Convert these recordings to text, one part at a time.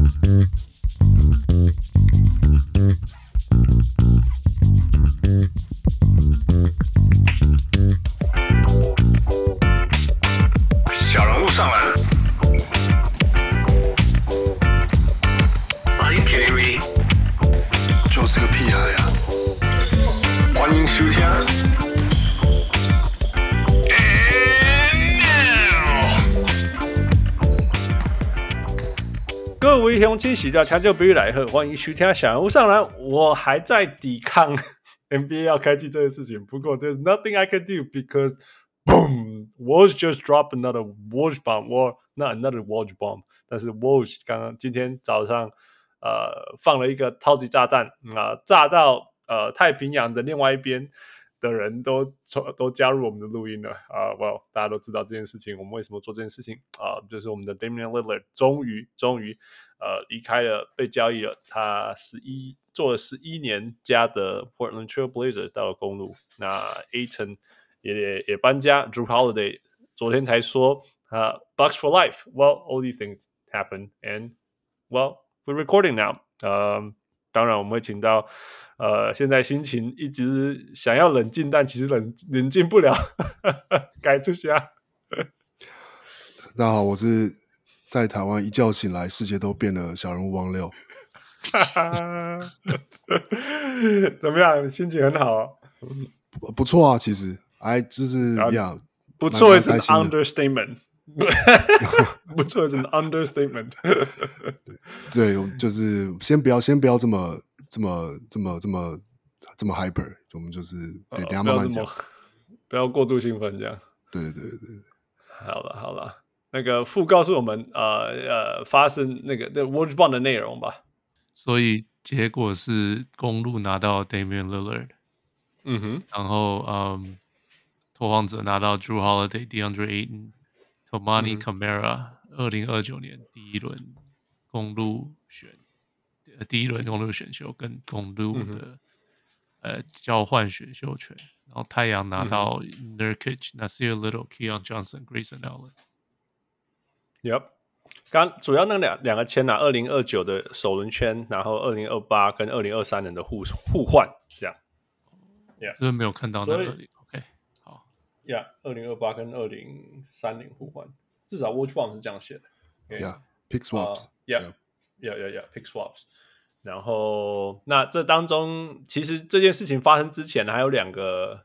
小人物上篮。Are you kidding me？ 就是个屁孩呀！ 欢迎收听。各位乡亲，喜到抢救比喻来贺，歡迎收聽小人物上籃。我還在抵抗 NBA 要開季這件事情，不過 there's nothing I can do because boom, Woj just dropped another Woj bomb, or not another Woj bomb， 但是 Woj 今天早上放了一個超級炸彈炸到太平洋的另外一邊的人都加入我們的錄音了well 大家都知道這件事情，我們為什麼做這件事情就是我們的 Damian Lillard 終於離開了，被交易了，他做了11年加的 Portland Trail Blazers 到了公鹿，那 Ayton 也搬家 Jrue Holiday 昨天才說Bucks for life. Well, all these things happen and well, we're recording now. 當然我們會請到現在心情一直想要冷靜，但其實冷靜不了改出蝦。 大家好，我是在台灣一覺醒來世界都變了小人物王六。 怎麼樣？心情很好不錯啊，其實就是不錯是 an understatement。不錯是 an understatement。 對，就是先不要這麼 hyper， 我們就是等一下慢慢講， 不要過度興奮這樣。 對。 好了，那個副告訴我們發生那個 Woj bomb 的內容吧。 所以結果是公鹿拿到 Damian Lillard， 然後拓荒者拿到 Jrue Holiday、DeAndre Ayton、Toumani Camara， 2029年第一輪公鹿選秀跟公鹿的交換選秀權，然後太陽拿到 Nurkic、Nasir Little、Keon Johnson、Grayson Allen。Yep， 剛主要那兩個簽2029的首輪簽，然後2028跟2023年的互換，這樣。 這邊沒有看到那個。OK， 好。 2028跟2030互換，至少 Woj bomb 是這樣寫的。 Pick swaps。Pick swaps。然後，那這當中其實這件事情發生之前，還有兩個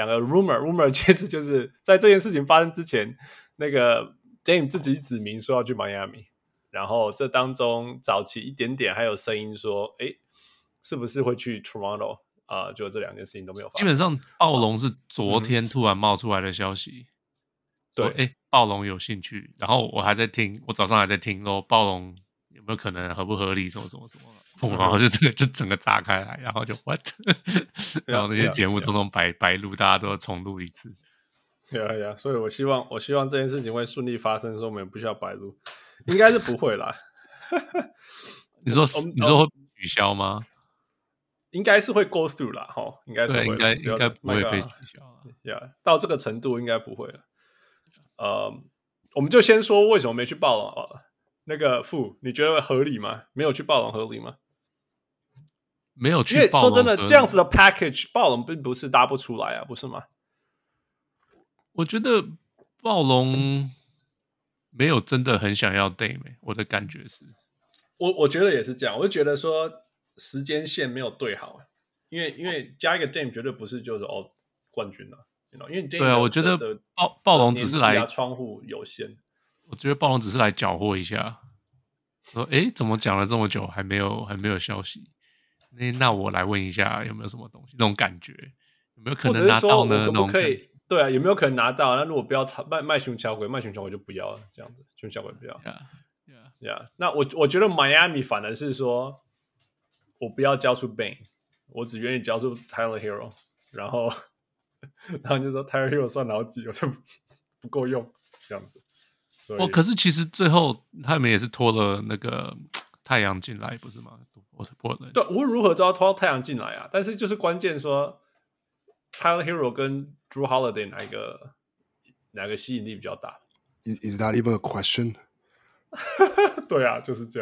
rumor， 其實就是在這件事情發生之前，那個 Dame 自己指明說要去 Miami， 然後這當中早期一點點還有聲音說，是不是會去 Toronto？ 就這兩件事情都沒有發生。 基本上暴龍是昨天突然冒出來的消息，對，暴龍有興趣，然後我早上還在聽咯，暴龍有沒有可能合不合理什麼，然後就整個炸開來，然後就 what， 然後那些節目通通白錄，大家都要重錄一次。 所以我希望這件事情會順利發生，說我們也不需要白錄，應該是不會啦。 你說會取消嗎？ 應該是會 go through 啦，應該是會， 應該不會被取消。 到這個程度應該不會了。我們就先說為什麼沒去暴龍那個傅，你覺得合理嗎？沒有去暴龍合理嗎？ 沒有去暴龍， 因為說真的，這樣子的 package 暴龍並不是搭不出來啊，不是嗎？ 我覺得暴龍沒有真的很想要 Dame， 我的感覺是， 我覺得也是這樣，我就覺得說時間線沒有對好，因為加一個 Dame 絕對不是就是冠軍了，因為 Dame 對啊，我覺得暴龍只是來窗戶有限。 我覺得暴龍只是來攪和一下，說怎麼講了這麼久還沒有消息？那我來問一下有沒有什麼東西，那種感覺有沒有可能拿到呢？ 可不可以？對啊，有沒有可能拿到？那如果不要賣熊小鬼就不要了，這樣子熊小鬼不要。那我覺得 Miami 反而是說，我不要交出 Bane， 我只願意交出 Tyler Hero， 然後就說 Tyler Hero 算老幾，我就不夠用這樣子。 可是其實最後他們也是拖了那個太陽進來，不是嗎？ 對，無論如何都要拖到太陽進來啊！但是就是關鍵說 ，Tyler Hero 跟 Jrue Holiday 哪個吸引力比較大 ？Is that even a question？ 對啊，就是這樣啊。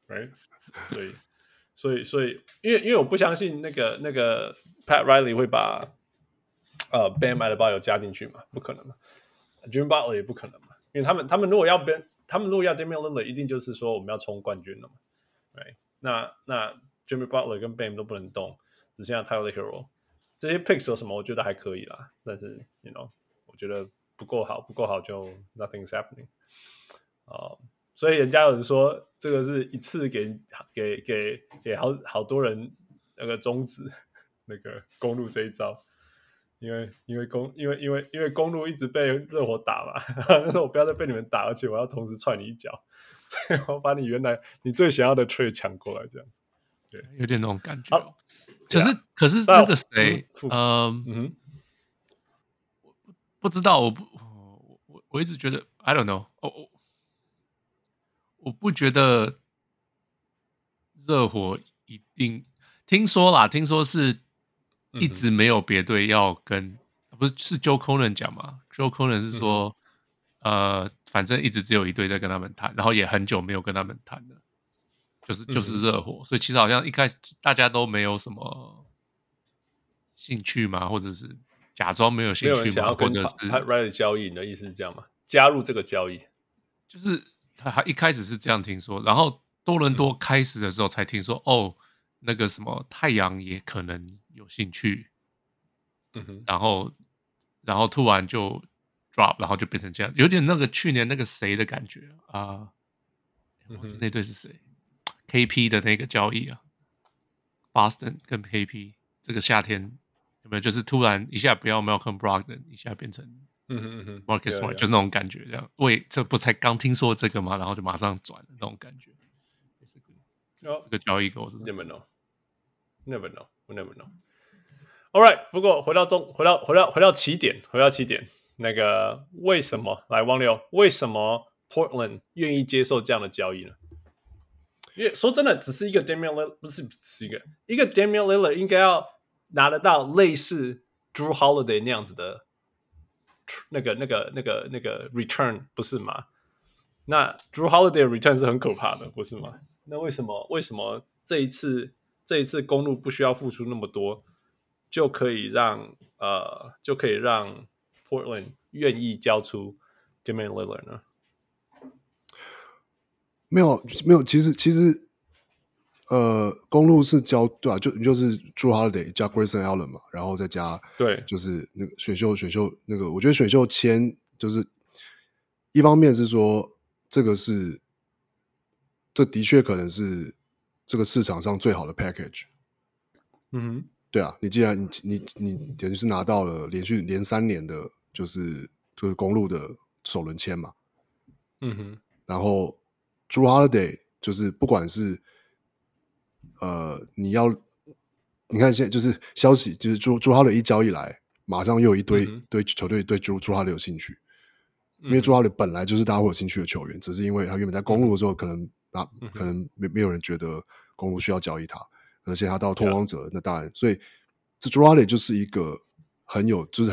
，right？ 所以，因為我不相信那個 Pat Riley 會把Bam Adebayo 加進去嘛，不可能嘛 ，Jimmy Butler 也不可能嘛，因為他們如果要 Damian Lillard， 一定就是說我們要衝冠軍了嘛， right？ 那 Jimmy Butler 跟 Bam 都不能動，只剩下 Tyler Hero， 這些 picks 有什麼？我覺得還可以啦，但是 我覺得不夠好就 nothing's happening。所以人家有人說這個是一次給好多人那個終止那個公鹿這一招，因為公鹿一直被熱火打嘛，他說我不要再被你們打，而且我要同时踹你一腳，所以我把你原來你最想要的 trade 搶過來，這樣子，對， 有點那種感覺。可是那個誰，不知道，我一直覺得 I don't know， 我不覺得熱火一定听說是一直沒有別隊要跟，不是 Joe Cronin 講嘛 ？Joe Cronin 是說，反正一直只有一隊在跟他們談，然後也很久沒有跟他們談了，就是熱火，所以其實好像一開始大家都沒有什麼興趣嘛，或者是假裝沒有興趣嘛，或者是 Pat Riley 交易，你的意思是這樣嗎？加入這個交易， 就是他一開始是這樣聽說，然後多倫多開始的時候才聽說，那個什麼太陽也可能有興趣，然後突然就 drop， 然後就变成這樣，有點那個去年那個誰的感覺啊，那隊是誰 ？KP 的那個交易啊 ，Boston 跟 KP 這個夏天有沒有？就是突然一下不要 Malcolm Brogdon， 一下變成Marcus Smart， 就那種感覺，這樣。喂，這不才剛聽說這個嗎？然後就馬上轉那種感覺。這個交易我是 never know，we never know。All right， 不過回到起點，那個為什麼來汪六？為什麼 Portland 願意接受這樣的交易呢？因為說真的，只是一個 Damian Lillard， 不是一個 Damian Lillard 應該要拿得到類似 Drew Holiday 那樣子的那個 return， 不是嗎？那 Drew Holiday 的 return 是很可怕的，不是嗎？那為什麼這一次公鹿不需要付出那麼多，就可以讓 Portland 願意交出 Damian Lillard 呢？ 沒有，其實公鹿是交對啊，就是 Drew Holiday 加 Grayson Allen 嘛，然後再加对， 就是那个選秀那個，我覺得選秀簽就是一方面是說這的確可能是這個市場上最好的 package。對啊，你既然你等於是拿到了連3年的，就是公鹿的首輪簽嘛。然後 Drew Holiday 就是不管是你看現在就是消息，就是 Drew Holiday 一交易來，馬上又有一堆球隊對 Drew Holiday 有興趣，因為 Drew Holiday 本來就是大家會有興趣的球員，只是因為他原本在公鹿的時候可能沒有人覺得公鹿需要交易他，而且他到拓荒者，那當然，所以這 Drew Holiday 就是一個很有價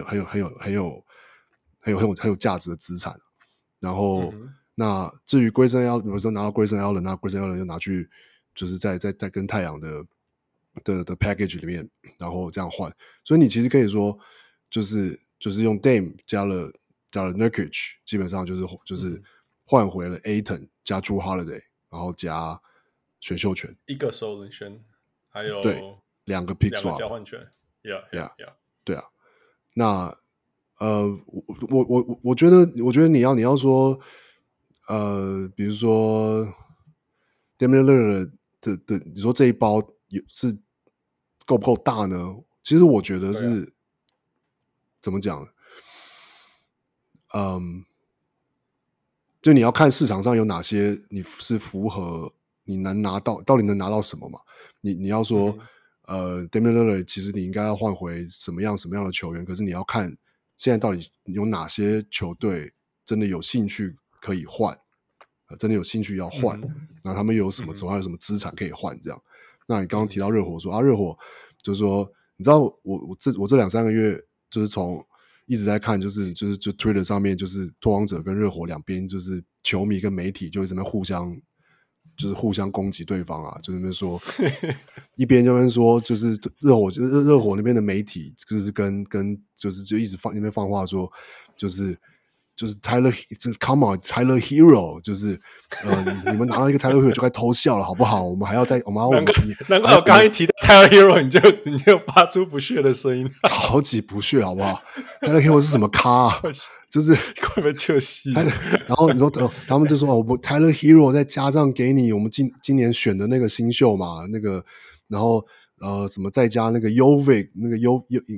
值的資產。然後那至於 Grayson Allen， 比如說拿到 Grayson Allen， 那 Grayson Allen 就拿去就是在跟太陽的 package 裡面，然後這樣換，所以你其實可以說就是用 Dame 加了 Nurkic， 基本上就是換回了 Ayton 加 Drew Holiday， 然後加選秀權，一個首輪選，還有對2個 pick swap 交換權 ，yeah， 對啊，那我覺得你要說比如說 Damian Lillard 的你說這一包是夠不夠大呢？其實我覺得是怎麼講呢？就你要看市場上有哪些你是符合你能拿到，到底能拿到什麼嘛？你要說Damian Lillard 其實你應該要換回什麼樣的球員，可是你要看現在到底有哪些球隊真的有興趣可以換，真的有興趣要換，然後他們又有什麼有什麼資產可以換這樣。那你剛剛提到熱火說熱火就是說，你知道我這2-3個月就是從一直在看，就 Twitter 上面就是拓荒者跟熱火兩邊就是球迷跟媒體就一直在互相就是互相攻擊對方啊，就是那邊說一邊就說就是热火那邊的媒體就是跟就是就一直那邊放話說就是 Tyler 就是 Come on Tyler Hero 就是你们拿到一個 Tyler Hero 就該偷笑了好不好？我们還要難怪我剛剛一提到 Tyler Hero 你就發出不屑的聲音， 超級不屑好不好？Tyler Hero 是什麼咖啊？就是快被救戲， 然後你說他們就說我 Tyler Hero 再加上給你我們今年選的那個新秀嘛，那個然後什麼再加那個 Jovic 那個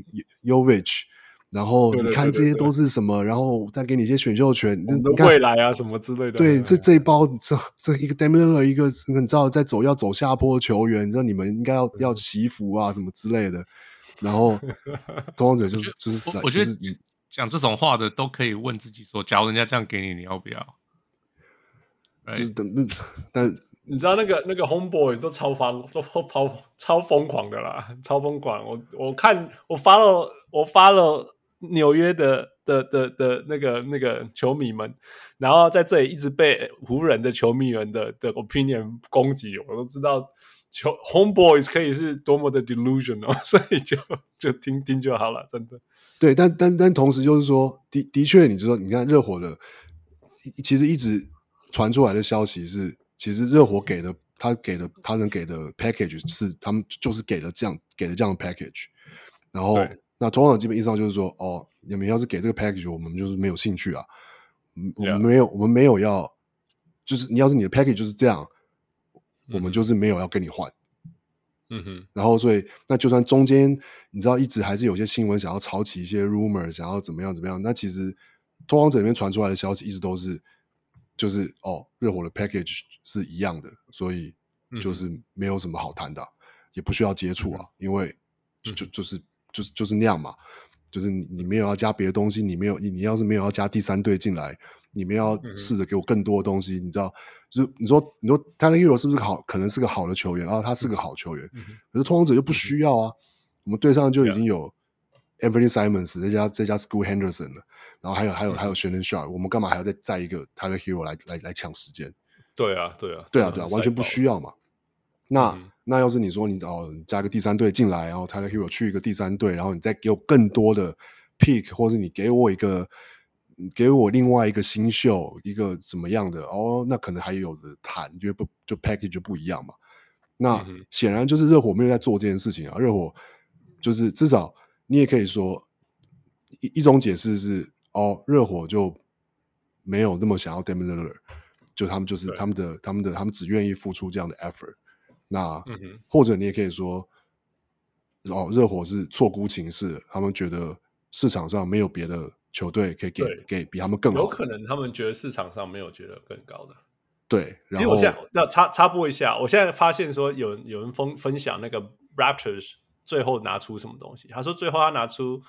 Jovic， 然後你看這些都是什麼，然後再給你一些選秀權， 你的未來啊什麼之類的。 對，這一包這一個 Damian Lillard 一個你知道要走下坡的球員，你知道你們應該要祈福啊什麼之類的。然後拓荒者就是我覺得講這種話的都可以問自己說，假如人家這樣給你，你要不要？ 就是但你知道那個 homeboy 都超瘋狂的啦，超瘋狂。我看我發了紐約的那個球迷們，然後在這裡一直被湖人的球迷們的 opinion 攻擊，我都知道homeboys 可以是多麼的 delusional， 所以就聽聽就好了，真的。 对，但同時就是說，的確，你就說，你看熱火的，其實一直傳出來的消息是，其實熱火他能給的 package 是他們就是給了這樣的 package， 然後那通常基本意義上就是說，哦，你們要是給這個 package， 我們就是沒有興趣啊，我們沒有要，就是你要是你的 package 就是這樣，我們就是沒有要跟你換。 嗯哼， 然後所以那就算中間你知道一直還是有些新聞想要炒起一些 rumor， 想要怎麼樣，那其實拓荒者裡面傳出來的消息一直都是就是熱火的 package 是一樣的，所以就是沒有什麼好談的，也不需要接觸啊，因為就是那樣嘛，就是你沒有要加別的東西，你要是沒有要加第三隊進來，你們要試着給我更多的東西，你知道，就是你說 Tyler Hero 是不是可能是個好的球員，然後他是個好球員，可是拓荒者就不需要啊，我們隊上就已經有 Anthony Simons 再加 Scoot Henderson 了，然后還有 Shannon Sharp， 我們幹嘛還要再一個 Tyler Hero 來搶時間？ 對啊， 完全不需要嘛。那要是你說你加個第三隊進來，然後 Tyler Hero 去一個第三隊，然後你再給我更多的 pick， 或是你給我另外一個新秀，一個怎麼樣的那可能還有的談，因為就 package 就不一樣嘛。那顯然就是熱火沒有在做這件事情啊。熱火就是至少你也可以說一種解釋是熱火就沒有那麼想要 Damian Lillard， 就他們就是他們只願意付出這樣的 effort。那或者你也可以說熱火是錯估情勢，他們覺得市場上沒有別的球隊可以給比他們更好的， 有可能他們覺得市場上沒有覺得更高的。 對，然後因為我現在要插播一下，我現在發現說有人分享那個 Raptors 最後拿出什麼東西，他說最後他拿出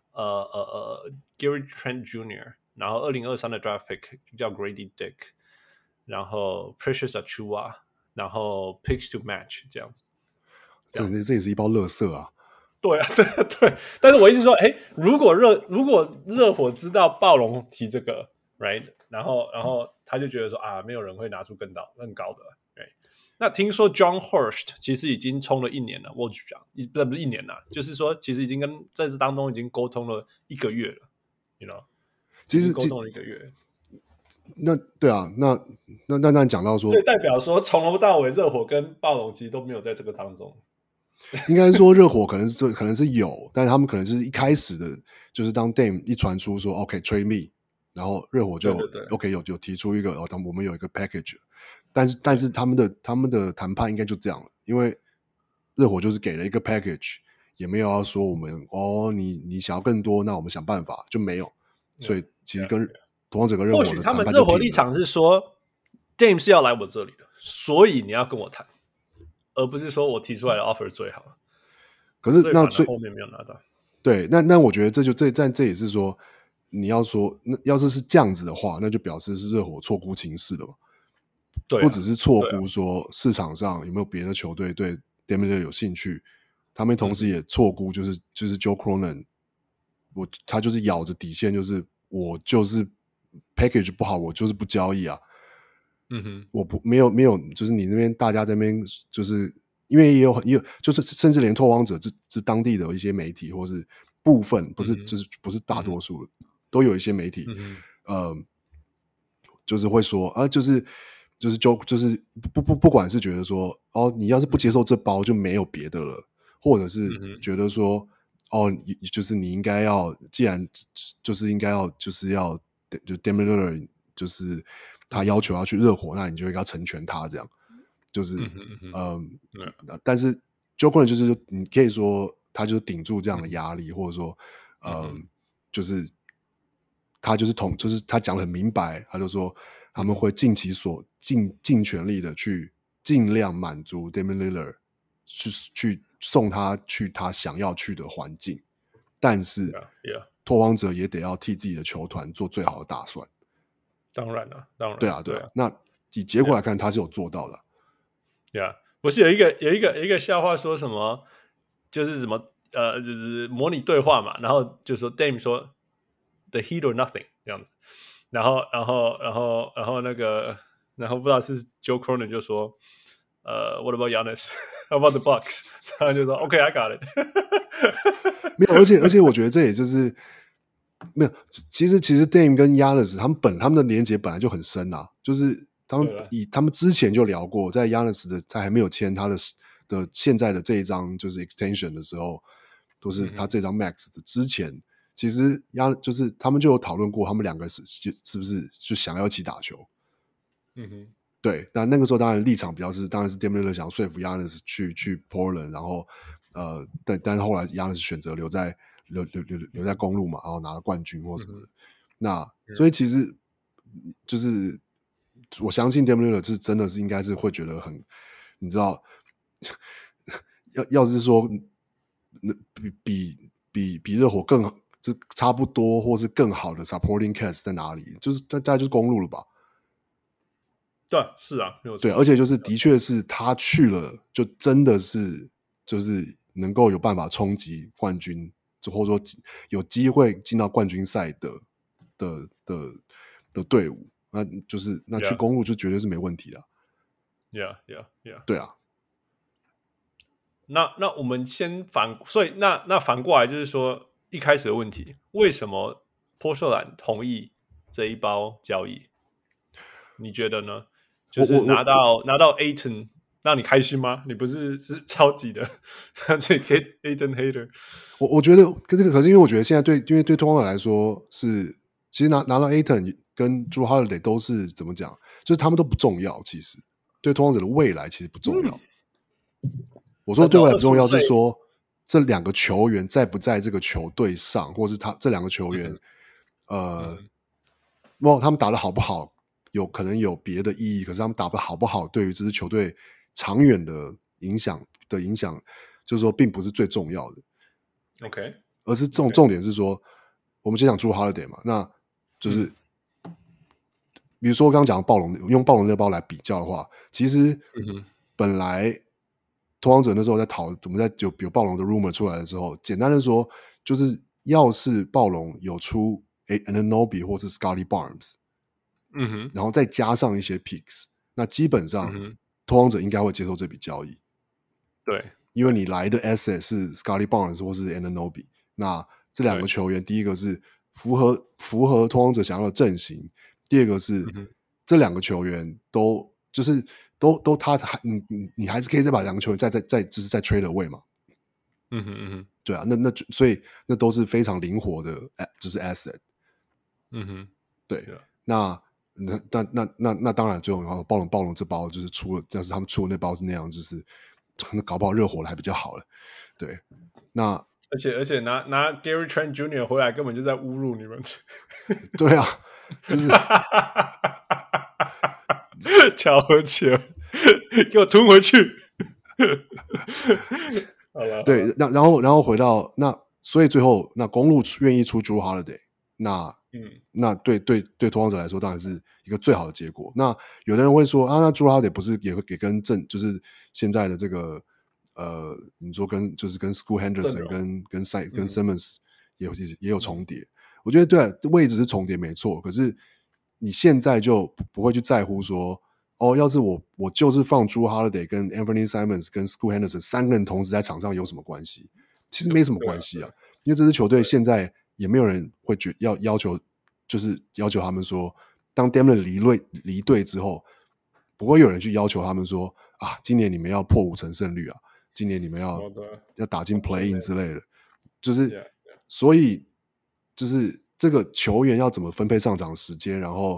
Gary Trent Jr.， 然後2023的 draft pick 叫 Grady Dick， 然後 Precious Achiuwa， 然後 picks to match 這樣子。 这也是一包垃圾啊。 对，但是我一直說，如果熱火知道暴龍提這個 ，right， 然後他就覺得說沒有人會拿出更高的 ，right？ 那聽說 John Hurst 其實已經衝了1年了，我講不是1年了，就是說其實已經跟在這當中已經溝通了1個月了 ，you know， 其實溝通了1個月。 那對啊，那講到說， 所以代表說從頭到尾熱火跟暴龍其實都沒有在這個當中。 應該說熱火可能是有，但是他們可能就是一開始的，就是當 Dame 一傳出說 OK trade me， 然後熱火就對 OK 有提出一個我們有一個 package， 但是他們的談判應該就這樣了，因為熱火就是給了一個 package， 也沒有要說我們你想要更多，那我們想辦法就沒有，所以其實跟拓荒者跟熱火的談判就或許他們熱火立場是說 Dame 是要來我這裡的，所以你要跟我談。而不是說我提出來的 offer 最好， 可是那後面沒有拿到。 對，那我覺得这也是說，你要說那要是這樣子的話，那就表示是熱火錯估情勢了嘛。對，不只是錯估說市場上有沒有別的球隊對 Damian Lillard 有興趣，他們同時也錯估就是 Joe Cronin， 他就是咬着底線，就是我就是 package 不好，我就是不交易啊。 我沒有，就是你那邊大家在那邊，就是因為也有，就是甚至連拓荒者这当地的一些媒体，或是部分不是大多數都有一些媒体，就是會說啊，就是不管是覺得說哦，你要是不接受這包就沒有別的了，或者是覺得說哦，就是你應該要，既然就是應該要，就是要就 Damian Lillard 就是他要求要去熱火，那你就應該要成全他這樣，就是但是 Joe Cronin 就是你可以說他就是頂住這樣的壓力，或者說就是他就是就是他講得很明白，他就說他們會盡全力的去盡量滿足 Damian Lillard 去送他去他想要去的環境，但是拓荒者也得要替自己的球團做最好的打算。 當然了， 对啊。那以結果來看，他是有做到的。 不是有一個笑話說什麼，就是什麼就是模擬對話嘛，然後就說 Dame 說 The Heat or nothing 這樣子，然後那個然後不知道是 Joe Cronin 就說What about Giannis? How about the Bucks? 然後就說 OK, I got it 。 沒有，而且我覺得這也就是沒有。其實 Dame 跟 Giannis 他們的連結本來就很深啊，就是他們之前就聊過，在 Giannis 的他還沒有簽他的現在的這一張就是 extension 的時候，都是他這張 max 的之前，其實就是他們就有討論過，他們兩個是不是就想要一起打球。對，那個時候當然立场比較是，當然是 Damian Lillard 想要說服 Giannis 去 Portland， 然後但是後來 Giannis 選擇留在公鹿嘛，然後拿了冠軍或什麼的。那所以其實就是我相信 Damian Lillard 是真的是應該是會覺得很，你知道，要是說比熱火更好，就差不多或是更好的 supporting cast 在哪裡？就是大概就是公鹿了吧。 对，是啊，没有錯。 对，而且就是的確是他去了，就真的是就是能夠有辦法衝擊冠軍，或者說有機會進到冠軍賽的隊伍，那去公鹿就絕對是沒問題的。 Yeah. 對啊。 那我們先所以那反過來就是說，一開始的問題，為什麼波特蘭同意這一包交易？你覺得呢？就是拿到 Ayton 讓你開心嗎？你不是超級的這個 Ayton hater。 我覺得可是因為我覺得現在因為對拓荒者來說是，其實拿到 Ayton 跟 Jrue Holiday 都是怎麼講，就是他們都不重要，其實對拓荒者的未來其實不重要。我說對未來不重要是說這兩個球員在不在這個球隊上，或是这兩個球員他們打得好不好有可能有別的意義，可是他們打得好不好對於這支球隊長遠的影響，就是說並不是最重要的。 OK， 而是重點是說，我們先講Jrue Holiday嘛，那就是比如說剛剛講的暴龍，用暴龍那包來比較的話，其實本來拓荒者那時候在我們在有暴龍的 rumor 出來的時候，簡單的說就是要是暴龍有出Anunoby 或是 Scottie Barnes，然後再加上一些 picks， 那基本上拓荒者應該會接受這筆交易。 對， 因為你來的 asset 是 Scottie Barnes 或是 Anunoby， 那這兩個球員，第一個是符合拓荒者想要的陣型，第二個是這兩個球員都你還是可以再把兩個球員就是再 trade away 嘛。對啊，那所以那都是非常靈活的，就是 asset。对，那當然最後暴龍這包就是要是他們出的那包是那樣，就是搞不好熱火的還比較好了。對，那而且拿 Gary Trent Jr. 回來根本就在侮辱你們。 對啊，就是巧合起來，給我吞回去。好了， 对，然後回到那，所以最後那公鹿願意出 Jrue Holiday， 那對拓荒者來說當然是一個最好的結果。那有的人會說啊，那 Jrue Holiday 不是也會跟就是現在的這個你說跟 Scoot Henderson 跟 Simmons 也有重疊。我覺得對，位置是重疊沒錯，可是你現在就不會去在乎說要是我就是放 Jrue Holiday 跟 Anthony Simons 跟 Scoot Henderson 3個人同時在场上有什麼關係？其實沒什麼關係啊，因為這支球隊現在也沒有人會要求，就是要求他們說，當 Damian 離隊之後，不會有人去要求他們說啊，今年你們要破50%勝率啊，今年你們要打進 Play-in 之類的，就是所以就是這個球員要怎麼分配上場時間，然後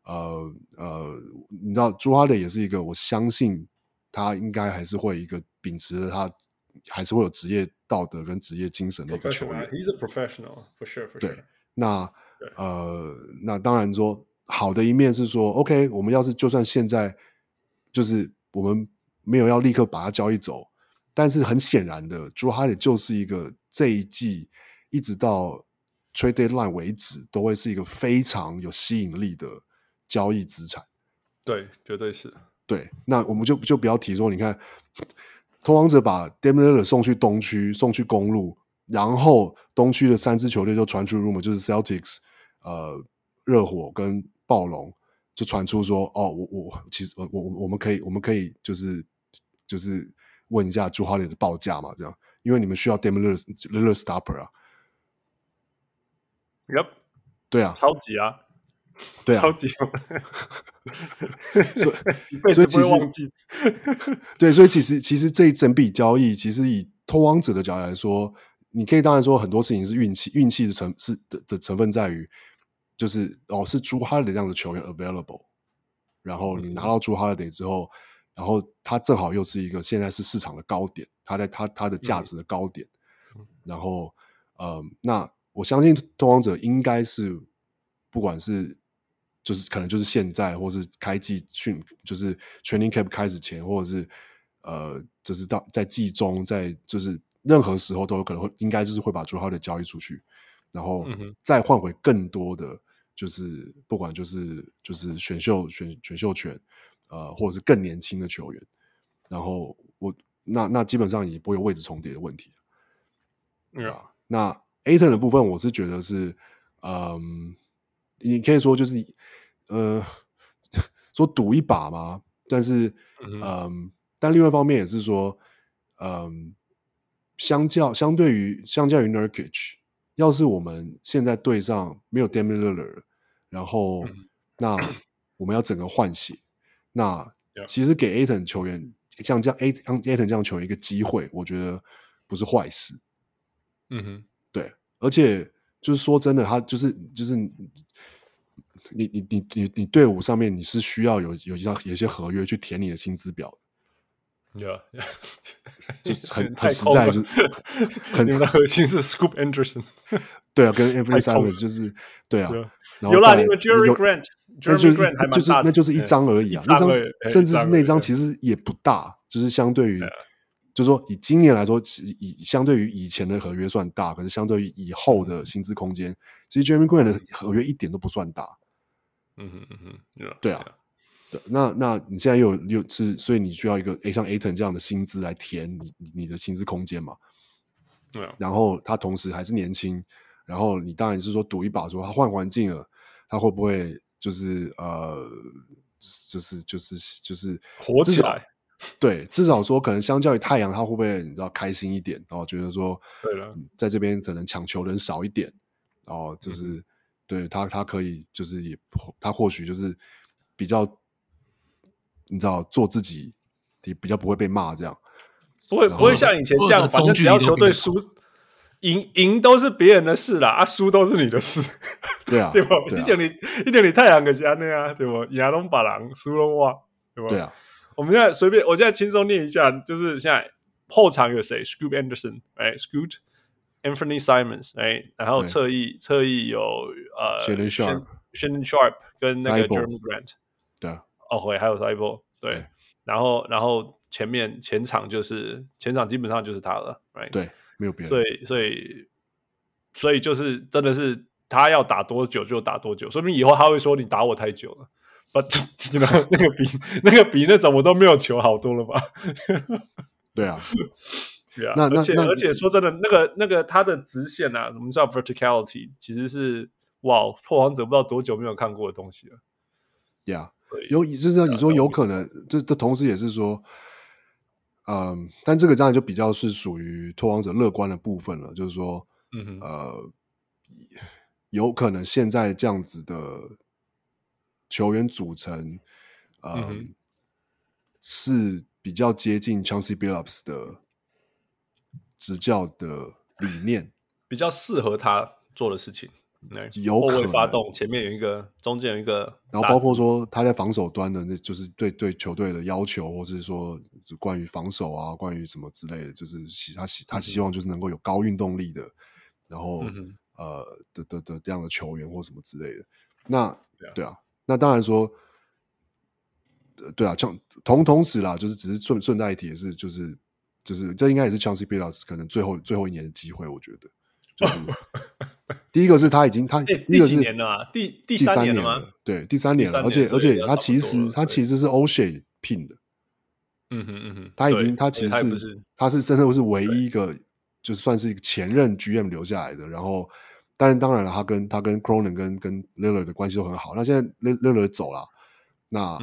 你知道Jrue Holiday也是一個，我相信他應該還是會一個秉持着他還是會有職業道德跟職業精神的一個球員。 He's a professional for sure. 對，那當然說好的一面是說 ，OK， 我們要是就算現在就是我們沒有要立刻把他交易走，但是很顯然的，Jrue Holiday就是一個這一季一直到 Trade Deadline 為止都會是一個非常有吸引力的交易資產。 對，絕對是。 对，那我們就不要提說，你看，拓荒者把 Damian Lillard 送去東區，送去公鹿，然後東區的3支球隊就傳出 rumor， 就是 Celtics、熱火跟暴龍，就傳出說，其實我們可以就是問一下Jrue Holiday的報價嘛，這樣，因為你們需要 Damian Lillard stopper 啊。 Yep， 對啊， 超級啊。 对啊， 超级所以其實对，所以其實這一整筆交易，其實以拓荒者的角度來說，你可以當然說很多事情是運氣的成分在於，就是是Jrue Holiday這樣的球員 available， 然後你拿到Jrue Holiday之後，然後他正好又是一個現在是市場的高點，他在他的價值的高點，然後那我相信拓荒者應該是不管是就是可能就是現在，或是開季就是 training camp 開始前，或者是就是在季中，在就是任何時候都有可能會，應該就是會把Jrue Holiday交易出去，然後再換回更多的，就是不管就是選秀權，或者是更年輕的球員，然後那基本上也不會有位置重疊的問題，那 Ayton 的部分，我是覺得是你可以說就是說賭一把嘛，但是但另外一方面也是說相對於 Nurkic， 要是我們現在隊上沒有 Damian Lillard， 然後那我們要整個換血，那其實給 Ayton 球員像Ayton 這樣球員一個機會，我覺得不是壞事。對，而且就是說真的，他就是你隊伍上面你是需要有一些合約去填你的薪資表的，就很實在，就是你們的核心是 Scoot Henderson， 对啊，跟 Anthony Simons 就是对啊，然後有啦，你们 Jeremy Grant 那就是一張而已啊，那张甚至是那張其實也不大，就是相對于。就是說，以今年來說，相對於以前的合約算大，可是相對於以後的薪資空間，其實 Jeremy Grant 的合約一點都不算大。對啊，對，那你現在又是，所以你需要一個像 Ayton 這樣的薪資來填你的薪資空間嘛？對啊。然後他同時還是年輕，然後你當然是說賭一把，說他換環境了，他會不會就是火起來？ 對，至少說可能相較於太陽，他会不會你知道開心一點，然後覺得說，對了，在這邊可能搶球人少一點，然後就是對他可以就是他或許就是比較你知道做自己，也比較不會被罵這樣，不會像以前這樣， 反正只要球隊輸贏都是別人的事啦，輸都是你的事，對啊，對吧？以前你太陽就是這樣，對吧？贏都別人，輸都我，對吧？對啊。我們現在隨便，我現在輕鬆念一下，就是現在後場有誰 ？Scoot Henderson， Scoot Anthony Simons， 然後側翼有 Shannon Sharp 跟那個 Jeremy Grant， 對，還有 Thibault， 對，然後前場基本上就是他了， 對，沒有別人， 所以就是真的是他要打多久就打多久，說明以後他會說你打我太久了。But you know, 那個比那種我都沒有球好多了吧？對啊，對啊。而且說真的，那個他的直線啊，我們知道 verticality 其實是拓荒者不知道多久沒有看過的東西了。 Yeah， 就是你說有可能，这同時也是说，但這個當然就比較是屬於拓荒者樂觀的部分了，就是說，有可能現在這樣子的球員組成，是比較接近 Chauncey Billups 的執教的理念， 比較適合他做的事情。 有可能发动，前面有一个，中间有一个， 然后包括说他在防守端的，那就是对球队的要求，或是說關於防守啊，關於什麼之類的，就是他希望就是能夠有高運動力的，然後的這樣的球員或什麼之類的。那對啊，那當然說，對啊，同時啦，就是只是順帶一提，也是就是這應該也是 Chauncey Billups 可能最後一年的機會，我覺得。就是第一個是他已經第幾年了啊？第三年了嗎？對，第三年了，而且他其實是 O'Shea 聘的，他是真的是唯一一個就算是一個前任 GM 留下來的。然後，當然了，他跟 Cronin 跟 Lillard 的關係都很好。那現在 Lillard 走了，那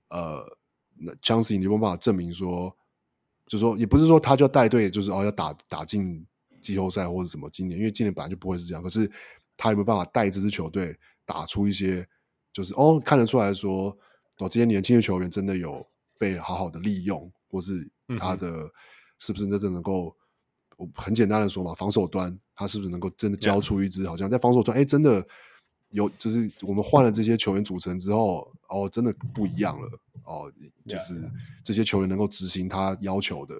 Chauncey 你有沒有辦法證明說，就是說也不是說他就要帶隊，就是要打進季後賽或者什麼今年，因為今年本來就不會是這樣。可是他有沒有辦法帶這支球隊打出一些，就是看得出來說，這些年輕的球員真的有被好好的利用，或是他的是不是真的能夠，很簡單的說嘛，防守端他是不是能夠真的交出一支，好像在防守端真的有，就是我們換了這些球員組成之後，真的不一樣了，就是這些球員能夠執行他要求的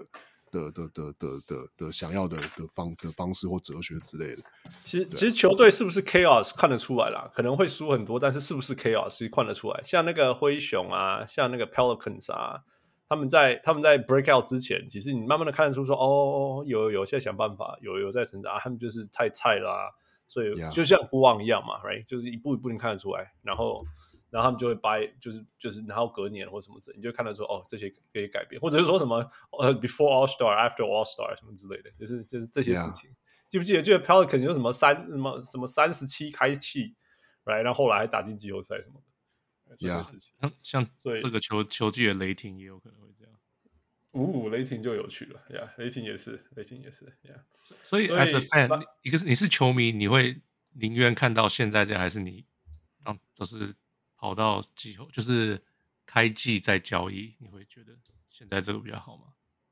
想要的方式或哲學之類的。 其實球隊是不是 chaos 看得出來啦，可能會輸很多，但是不是 chaos 其實看得出來。像那個灰熊啊，像那個 Pelicans 啊，他們在 breakout 之前，其實你慢慢的看得出說，有在想辦法，有在成長，他們就是太菜了啊，所以就像國王一樣嘛 ，right， 就是一步一步你看得出來，然後他們就會掰，就是然後隔年或什麼之類，你就看到說這些可以改變，或者是說什麼before All Star after All Star 什麼之類的，就是這些事情。記不記得Pelican 有什麼37開氣，right， 然後後來還打進季後賽什麼的，這些事情。 像這個球季的雷霆也有可能會這樣。 雷霆就有趣了，雷霆也是， 所以 as a fan， 你是球迷，你會寧願看到現在這樣，還是你就是跑到季後，就是開季再交易，你會覺得現在這個比較好嗎？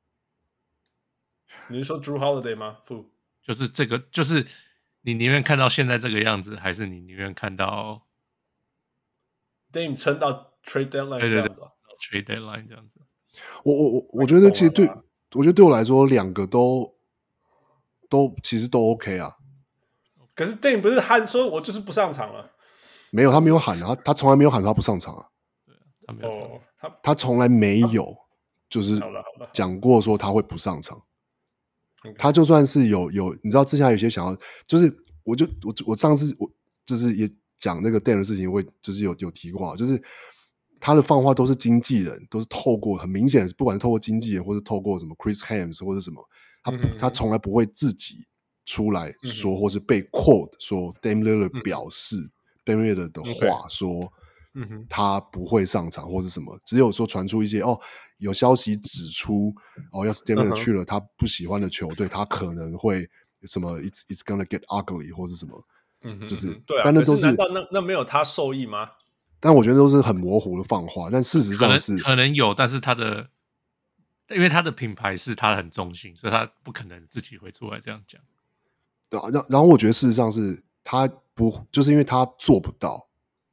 你是說 Drew Holiday 嗎？不， 就是這個，就是你寧願看到現在這個樣子，還是你寧願看到 Dame 撐到 Trade Deadline？ 對 ，Trade Deadline 這樣子。 我覺得其實我覺得對我來說，兩個都其實都 OK 啊。 可是 Dame 不是喊說我就是不上場了？ 沒有，他沒有喊啊，他從來沒有喊他不上場啊。 他沒有， 他從來沒有就是講過說他會不上場。他就算是有，你知道之前有些想要，就是我上次就是也講那個 Dame 的事情，我就是有提過，就是他的放話都是經紀人，都是透過很明顯，不管是透過經紀人或是透過什麼 Chris Haynes 或者什麼，他從來不會自己出來說，或是被 quote 說 Dame Lillard 表示。Dame Lillard 的話說，他不會上場或是什麼，只有說傳出一些有消息指出要是 Dame Lillard 去了他不喜歡的球隊，他可能會什麼 it's gonna get ugly 或是什麼，就是對啊， 但那都是難道那沒有他受益嗎？ 但我覺得都是很模糊的放話，但事實上是可能有，但是因為他的品牌是他很中性，所以他不可能自己會出來這樣講。 對啊，然後我覺得事實上是他不，就是因為他做不到。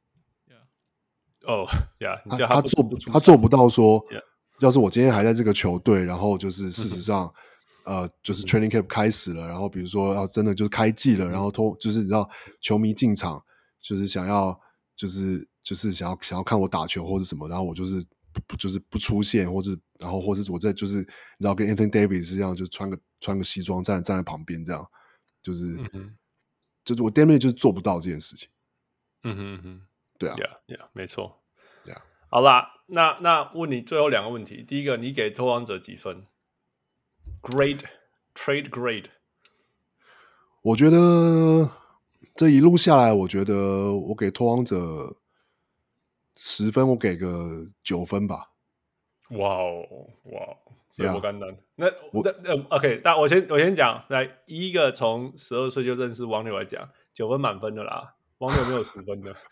他做不到說，要是我今天還在這個球隊，然後就是事實上，就是 training camp 開始了，然後比如說要真的就是開季了，然後就是你知道球迷進場，就是想要就是想要看我打球或者什麼，然後我就是不出現，或者然後或是我在就是你知道跟 Anthony Davis 一樣，就穿個西裝站在旁邊這樣，就是我 Dame Lillard 就是做不到這件事情。對啊， 沒錯。好啦，那問你最後兩個問題。第一個，你給拓荒者幾分 ？Grade trade grade。 我覺得這一路下來，我覺得我給拓荒者 10分我給個9分吧。 哇哦，所以不简单。那 OK， 那我先講，來一個從12歲就認識王牛來講，9分滿分的啦。王牛沒有10分的，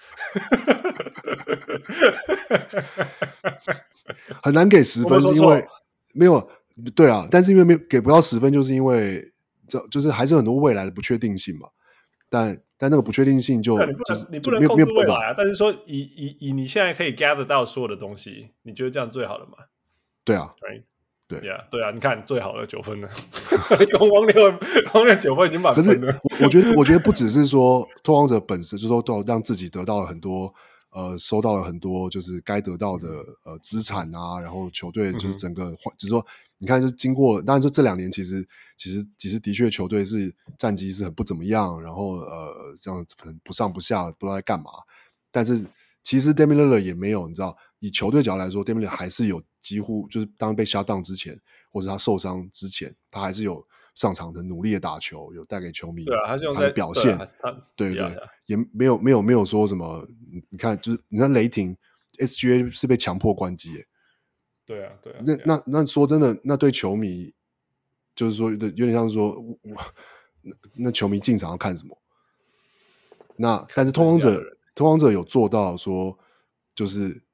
很難給10分，是因為沒有對啊，但是因為給不到10分，就是因為就是還是很多未來的不確定性嘛。但那個不確定性就是你不能控制未來啊。但是說以你現在可以 gather 到所有的東西，你覺得這樣最好了嗎？ 對啊， 对啊，你看最好的9分了，王六9分已經滿分了。 可是我覺得不只是說拓荒者本身，就是說都讓自己得到了很多收到了很多就是該得到的資產啊，然後球隊就是整個就是說你看就是經過，當然说這2年其實的確球隊是戰績是很不怎麼樣，然後這樣很不上不下，不知道在幹嘛。但是其實 Damian Lillard 也沒有，你知道，以球隊角度來說 ，Damian Lillard 還是有幾乎就是當被 shut down 之前，或者他受傷之前，他還是有上場的努力的打球，有帶給球迷他的表現。对，也没有說什麼。你看，就是你看雷霆 SGA 是被強迫關機耶。 对啊。 那說真的，那对球迷就是說有點像是說，那球迷進场要看什麼？但是拓荒者有做到說，就是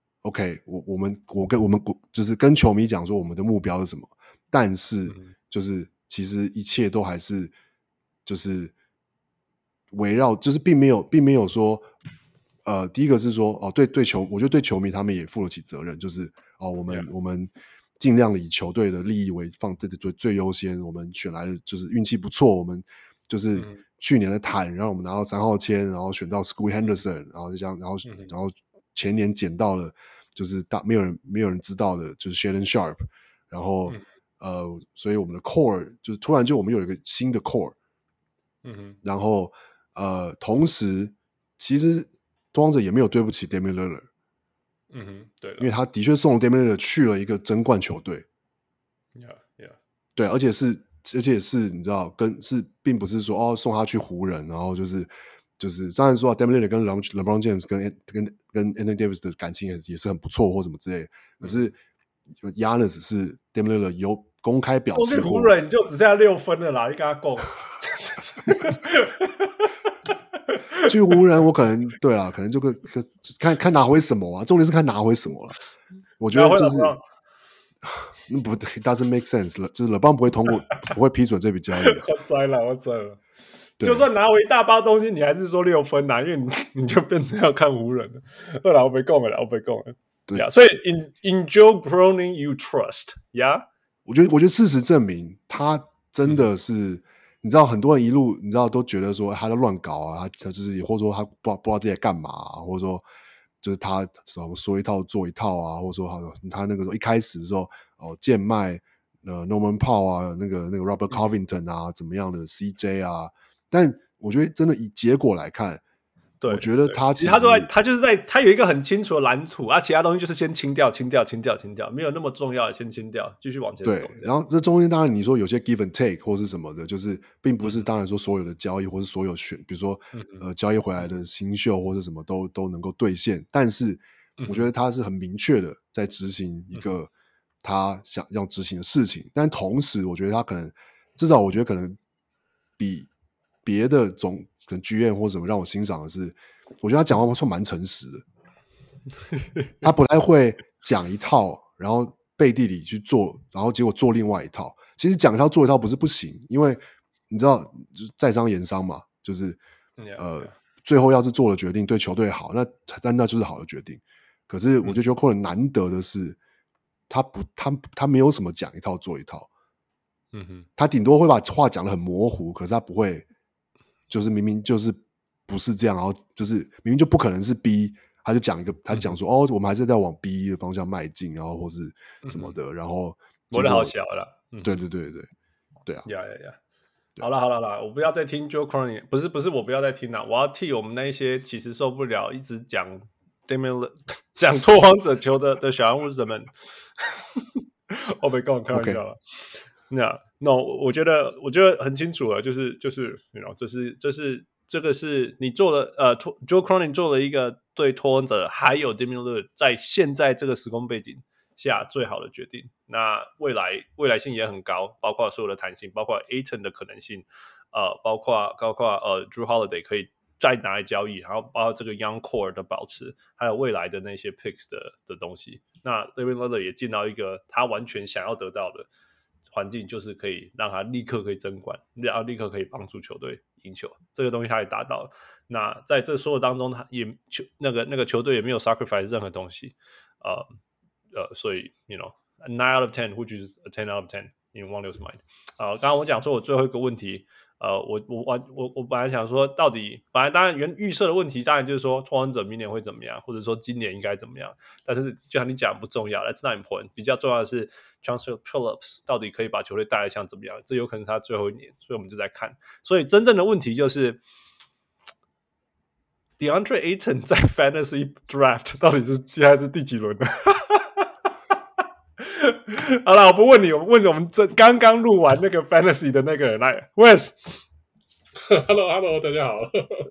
OK， 我們就是跟球迷講說我們的目標是什麼，但是就是其實一切都還是就是圍繞，就是並沒有說第一個是說我覺得對球迷他們也負得起責任，就是我們盡量的以球隊的利益為放最優先，我們選來的就是運氣不錯，我們就是去年的坦讓我們拿到3號簽，然後選到 Scoot Henderson， 然後就這樣，然後前年撿到了就是沒有人知道的就是 Shaedon Sharpe， 然後所以我們的 core 就是突然就我們有一個新的 core， 然後同時其實拓荒者也沒有對不起 Damian Lillard， 對， 因為他的確送了 Damian Lillard 去了一個爭冠球隊，对，而且是你知道，並不是說送他去湖人，然後就是当然說Damian Lillard 跟 LeBron James 跟 Anthony Davis 的感情也是很不錯或什麼之類的，可是 Giannis 是 Damian Lillard 有公開表示過， 送去湖人你就只剩下6分了啦，你跟他講。 去湖人我可能對啦，可能就看拿回什麼啊，重點是看拿回什么啦。我覺得就是不 doesn't make sense 了，就是 LeBron 不會批准這筆交易。 我知了，就算拿回一大包東西，你還是說6分啊，因為你就變成要看湖人了。好啦，我被講了。對啊，所以 in Joe Cronin you trust， yeah？ 我覺得事實證明他真的是。你知道很多人一路你知道都覺得說他在亂搞啊，他就是或者說他不知道自己在幹嘛啊，或者說就是他說一套做一套啊，或者說他那個時候一開始的時候賤賣Norman Powell 啊，那個 Robert Covington 啊，怎麼樣的 CJ 啊，但我覺得真的以結果來看，對，我覺得他其實他就是他有一個很清楚的藍圖啊，其他東西就是先清掉，沒有那麼重要的先清掉，繼續往前走。 對，然後這中間當然你說有些 give and take 或是什麼的，就是並不是當然說所有的交易或是所有比如說交易回來的新秀或是什麼都能夠兌現，但是我覺得他是很明確的在執行一個他想要執行的事情，但同時我覺得他至少我覺得可能比別的可能GM或什麼讓我欣賞的是，我覺得他講話算蠻誠實的，他不太會講一套，然後背地裡去做，然後結果做另外一套。其實講一套做一套不是不行，因為你知道在商言商嘛，就是最後要是做了決定對球隊好，那就是好的決定。可是我就覺得 Joe Cronin 難得的是，他沒有什麼講一套做一套，他頂多會把話講得很模糊，可是他不會。就是明明就是不是這樣，然後就是明明就不可能是 B， 他就講他講說我們還是在往 B 的方向邁進，然後或是什麼的，然後我的好小了， 對啊， 好了，我不要再聽 Joe Cronin， 不是我不要再聽了，我要替我們那些其實受不了一直講 Damian 講拓荒者球的小人物們，我沒跟我開玩笑了。No， 我覺得很清楚了，就是这个是你做了Joe Cronin 做了一個對拓荒者還有 Damian Lillard 在現在這個時空背景下最好的決定。那未來性也很高，包括所有的彈性，包括 Ayton 的可能性，包括Drew Holiday 可以再拿來交易，然後包括這個 Young Core 的保持，還有未來的那些 Picks 的東西。那 Damian Lillard 也進到一個他完全想要得到的環境，就是可以讓他立刻可以爭冠，然後立刻可以幫助球隊贏球，這個東西他也達到了。那在這所有當中，他也那個球隊也沒有 sacrifice 任何東西，所以 9 out of 10 which is a 10 out of 10 in 汪六's mind。剛剛我講說我最後一個問題，我本來想說本來當然預設的問題當然就是說拓荒者明年會怎麼樣，或者說今年應該怎麼樣，但是就像你講不重要 ，that's not important， 比較重要的是 Chauncey Billups 到底可以把球队帶來像怎麼樣，這有可能是他最後一年，所以我們就在看。所以真正的問題就是DeAndre Ayton 在 Fantasy Draft 到底是現在是第幾輪呢？好了，我不問你，我問我們剛剛錄完那個 Fantasy 的那個人來 ，Wes。Hello， 大家好。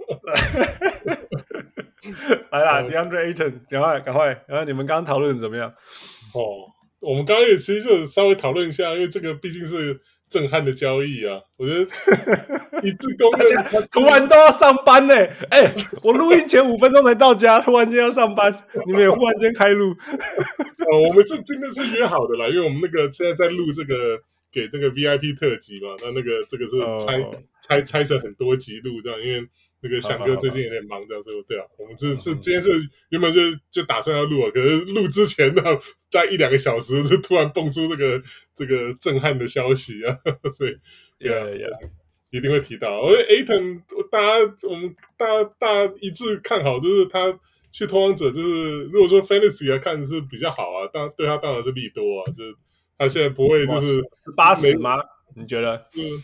來啦，DeAndre Ayton，趕快，然後你們剛剛討論怎麼樣？ 我們剛剛也其實就稍微討論一下，因為這個畢竟是震撼的交易啊，我覺得一致公認， 突然都要上班呢。我錄音前5分鐘才到家，突然間要上班，你們也忽然間開錄。 我們是真的是約好的啦，因為我們那個現在在錄這個給那個 VIP 特輯嘛，那個這個是拆成很多集錄這樣，因為那個翔哥最近有點忙這樣，所以對啊，我們是今天是原本就打算要錄了，可是錄之前呢，大概1-2個小時就突然蹦出這個震撼的消息啊，所以一定會提到。而 Ayton 我們大家一致看好，就是他去拓荒者，就是如果說 Fantasy 來看是比較好啊，对他當然是利多啊，就是他現在不會就是 18-10嗎？你覺得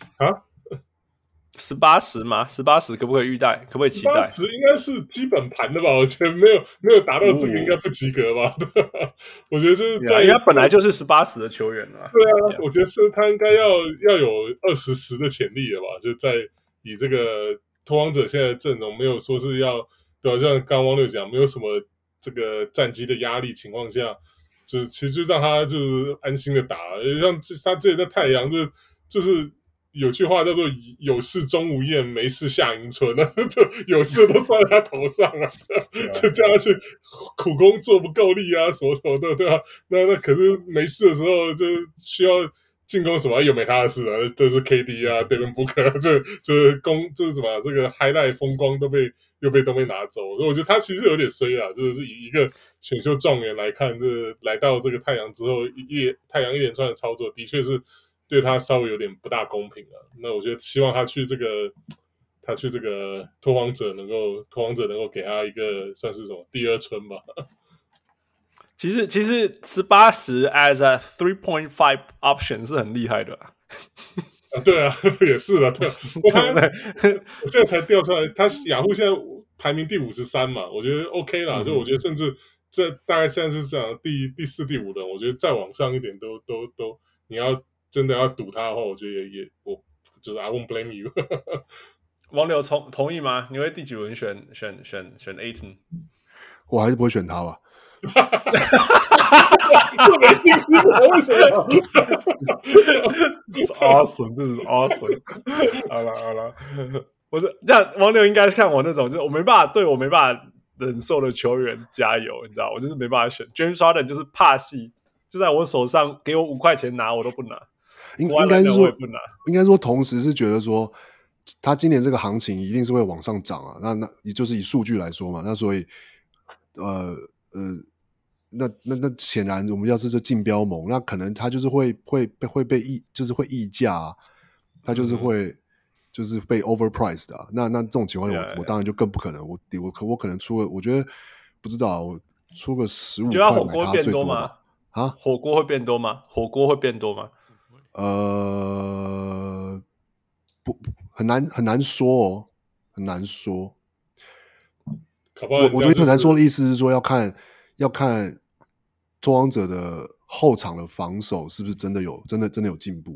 18-10嗎？18-10可不可以預待？可不可以期待 ？18-10應該是基本盤的吧？我覺得沒有達到這個應該不及格吧？我覺得就是因為他本來就是18-10的球員了。 對啊，我覺得是他應該要有20-10的潛力了吧？就在以這個拓荒者現在的陣容，沒有說是要對吧？像剛汪六講，沒有什麼這個戰績的壓力情況下，就是其實就讓他就是安心的打。像他之前在太陽就是有句話叫做“有事鍾無艷，沒事夏迎春”，就有事都算在他頭上啊，就叫他去苦工做不夠力啊，什麼什麼的，對吧？那可是沒事的時候就需要進攻什麼又沒他的事啊，都是 KD 啊 Devin Booker 啊，就是什麼這個 highlight 風光都被拿走，所以我覺得他其實有點衰啊，就是以一個選秀狀元來看，就是來到這個太陽之後，太陽一連串的操作的確是對他稍微有點不大公平啊。那我覺得希望他去這個拓荒者能夠給他一個算是什麼第二春吧。 其實18-10 as a 3.5 option 是很厲害的對啊，也是啊，對啊。我現在才調出來，他雅虎現在排名第53嘛，我覺得 OK 啦。就我覺得甚至這大概現在是這樣，第4、第5的，我覺得再往上一點都，你要真的要賭他的話，我覺得我就是 I won't blame you。 王柳同意嗎？你會第幾輪選 Ayton？ 我還是不會選他吧。 這沒信心，為什麼 ？This is awesome， 這是 awesome。好了，我是這樣，王柳應該看我那種，就是我沒辦法忍受的球員加油，你知道，我就是沒辦法選 James Harden， 就是怕戲，就在我手上，給我5塊錢拿，我都不拿。 應該說，同時是覺得說，他今年這個行情一定是會往上漲啊。那也就是以數據來說嘛，那所以那顯然我們要是這競標盟，那可能他就是會被就是會溢價啊，他就是會就是被 overpriced 的啊。那這種情況下，我當然就更不可能，我可能出個，我覺得不知道，我出個15塊買他最多吧。啊， 火鍋會變多嗎？ 不，很難說哦，很難说。我觉得很难说的意思是說，要看拓荒者的後場的防守是不是真的有進步。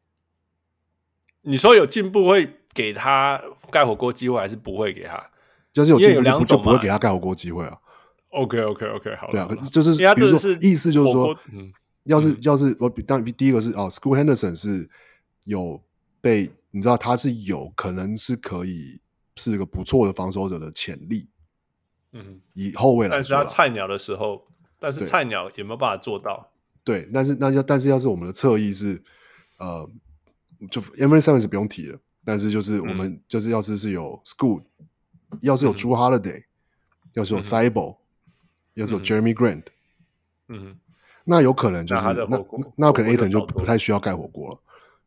你說有進步會給他蓋火鍋機會，還是不會給他？ 要是有進步就不會給他蓋火鍋機會啊。 OK， 好了。 对啊，就是比如说意思就是说，要是我当第一個是Scoot Henderson 是有被你知道他是有可能是可以是一個不錯的防守者的潛力，以後衛來說， 但是他菜鳥的時候，但是菜鳥有沒有辦法做到？ 對，但是要是我們的側翼是就 Emery Simmons 不用提了，但是就是我們就是要是有 Scoot， 要是有 Jrue Holiday，要是有 Thibault，要是有 Jeremy Grant， 那有可能就是那可能 Ayton 就不太需要蓋火鍋了。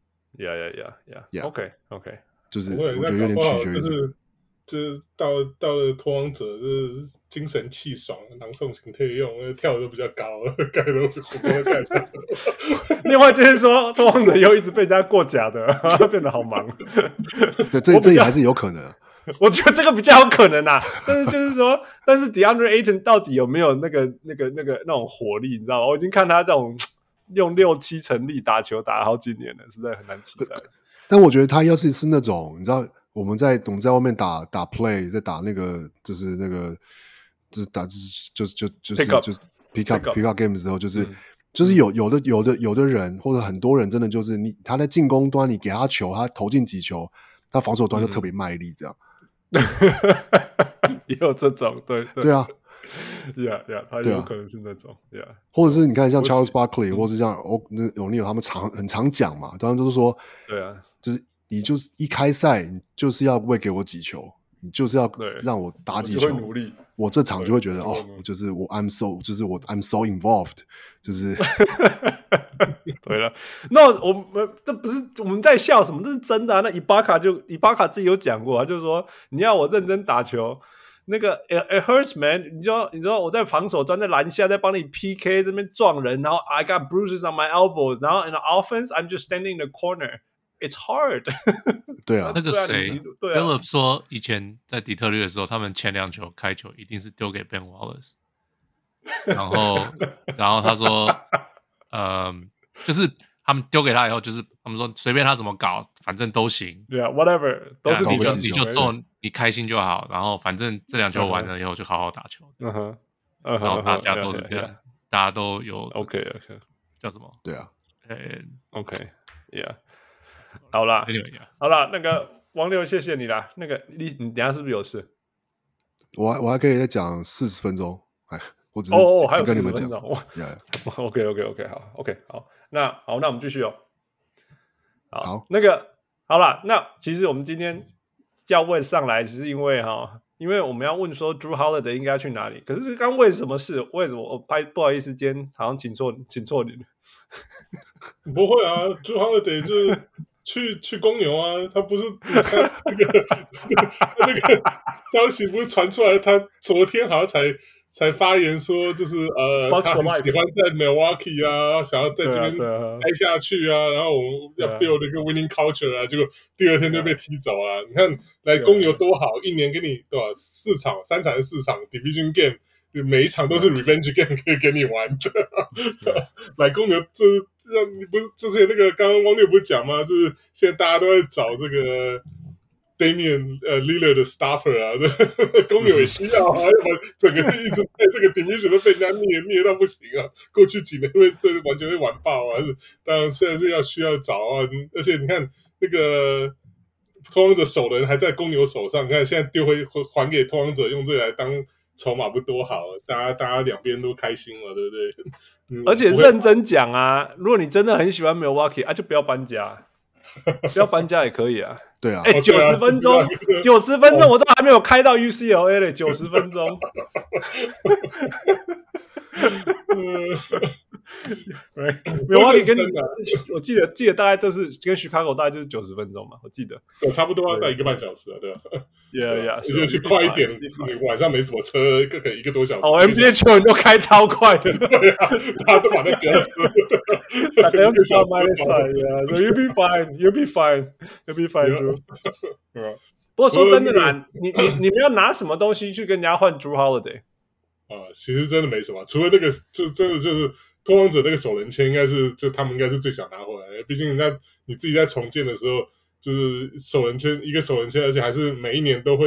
OK， 就是我覺得有點取決於這個。 就是到了拓荒者，就是精神氣爽，囊送型可以用，跳的都比較高，蓋的火鍋下去。 另外就是說，拓荒者又一直被人家過假的，變得好忙。 对，這也還是有可能。 我覺得這個比較有可能啊，但是就是說，但是 DeAndre Ayton 到底有沒有那種火力，你知道嗎？我已經看他這種用6-7成力打球打了好幾年了，實在很難期待。 但我覺得他要是那種，你知道。我們在外面打 play， 在打就是打就是 pick up game 的時候，就是有的人或者很多人真的就是他在進攻端你給他球，他投進幾球，他防守端就特別賣力這樣。也有這種對啊他有可能是那種或者是你看像 Charles Barkley 或是像O'Neal 他們很常講嘛，當然都是說对啊， 就是你就是一開賽，你就是要餵給我幾球，你就是要讓我打幾球，我這場就會覺得就是I'm so involved， 就是對了。那我們這不是我們在笑什麼，這是真的啊。那伊巴卡自己有講過啊，就是說你要我認真打球，那個 it hurts man， 你知道我在防守端在籃下在幫你 PK 這邊撞人，然後 I got bruises on my elbows， 然後 in the offense I'm just standing in the corner。It's hard 。 对啊， 那個誰 Philip 說，以前在底特律的時候，他們前2球開球一定是丟給 Ben Wallace， 然後他說，就是他們丟給他以後，就是他們說隨便他怎麼搞，反正都行。 對啊 ，whatever， 都是你就做，你開心就好。然後反正這2球完了以後就好好打球。然後大家都是這樣子，大家都有 OK， 叫什麼？ 對啊 ，OK，yeah。好啦，那個王六，謝謝你啦。那個你等一下是不是有事？ 我還可以再講40分鐘，我只是還有跟你們講。 OK， 好，那我們繼續哦。 好， 那個好啦，那其實我們今天要問上來，只是因為我們要問說 Jrue Holiday 應該去哪裡？可是剛問什麼事？為什麼我不好意思，今天好像請錯你了。 不會啊 ，Jrue Holiday 就是去公牛啊，他不是那個消息不是傳出來，他昨天好像才發言說，就是他很喜歡在 Milwaukee 啊，想要在這邊待下去啊，然後我們要 build 一個 winning culture 啊，結果第2天就被踢走啊。你看來公牛多好，一年給你多少3場4場 division game， 每一場都是 revenge game 可以給你玩的。來公牛就是你不是之前那個剛剛汪六不是講嗎？就是現在大家都在找這個 Damian Lillard 的 stopper 啊，公牛也需要啊，要不然整個一直在這個 division 都被人家虐到不行啊。過去幾年完全會完爆啊，當然現在是需要找啊，而且你看那個拓荒者首輪還在公牛手上，你看現在丟回還給拓荒者，用這個來當籌碼不多好，大家兩邊都開心了，對不對？ 而且認真講啊，如果你真的很喜歡 Milwaukee 啊，就不要搬家，不要搬家也可以啊。 對啊 ，90分鐘，90分鐘我都還沒有開到 UCLA 嘞，90分鐘。Milwaukee 跟我記得大概都是跟 Chicago 大概就是90分鐘嘛，我記得。 差不多要到1個半小時啊，对吧 ？Yeah， 去快一點，你晚上沒什麼車，可能1個多小時。 NBA 球員都開超快的， 對啊，大家都把那飆車。 I don't stop my side, yeah. So you'll be fine, you'll be fine, Drew. 不過說真的啦，你們要拿什麼東西去跟人家換 Jrue Holiday？ 其實真的沒什麼，除了那個，就真的就是拓荒者那個首輪簽，應該是就他們應該是最想拿回來的。畢竟你自己在重建的時候，就是一個首輪簽，而且還是每一年都會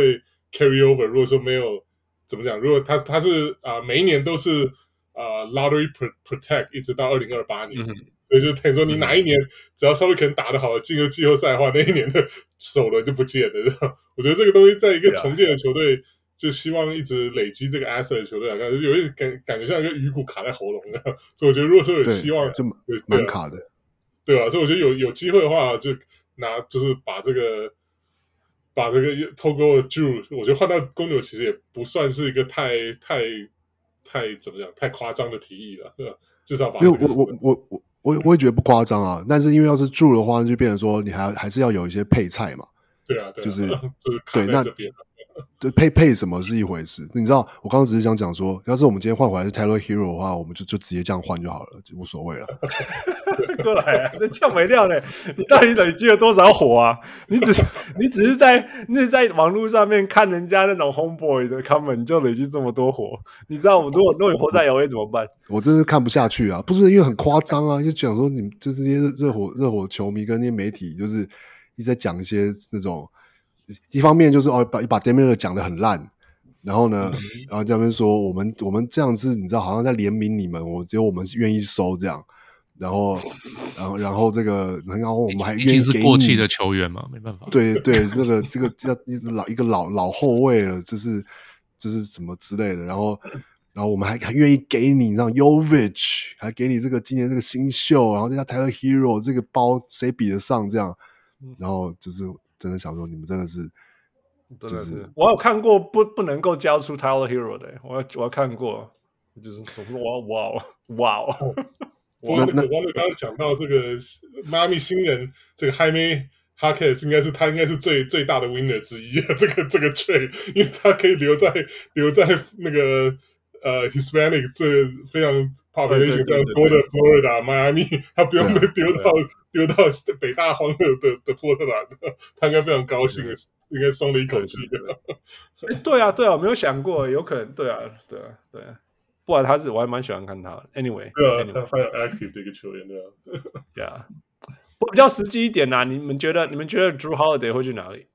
carry over，如果說沒有怎麼講，如果他是每一年都是lottery protect 一直到2028年，所以就等於說你哪一年只要稍微可能打得好進入季後賽的話，那一年的首輪就不見了。我覺得這個東西在一個重建的球隊，就希望一直累積這個 asset 的球隊來看，有一點感覺像一個魚骨卡在喉嚨的，所以我覺得如果說有希望， 就蠻卡的， 對吧？所以我覺得有機會的話，就是把這個透過 Drew， 我覺得換到公牛其實也不算是一個太怎麼講太誇張的提議了，對吧？至少把我也覺得不誇張啊，但是因為要是 Drew 的話，就變成說你還是要有一些配菜嘛， 对啊， 就是对那对配什麼是一回事，你知道我剛剛只是想講說，要是我們今天換回來是 Tyler Hero 的話，我們就直接這樣換就好了，就無所謂了。 過來啊，這降沒料呢？你到底累積了多少火啊？你只是在網絡上面看人家那種 homeboy 的 comment， 你就累積這麼多火。你知道我如果你活在 LA 怎麼辦？ 我真是看不下去啊！不是因為很誇張啊，就講說你們就是這些熱火球迷跟那些媒體，就是一直在講一些那種。一方面就是把 Damian 講得很爛，然後呢，然後這邊說我們這樣子，你知道，好像在憐憫你們，只有我們願意收這樣，然後這個，然後我們還願意給你， 已經是過氣的球員嘛，沒辦法。 對，這個要一個老後衛了，就是什麼之類的，然後我們還願意給你，讓 Jovic 還給你這個今年這個新秀，然後再加 Tyler Hero 這個包誰比得上這樣，然後就是。真的想說，你們真的是，就是我有看過不能夠交出 Tyler Hero 的，我有看過，就是哇哦！ 我剛剛講到這個邁阿密新人，這個 Jaime Jaquez 應該是最大的 winner 之一，這個 trade， 因為他可以留在那個Hispanic 这非常 population 非常多的 Florida 邁阿密，他不用被丟到北大荒熱的波特蘭，他應該非常高興，應該鬆了一口氣。 對啊，我沒有想過，有可能，對啊，不然我還蠻喜歡看他的。Anyway， 對啊，他非常 active 的一個球員，對吧？ 對啊，不過比較實際一點啊，你們覺得 Drew Holiday 會去哪裡？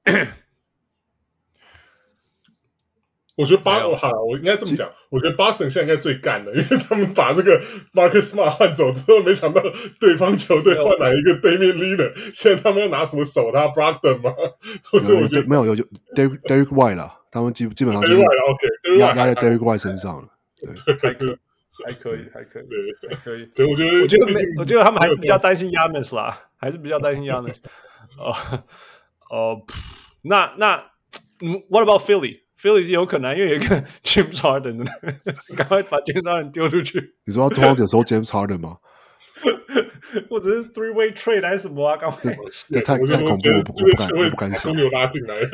我覺得我應該這麼講，我覺得 Boston 現在應該最幹的，因為他們把這個 Marcus Smart 換走之後，沒想到對方球隊換來一個 Damian Lillard，現在他們要拿什麼守他 Brogdon 嗎？所以我覺得沒有 Derrick White 啦，他們基本上就是壓在 Derrick White 身上了，對， 還可以， 對，我覺得他們還是比較擔心 Giannis 啦，還是比較擔心 Giannis。那What about Philly？Philly 是有可能，因為有一個 James Harden 的，趕快把 James Harden 丟出去。 你說要拓荒者收 James Harden 嗎？ 或者是 three-way trade 還是什麼啊？剛才這太恐怖，我不敢想。 公牛拉進來，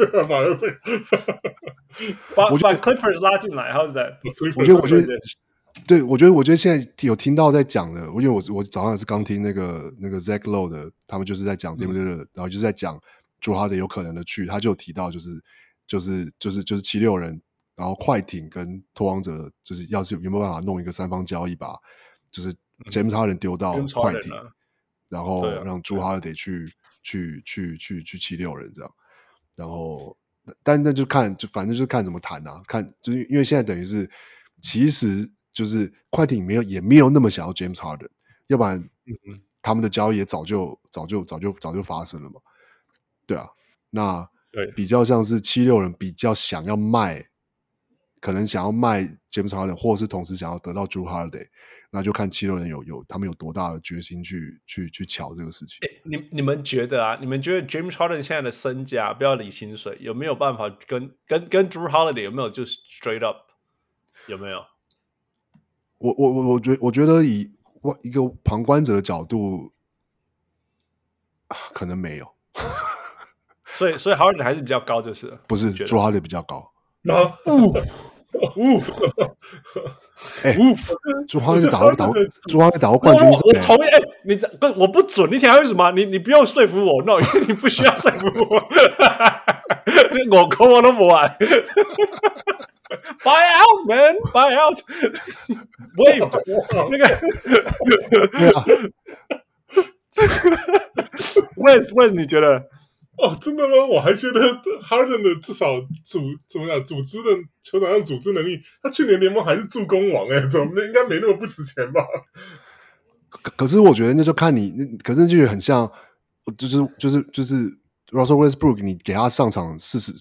把 Clippers 拉進來 ，How's that？ 我覺得現在有聽到在講的，因為我早上也是剛聽那個 Zach Lowe 的，他們就是在講 Damian Lillard，然後就是在講Drew Holiday有可能的去，他就有提到就是76人，然後快艇跟拓荒者，就是要是有沒有辦法弄一個三方交易吧，就是 James Harden 丟到快艇，然後讓 Drew Holiday 去76人這樣，然後但那就反正就是看怎麼談啊，看就是因為現在等於是其實就是快艇也沒有那麼想要 James Harden， 要不然他們的交易也早就發生了嘛，對啊，那。對，比較像是76人比較想要賣，可能想要賣 James Harden， 或者是同時想要得到 Drew Holiday， 那就看76人他们有多大的決心去喬這個事情。 你們覺得啊？你們覺得 James Harden 現在的身價，不要理薪水，有沒有辦法跟 Drew Holiday 有沒有就 straight up 有沒有？ 我覺得以一個旁觀者的角度，可能沒有。 所以 Harden 還是比較高，就是了不是 Drew Holiday 比較高。 Drew Holiday 打過冠軍， 我同意。你我不准，你聽為什麼？你不用說服我 ，no， 因為你不需要說服我。我扣我都不玩。Buy out, man, buy out. Wave 那個。Wes，你覺得？ 哦，真的嗎？我還覺得 Harden 的至少怎麼講，組織的球場上組織能力，他去年聯盟還是助攻王哎，怎麼應該沒那麼不值錢吧？ 可是我覺得那就看你，可是就很像，就是 Russell Westbrook， 你給他上場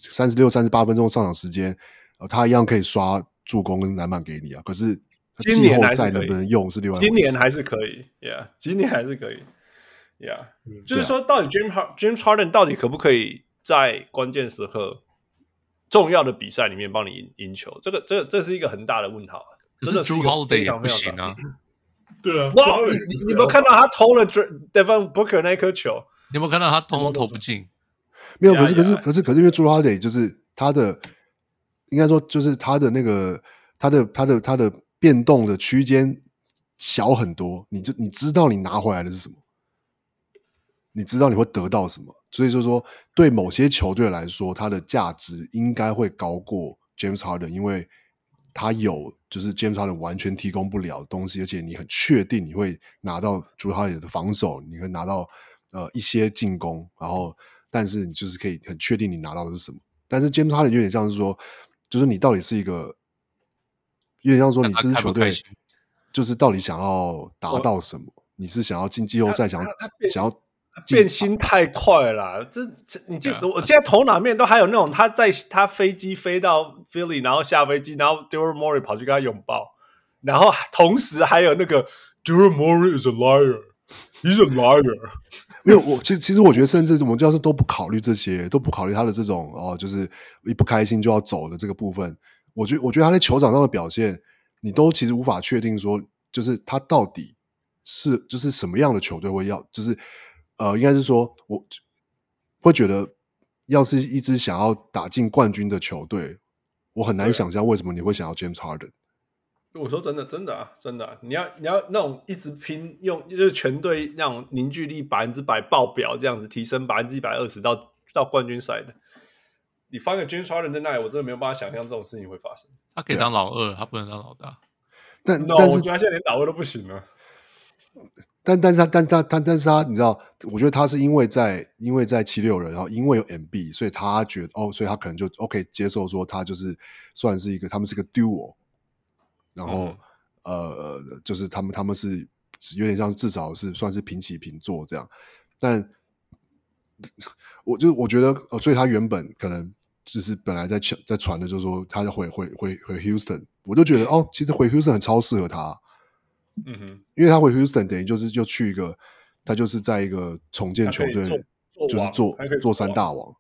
36、38分鐘上場時間，他一樣可以刷助攻跟籃板給你啊。可是季後賽能不能用是另外一回事。 今年還是可以 ，Yeah， 今年還是可以。Yeah，就是說，到底 James Harden 到底可不可以在關鍵時刻、重要的比賽裡面幫你贏球？這是一个很大的問號。 可是 Jrue Holiday 也不行啊。 對啊， 哇！你有沒有看到他投了 Devin Booker 那顆球？ 你有沒有看到他通通投不進？ 沒有，可是因為 Jrue Holiday 就是他的，應該說就是他的那個他的變動的區間小很多，你知道你拿回來的是什麼。你知道你會得到什麼，所以就是說，對某些球隊來說，它的價值應該會高過 James Harden， 因為他有就是 James Harden 完全提供不了的東西，而且你很確定你會拿到 Jrue Holiday 的防守，你會拿到一些進攻，然後但是你就是可以很確定你拿到的是什麼。但是 James Harden 有點像是說，就是你到底是一個有點像說你這支球隊就是到底想要達到什麼？你是想要進季後賽，想要。 變心太快了啦，我現在頭腦面都還有那種他飛機飛到 Philly， 然後下飛機，然後 Daryl Morey 跑去跟他擁抱，然後同時還有那個 Daryl Morey is a liar， he's a liar。 沒有，其實我覺得，甚至我們教授都不考慮這些，都不考慮他的這種就是一不開心就要走的這個部分。我覺得他在球場上的表現，你都其實無法確定說，就是他到底是就是什麼樣的球隊會要，就是。應該是說，我會覺得，要是一支想要打進冠軍的球隊，我很難想象為什麼你會想要 James Harden。 我說真的啊，真的啊，你要那種一直拼，就是全隊那種凝聚力100%爆表這樣子，提升120%到冠軍賽的，你放個 James Harden 在那裡，我真的沒有辦法想象這種事情會發生。 他可以當老二，他不能當老大。 但是我覺得他現在連老二都不行了。 但是他，你知道，我覺得他是因為在76人，然後因為有 MB， 所以他覺得所以他可能就 OK 接受說他就是算是一個，他們是一個 duo， 然後就是他們是有點像至少是算是平起平坐這樣，但我覺得所以他原本可能就是本來在傳的就是說他要回 Houston， 我就覺得其實回 Houston 很超適合他。因為他回 Houston 等於就是就去一個，他就是在一個重建球隊，就是做三大王。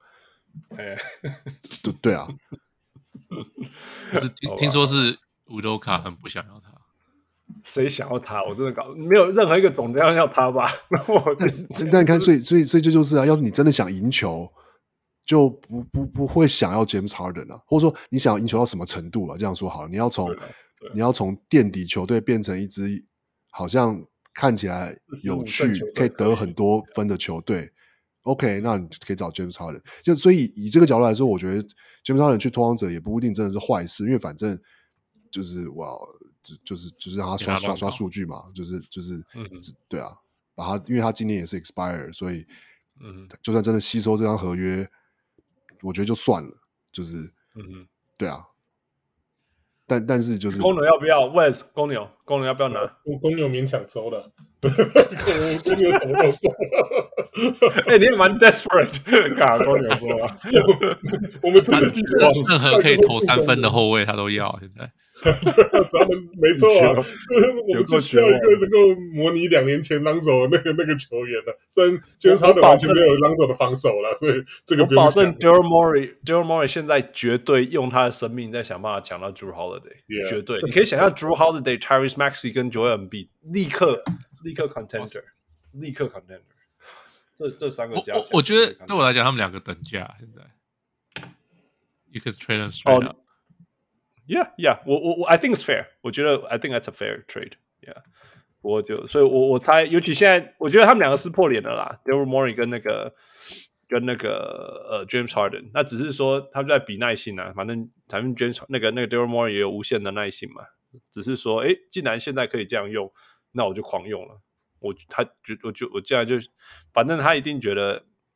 對啊。 可是聽說是烏多卡很不想要他。 誰想要他？我真的沒有任何一個總監要他吧？ 但你看，所以這就是啊，要是你真的想贏球，就不會想要 James Harden 啊，或者說你想要贏球到什麼程度了？這樣說好了，你要從墊底球隊變成一支好像看起來有趣、可以得很多分的球隊。OK， 那你可以找 James Harden。就所以以這個角度來說，我覺得 James Harden 去拓荒者也不一定真的是壞事，因為反正就是就是讓他刷數據嘛，就是對啊，因為他今年也是 expire， 所以就算真的吸收這張合約，我覺得就算了，就是對啊。但是就是公牛要不要 ？Wes 公牛要不要拿？ 公牛勉強抽了，公牛什麼都抽。 你也蠻 desperate， 卡公牛說啊， 我們真的任何可以投3分的後衛他都要。現在， 咱們沒錯啊，我們只需要一個能夠模擬2年前朗佐那個球員了。雖然今天他的完全沒有朗佐的防守了，所以這個不用想。 我保證 Daryl Morey 現在絕對用他的生命在想辦法搶到 Jrue Holiday， 絕對。你可以想象 Jrue Holiday、Tyrese Maxey 跟 Joel Embiid 立刻 contender， 立刻 contender。這3個加起來， 我覺得對我來講，他們2個等價。現在 ，You could trade them straight up。 Yeah， 我 I think it's fair。我覺得 I think that's a fair trade。Yeah，所以我猜，尤其現在，我覺得他們2個撕破臉了啦 ，Daryl Morey 跟那個James Harden。那只是說他們在比耐性啊，反正 James 那個 Daryl Morey 也有無限的耐性嘛。只是說，既然現在可以這樣用，那我就狂用了。我現在就，反正他一定覺得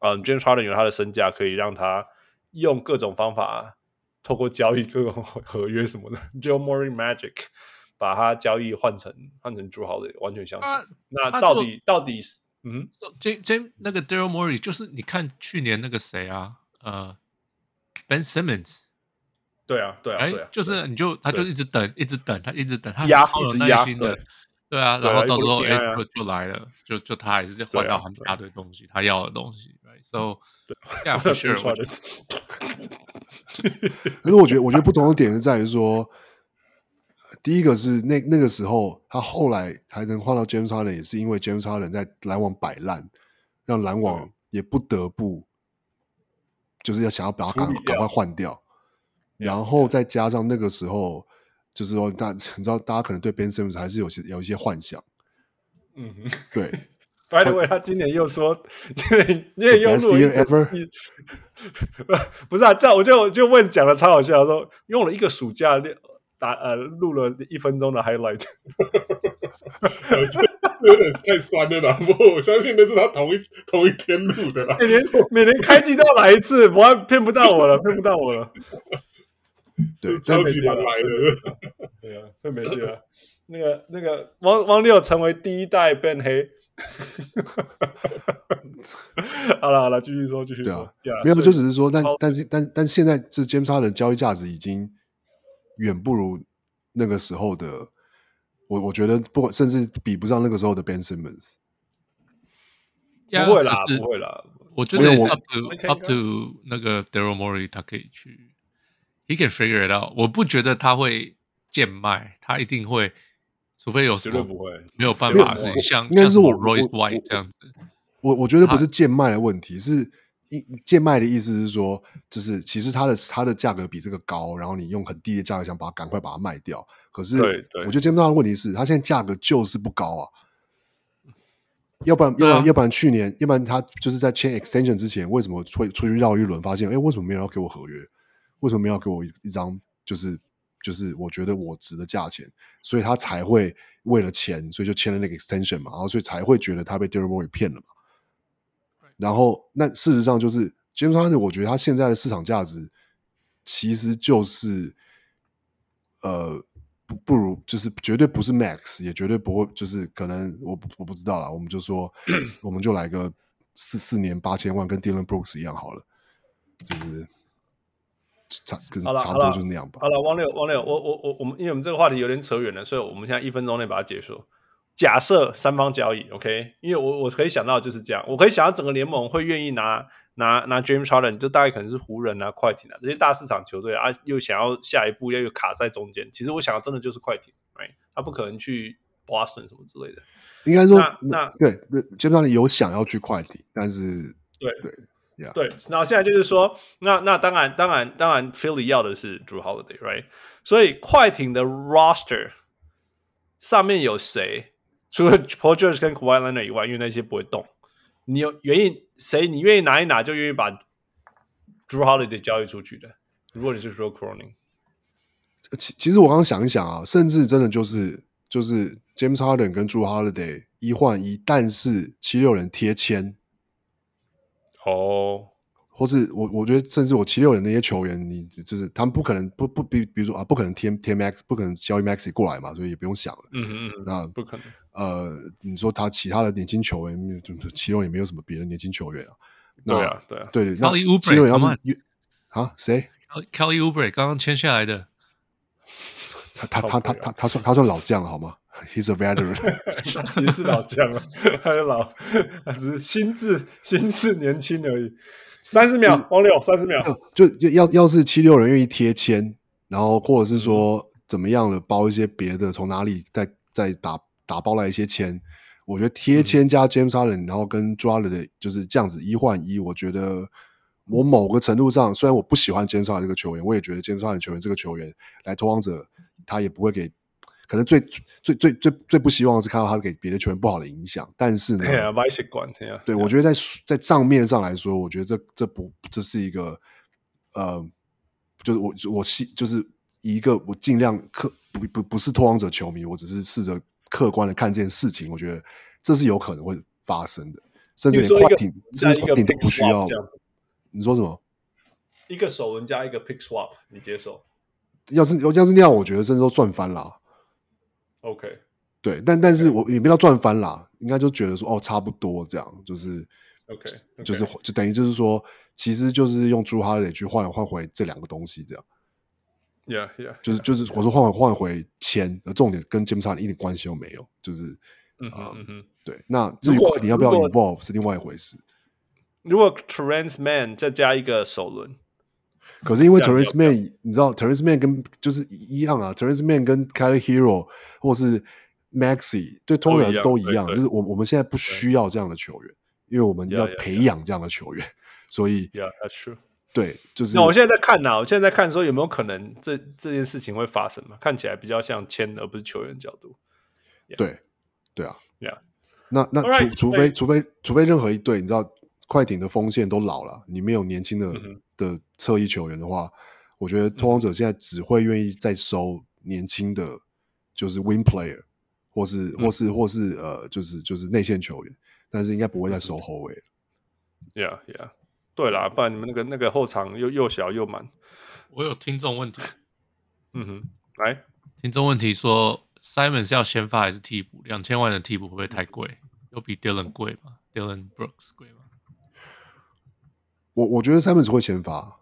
James Harden 有他的身價，可以讓他用各種方法，透過交易、各种合約什麼的 ，Joe Murray Magic 把他交易換成Jrue Holiday，完全相信。那到底是那個 Daryl Morey 就是你看去年那個誰啊，Ben Simmons。 对啊， 就是他就一直等，他一直等，他超有耐心的，对啊，然后到时候就來了，就他還是換到很大堆東西，他要的東西 ，right？So yeah for sure。 可是我覺得不同的點是在於說，第一個是那個時候他後來還能換到 James Harden， 也是因為 James Harden 在籃網擺爛，讓籃網也不得不就是要想要把他趕快換掉。然後再加上那個時候，就是說你知道，大家可能對 Ben Simmons 還是有一些幻想。對。 By the way， 他今年又說，今年又錄了不是啊，这樣我就位置講的超好笑，說用了一個暑假錄了1分鐘的 highlight， 有點太酸了啦。不過我相信那是他同一天錄的啦。 每年開季都要來一次，騙不到我了。 對， 超級難來的。 對啊，太沒勁了。那個汪六成為第一代 Ben 黑。好了，繼續說。 對啊，沒有，就只是說，但現在這 James Harden 的交易價值已經遠不如那個時候的，我覺得甚至比不上那個時候的 Ben Simmons。 不會啦。 我覺得 up to 那個 Daryl Morey 他可以去。He can figure it out。我不覺得他會賤賣，他一定會，除非有什麼沒有辦法的事情，像應該是我 Royce White 這樣子。 我覺得不是賤賣的問題，是賤賣的意思是說，就是其實它的價格比這個高，然後你用很低的價格想趕快把它賣掉。可是我覺得 James Harden 的問題是，他現在價格就是不高啊。要不然去年，要不然他就是在簽 extension 之前，為什麼會出去繞一輪，發現為什麼沒有人要給我合約？為什麼沒有給我一張就是我覺得我值的價錢？所以他才會為了錢，所以就簽了那個 extension 嘛，然後所以才會覺得他被 Daryl Morey 騙了嘛。然後那事實上就是 James Harden， 我覺得他現在的市場價值其實就是不如，就是絕對不是 max， 也絕對不會，就是可能我不知道啦，我們就說我們就來個4年8000萬，跟 Dillon Brooks 一樣好了，就是差不多就是那樣吧。 好了，汪六，我們因為我們這個話題有點扯遠了，所以我們現在1分鐘內把它結束。假設三方交易 ，OK？ 因為我可以想到就是這樣，我可以想到整個聯盟會願意拿 James Harden， 就大概可能是湖人啊、快艇啊這些大市場球隊啊，又想要下一步又卡在中間。其實我想真的就是快艇 ，right？ 他不可能去 Boston 什麼之類的。 應該說，那對 James Harden 有想要去快艇，但是對，然後現在就是說，那當然 Philly 要的是 Jrue Holiday，right？ 所以快艇的 roster 上面有誰？除了 Paul George 跟 Kawhi Leonard 以外，因為那些不會動，你願意拿一拿，就願意把 Jrue Holiday 交易出去的。如果你是說 Cronin， 其實我剛剛想一想啊，甚至真的就是 James Harden 跟 Jrue Holiday 1換1，但是76人貼簽或是我覺得甚至我76人那些球員，你就是他們不可能比如說不可能貼 Max， 不可能交易 Maxi 過來嘛，所以也不用想了。那不可能。 你說他其他的年輕球員，76也沒有什麼別的年輕球員啊。 對啊。 对，那76人要是誰 ？Kelly Oubre 剛剛簽下來的， 他算老將了好嗎？He's a veteran， 他其實是老將了，他只是心智年輕而已。30秒，王六30秒， 就要是76人願意貼簽，然後或者是說怎麼樣的包一些別的，從哪裡再打包來一些簽，我覺得貼簽加 James Harden， 然後跟 Jrue Holiday 就是這樣子1換1，我覺得我某個程度上，雖然我不喜歡 James Harden 這個球員，我也覺得 James Harden 球員這個球員來拓荒者，他也不會給。可能最不希望的是看到他給別的球員不好的影響，但是呢，對，我覺得在賬面上來說，我覺得這是一個就是一個我盡量不是拓荒者球迷，我只是試着客觀的看這件事情，我覺得這是有可能會發生的。 甚至连快艇， 這些快艇都不需要。你說什麼？ 一个首轮加一个 pick swap， 你接受？ 要是那樣，我覺得甚至都賺翻啦。 OK， 對，但是我也不要賺翻啦，應該就覺得說哦，差不多這樣，就是 OK， 就等於就是說，其實就是用 Jrue Holiday 去換回這兩個東西這樣。 Yeah， 就是我說換回錢的重點跟 James Harden 一點關係都沒有，就是對。那至於快艇要不要 involve 是另外一回事。 如果 Terrence Mann 再加一個首輪。 可是因為 Terrence Mann， 你知道 Terrence Mann 跟就是一樣啊 ，Terrence Mann 跟 Tyler Hero 或是 Maxey 對通常都一樣，就是我們現在不需要這樣的球員，因為我們要培養這樣的球員，所以 Yeah, that's true。 對，就是。 那我現在在看我現在在看說有沒有可能這件事情會發生嘛？看起來比較像簽而不是球員角度。 對啊 ，Yeah。 那除非任何一隊，你知道快艇的鋒線都老了，你沒有年輕的側翼球員的話，我覺得拓荒者現在只會願意再收年輕的，就是 wing player， 或是就是內線球員，但是應該不會再收後衛了。 Yeah。對啦，不然你們那個後場又小又滿。 我有聽眾問題， 來， 聽眾問題說 ，Simon 是要先發還是替補？2000萬的替補會不會太貴？有比 Dylan 貴嗎 ？Dylan Brooks 貴嗎？ 我覺得 Simon 會先發，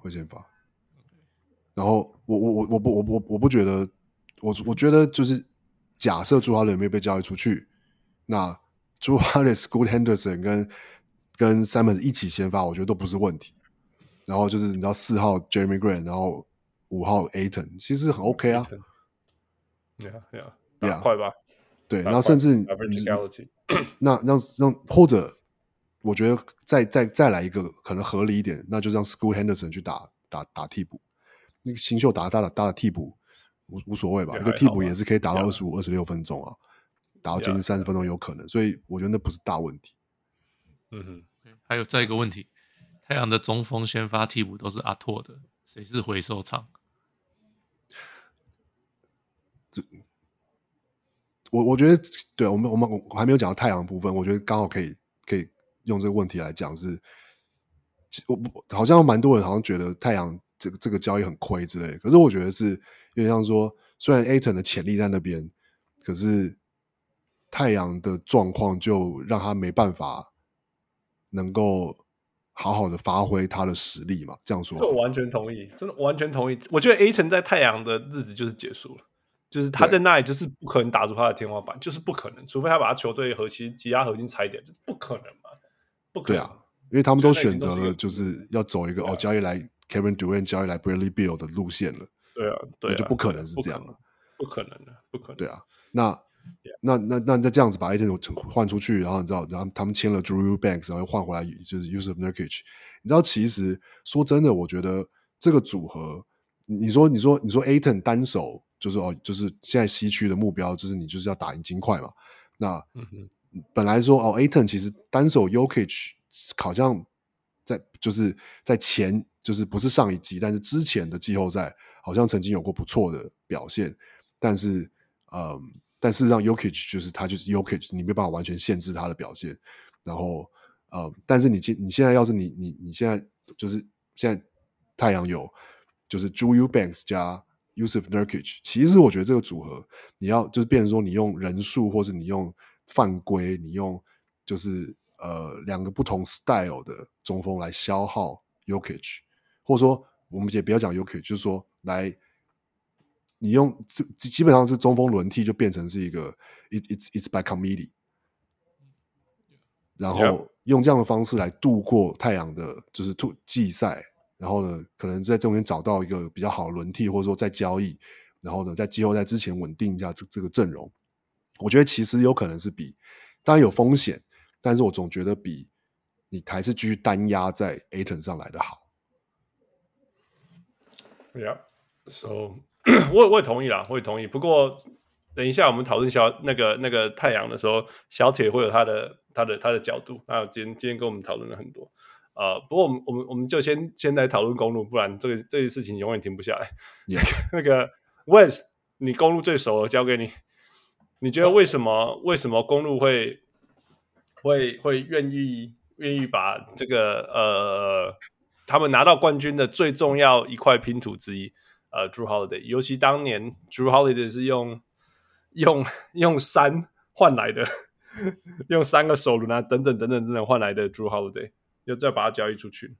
然後我不覺得，我覺得就是假設朱哈倫沒有被交易出去，那朱哈倫、Scoot Henderson 跟 Simon 一起先發，我覺得都不是問題。然後就是你知道4號 Jeremy Grant， 然後5號 Ayton， 其實很 OK 啊。 Yeah， 快吧。 對，然後甚至那讓或者我覺得再來一個可能合理一點，那就讓 Scoot Henderson 去打替補，那個新秀打替補無所謂吧，一個替補也是可以打到25、26分鐘啊，打到接近30分鐘有可能，所以我覺得那不是大問題。 還有再一個問題，太陽的中鋒先發替補都是阿拓的，誰是回收廠？ 我覺得，對，我還沒有講到太陽的部分，我覺得剛好可以用這個問題來講是，好像蠻多人好像覺得太陽這個交易很虧之類的，可是我覺得是有點像說，雖然 Ayton 的潛力在那邊，可是太陽的狀況就讓他沒辦法能夠好好的發揮他的實力嘛，這樣說。 我完全同意，真的完全同意。我覺得 Ayton 在太陽的日子就是結束了，就是他在那裡就是不可能打出他的天花板，就是不可能，除非他把他球隊擠壓核心拆掉，就是不可能嘛，不可能。 對啊，因為他們都選擇了就是要走一個交易來 Kevin Durant 交易來 Bradley Beal 的路線了。對啊，那就不可能是這樣了， 不可能的，不可能。 對啊，那這樣子把 Ayton 換出去，然後你知道，然後他們簽了 Drew Banks， 然後換回來就是 Jusuf Nurkic。你知道，其實說真的，我覺得這個組合，你說 Ayton 單手就是現在西區的目標，就是你就是要打贏金塊嘛。那本來說Ayton 其實單手 Jokic 好像在前，就是不是上一季，但是之前的季後賽好像曾經有過不錯的表現，但是事實上 Jokic 就是他就是 Jokic， 你沒辦法完全限制他的表現。然後但是你現在要是你現在就是現在太陽有就是 Drew Banks 加 Jusuf Nurkic， 其實我覺得這個組合你要就是變成說你用人數或是你用犯規，你用就是兩個不同 style 的中鋒來消耗 Jokic， 或者說我們也不要講 Jokic， 就是說來。你用基本上是中鋒輪替就變成是一個 it's by committee， 然後用這樣的方式來度過太陽的就是季賽，然後呢可能在中間找到一個比較好的輪替，或者說再交易，然後呢在季後賽之前穩定一下這個陣容。我覺得其實有可能是比當然有風險，但是我總覺得比你還是繼續單壓在 Ayton 上來的好。 Yeah, so 我也同意啦，我也同意。不過等一下我們討論那個太陽的時候，小鐵會有他的角度。那今天跟我們討論了很多。不過我們就先來討論公鹿，不然這件事情永遠停不下來。 Yeah. 那個 Wes， 你公鹿最熟了，交給你。你覺得為什麼公鹿會會願意把這個他們拿到冠軍的最重要一塊拼圖之一Drew Holiday， 尤其当年 Drew Holiday 是用3換來的，用3個首輪啊等等換來的 Drew Holiday， 又再把它交易出去。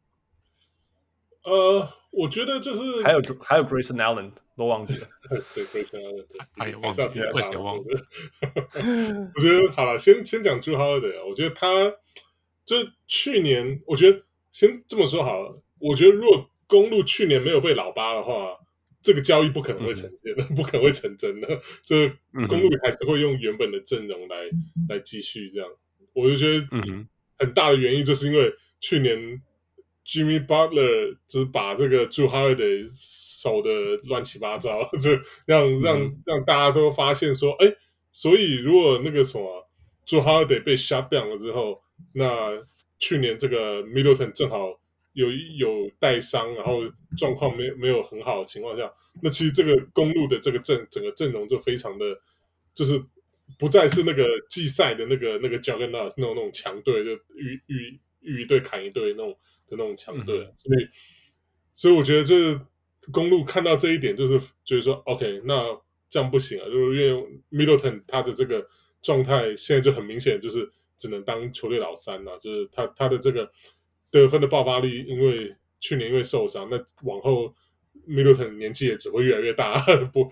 我覺得就是還有 Grayson Allen 都忘記了， 对 Grayson Allen 对， 哎呀忘记了，为什么忘了？ 我觉得好了，先講 Drew Holiday， 我覺得他就是去年，我覺得先這麼說好了，我覺得如果公鹿去年沒有被老八的話，這個交易不可能會成真的，不可能會成真的，就是公鹿還是會用原本的陣容來繼續這樣。我就覺得很大的原因就是因為去年。Jimmy Butler 就是把這個 Drew Holiday 守的亂七八糟，就讓大家都發現說，哎，所以如果那個什麼 Drew Holiday 被 shut down 了之後，那去年這個 Middleton 正好有帶傷，然後狀況沒有很好的情況下，那其實這個公鹿的這個整個陣容就非常的，就是不再是那個季賽的那個 Juggernaut 那種強隊，就遇一隊砍一隊那種強隊，所以我覺得就是公鹿看到這一點，就是覺得說 OK， 那這樣不行啊，就是因為 Middleton 他的這個狀態現在就很明顯，就是只能當球隊老三了，就是他的這個得分的爆發力，因為去年因為受傷，那往後 Middleton 年紀也只會越來越大，他不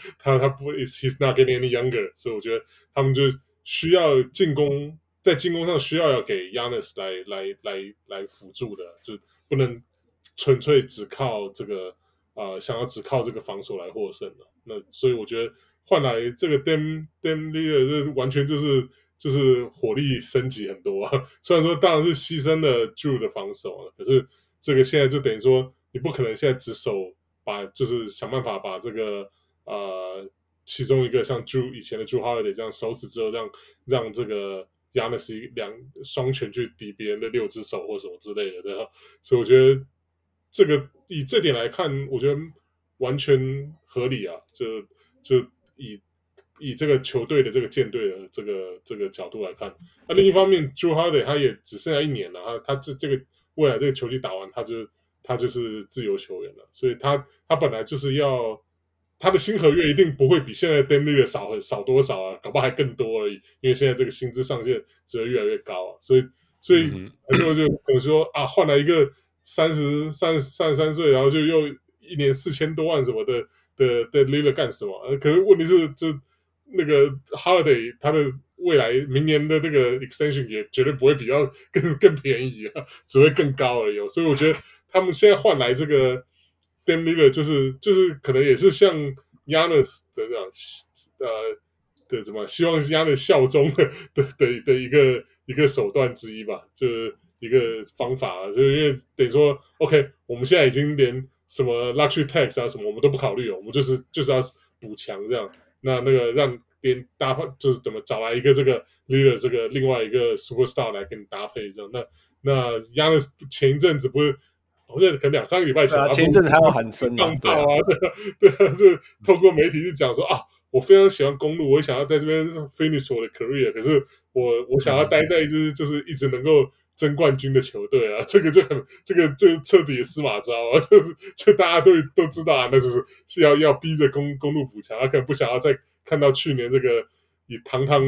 he's not getting any younger， 所以我覺得他們就需要在進攻上需要給 Giannis 來輔助的，就不能純粹只靠這個想要只靠這個防守來獲勝的。那所以我覺得換來這個 Dame Lillard 這完全就是火力升級很多啊。雖然說當然是犧牲了 Drew 的防守了，可是這個現在就等於說你不可能現在只守就是想辦法把這個其中一個像 Drew 以前的 Drew Holiday 這樣守死之後，讓這個Giannis 雙拳去抵別人的6隻手或什麼之類的，對吧？所以我覺得這個以這點來看，我覺得完全合理啊。就以這個球隊的這個艦隊的這個角度來看，那另一方面 Drew Holiday 他也只剩下1年了，他這個未來這個球季打完，他就是自由球員了，所以他本來就是要。他的新合約一定不會比現在 Dame Lillard 少多少啊，搞不好還更多而已，因為現在這個薪資上限只會越來越高啊，所以很多人就可能說啊，換來一個33歲，然後就又1年4000多萬什麼的 Lillard 幹什麼？可是問題是，就那個 Holiday 他的未來明年的那個 extension 也絕對不會比較更便宜啊，只會更高而已。所以我覺得他們現在換來這個。Dame Lillard 就是可能也是像 Giannis 的這樣的什麼，希望 Giannis 效忠的一個手段之一吧，就是一個方法，就是因為等於說 OK， 我們現在已經連什麼 luxury tax 啊什麼我們都不考慮了，我們就是要補強這樣，那個讓連搭配就是怎麼找來一個這個 Lillard 這個另外一個 superstar 來跟你搭配這樣，那 Giannis 前一陣子不是。我覺得可能2-3個禮拜前， 前一陣子還有喊聲放炮啊，對啊，就透過媒體去講說啊，我非常喜歡公鹿，我想要在這邊 finish 我的 career， 可是我想要待在一支就是一直能夠爭冠軍的球隊啊，這個就徹底的司馬昭啊，就大家都知道啊，那就是要逼着公鹿補強，他可能不想要再看到去年這個以堂堂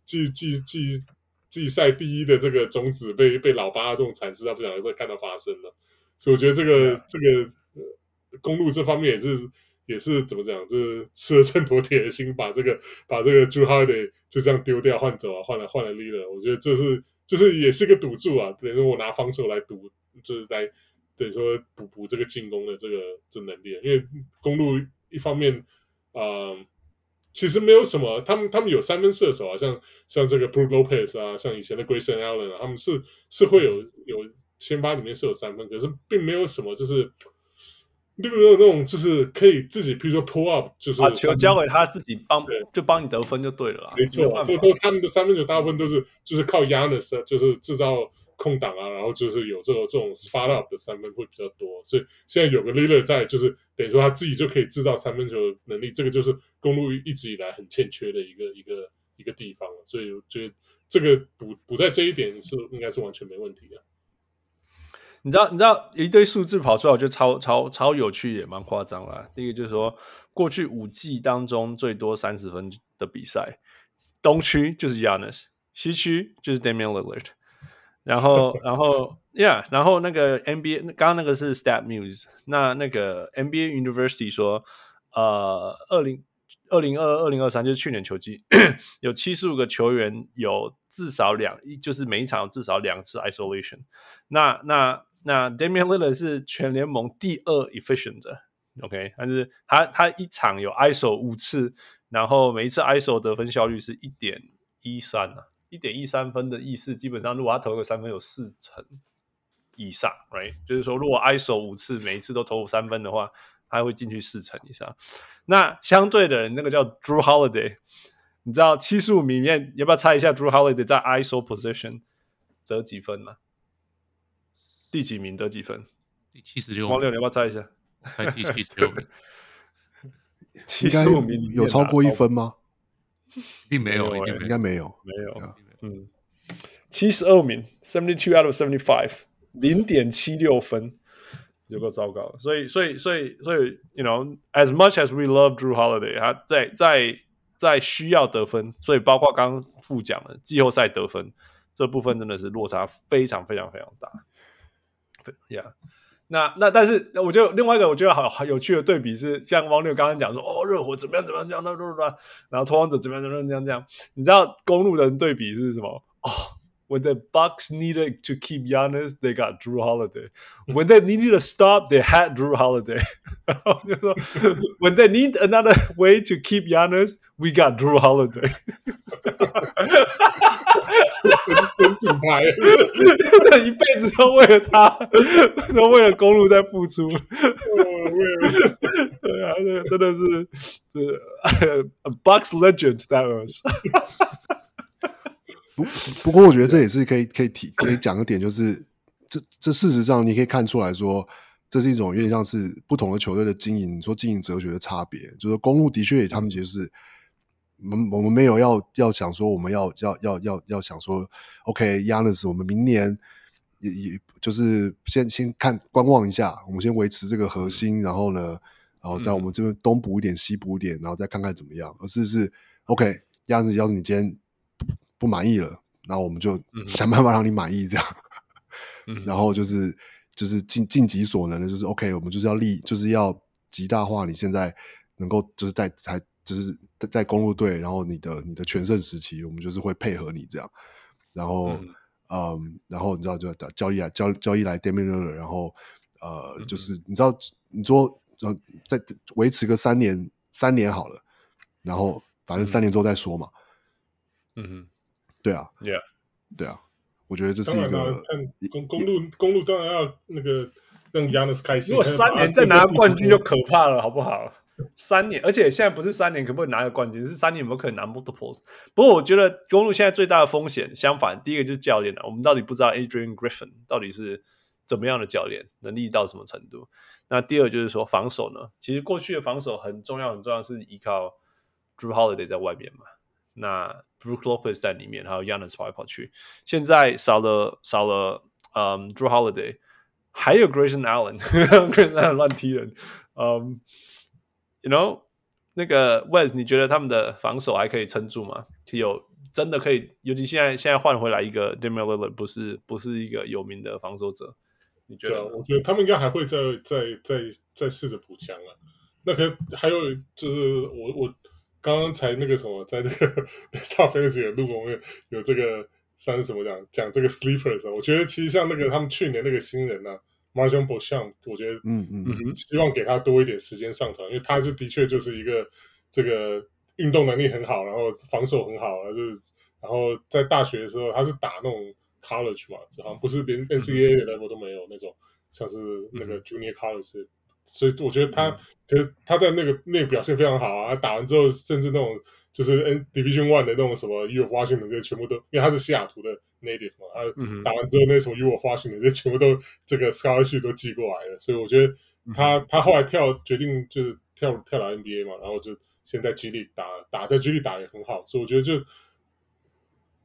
季賽第1的這個種子被老八這種慘事，他不想再看到發生了。所以我覺得這個公鹿這方面也是怎麼講，就是吃了秤砣鐵的心，把這個 Drew Holiday 就這樣丟掉換走啊，換來 Lillard， 我覺得就是也是一個賭注啊，等於說我拿防守來賭，就是來等於說補這個進攻的這能力，因為公鹿一方面其實沒有什麼，他們有三分射手啊，像這個 Brook Lopez 啊，像以前的 Grayson Allen 啊，他們是會有先發裡面是有3分，可是並沒有什麼就是並沒有那種就是可以自己，比如說 pull up， 就是把球交給他自己就幫你得分就對了啦。 沒錯，他們的3分球大部分都是就是靠 Giannis 就是制造空檔啊，然後就是有這種 spot up 的3分會比較多，所以現在有個 Lillard 在，就是等於說他自己就可以制造3分球的能力，這個就是公鹿一直以來很欠缺的一個地方，所以我覺得這個補在這一點應該是完全没問題的。 你知道一堆數字跑出來，我覺得超有趣，也蠻誇張啦。第一個就是說，過去5季當中最多30分的比賽，東區就是 Giannis， 西區就是 Damian Lillard。然後然後那個 NBA 剛剛那個是 Stat Muse， 那個 NBA University 說，2022-2023就是去年球季有75個球員有至少就是每一場有至少2次 isolation。那 Damian Lillard 是全聯盟第2 efficient 的 ，OK， 但是他一場有 ISO 5次，然後每一次 ISO 得分效率是 1.13 啊。1.13 分的意思，基本上如果他投個3分有40%以上 ，right？ 就是說，如果 ISO 5次，每一次都投3分的話，他會進去40%以上。那相對的人，那個叫 Drew Holiday， 你知道75名裡面，要不要猜一下 Drew Holiday 在 ISO position 得幾分嗎？第幾名得幾分？ 第76。 王六，你要不要猜一下？ 猜第76名。 75名有超過1分嗎？ 一定沒有， 应该没有。 72名 ，72 out of 75， 0.76 分，有夠糟糕。所以 ，you know，as much as we love Drew Holiday， 他在需要得分，所以包括剛剛副講的季後賽得分這部分，真的是落差非常非常非常大。Yeah。那但是我觉得另外一個我覺得好有趣的對比是，像汪六剛剛講說，哦，熱火怎麼樣怎麼樣這樣，然後拓荒者怎麼樣怎麼樣這樣，你知道公鹿的人對比是什麼？哦，when the Bucks needed to keep Giannis, they got Drew Holiday. When they needed to stop, they had Drew Holiday. 然後就說 when they need another way to keep Giannis, we got Drew Holiday. 真品牌， 这一輩子都為了他，都為了公鹿在付出。對啊，這個真的是a Bucks legend that was。 不過我覺得這也是可以講一點，就是這事實上你可以看出來說，這是一種有點像是不同的球隊的經營，說經營哲學的差別。就是公鹿的確他們就是我們沒有要想說我們要想說 OK Giannis 我們明年也就是先看觀望一下，我們先維持這個核心，然後在我們這邊東補一點西補一點，然後再看看怎麼樣。而是 OK Giannis 要是你今天不滿意了，然後我們就想辦法讓你滿意這樣。然後就是盡己所能的，就是 OK 我們就是要極大化你現在能夠就是在公鹿隊，然後你的全盛時期，我們就是會配合你這樣，然後然後你知道就交易來 Damian Lillard， 然後就是你知道你說再維持個3年好了，然後反正3年之後再說嘛。對啊 ，Yeah， 對啊，我覺得這是一個公鹿當然要那個讓 Giannis 開心。 如果3年再拿冠軍就可怕了，好不好？3年，而且現在不是3年可不可以拿個冠軍，是3年有沒有可能拿 multiples？ 不過我覺得公鹿現在最大的風險，相反，第一個就是教練了。我們到底不知道 Adrian Griffin 到底是怎麼樣的教練，能力到什麼程度？那第二就是說防守呢？其實過去的防守很重要，是依靠 Drew Holiday 在外面嘛。那 Brook Lopez 在裡面，還有 Giannis 跑來跑去。現在少了Drew Holiday， 還有 Grayson Allen，Grayson Allen 亂踢人。You know， 那個 Wes， 你覺得他們的防守還可以撐住嗎？真的可以，尤其現在換回來一個 Damian Lillard， 不是一個有名的防守者，你覺得？ 我覺得他們應該還會再試着補強啊。那還有就是我剛剛才那個什麼，在這個 Star Fantasy 的錄，我們有這個算是什麼講這個 sleepers， 我覺得其實像那個他們去年那個新人啊。Marjon Beauchamp 我覺得希望給他多一點時間上場，因為他的確就是一個這個運動能力很好，然後防守很好，然後在大學的時候他是打那種 college 嘛，好像不是連 NCAA 的 level 都沒有那種，像是那個 junior college，所以我覺得可是他在那個表現非常好啊，他打完之後甚至那種就是 Division 1的那種什麼 U of Washington 這些全部都，因為他是西雅圖的 native 嘛，他打完之後那什麼 U of Washington 這些全部都這個 scholarship 都寄過來了，所以我覺得他後來決定就是跳到 NBA 嘛，然後就現在 G League 打在 G League 打也很好，所以我覺得就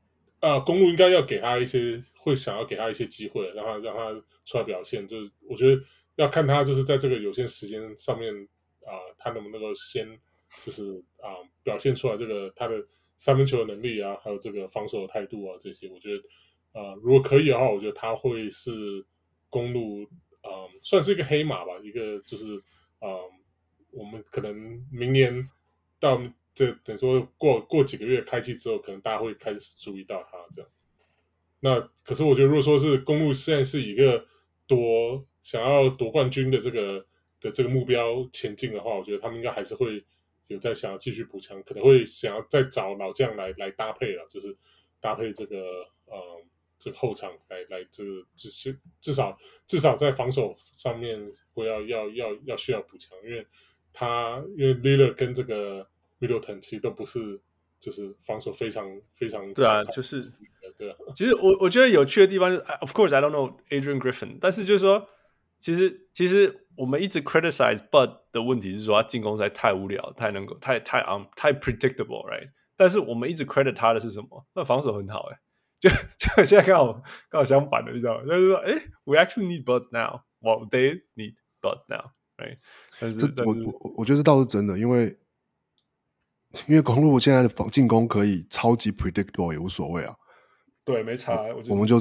公鹿應該要給他一些，會想要給他一些機會，讓他出來表現。就是我覺得要看他就是在這個有限時間上面他能不能夠先就是表現出來這個他的三分球的能力啊，還有這個防守的態度啊這些。我覺得如果可以的話，我覺得他會是公鹿算是一個黑馬吧，一個就是我們可能明年到這等於說過幾個月開季之後，可能大家會開始注意到他這樣。那可是我覺得，如果說是公鹿現在是一個想要奪冠軍的這個目標前進的話，我覺得他們應該還是會有在想要繼續補強，可能會想要再找老將來搭配了，就是搭配這個這個後場來这個就是至少在防守上面会要需要補強，因為 Lillard 跟這個 Middleton 其實都不是就是防守非常非常對啊，就是对啊。 其實我覺得有趣的地方就是 ，Of course I don't know Adrian Griffin， 但是就是說，其實我們一直 criticize Bud 的問題是說他進攻實在太無聊，太 predictable， right？ 但是我們一直 credit 他的是什麼？那防守很好就現在剛好相反的，你知道嗎？就是說，we actually need Bud now，well they need Bud now，right？ 但是我覺得这倒是真的，因為公鹿現在的進攻可以超級 predictable 也無所謂啊。 對，沒差。 我們就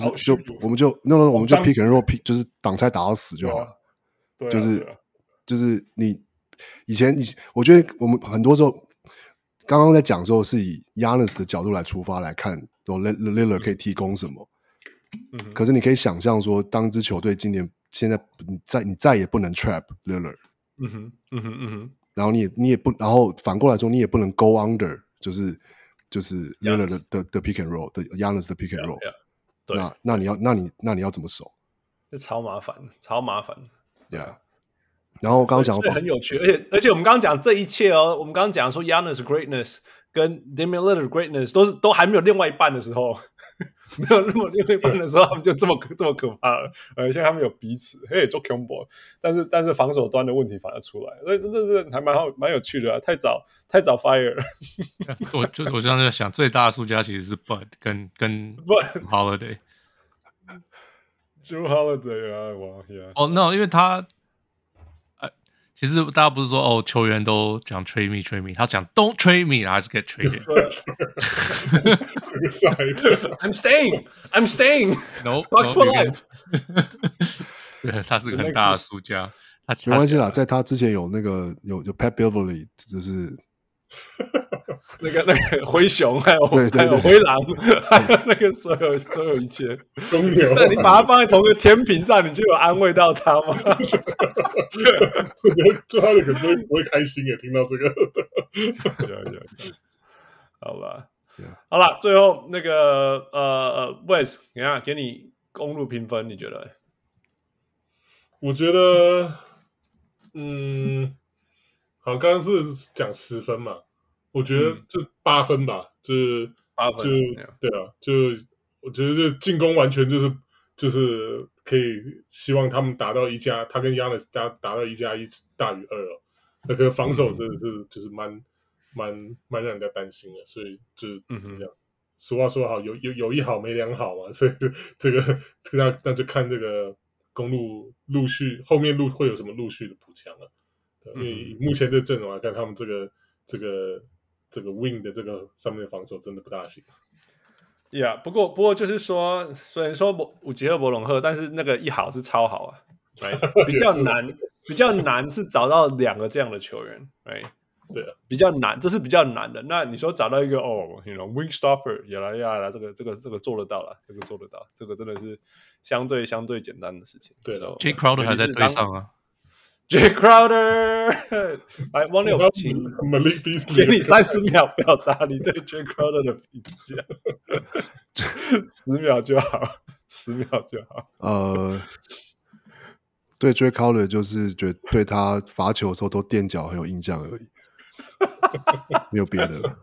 pick and roll， 就是擋拆打到死就好了。 對啊， 就是你以前我覺得我們很多時候剛剛在講的時候是以 Giannis 的角度來出發來看，說 Lillard 可以提供什麼。可是你可以想象說，當一支球隊今年現在你再也不能 trap Lillard。然後你也不，然後反過來說，你也不能 go under， 就是 Lillard 的 pick and roll 的 Giannis 的 pick and roll， 對， 那你要怎麼守？ 這超麻煩。 Yeah， 然後我剛剛講很有趣，而且我們剛剛講這一切我們剛剛講說 Giannis greatness 跟 Damian Lillard greatness 都還沒有另外一半的時候，沒有那麼另外一半的時候，他們就這麼可怕了。現在他們有彼此，做 combo， 但是防守端的問題反而出來，所以真的是還蠻有趣的太早 fire 了。 我剛剛在想，最大的輸家其實是 Bud 跟 Holiday。Drew Holiday 啊，哇呀！ no， 因為他，其實大家不是說球員都講 trade me， 他講 don't trade me， 還是 get traded。I'm staying. No, Bucks for life。 對，他是個很大的輸家。 沒關係啦，在他之前有Pat Beverly， 就是。 那個灰熊還有灰狼，還有那個所有一切公牛， 那你把它放在同個天平上，你就有安慰到他嗎？ 我覺得做他的可能不會開心耶，聽到這個。 好了，最後那個Wes， 你看給你公鹿評分，你覺得？ 我覺得，好，剛剛是講10分嘛。我覺得就8分吧，就是8分，對啊，就我覺得這進攻完全就是可以希望他們達到1+，他跟 Giannis 達到1+1大於2了。那個防守真的是就是蠻讓人家擔心的，所以就是怎麼樣？俗話說好，有一好沒兩好嘛，所以這個那就看這個公鹿陸續後面會有什麼陸續的補強了。因為以目前這陣容來看，他們這個 wing 的這個上面的防守真的不大行。 不過就是說，雖然說有吉赫伯龍赫，但是那個一好是超好啊，比較難是找到2個這樣的球員， 對啊， 比較難，這是比較難的。那你說找到一個wing stopper， 這個做得到了，這個做得到，這個真的是相對簡單的事情。 對的 ，Jay Crowder 還在隊上啊。 Jay Crowder， 來，王六，請給你30秒表達你對 Jay Crowder 的評價，10秒就好，10秒就好。 對 Jay Crowder 就是覺得對他罰球的時候都墊腳很有印象而已，沒有別的了。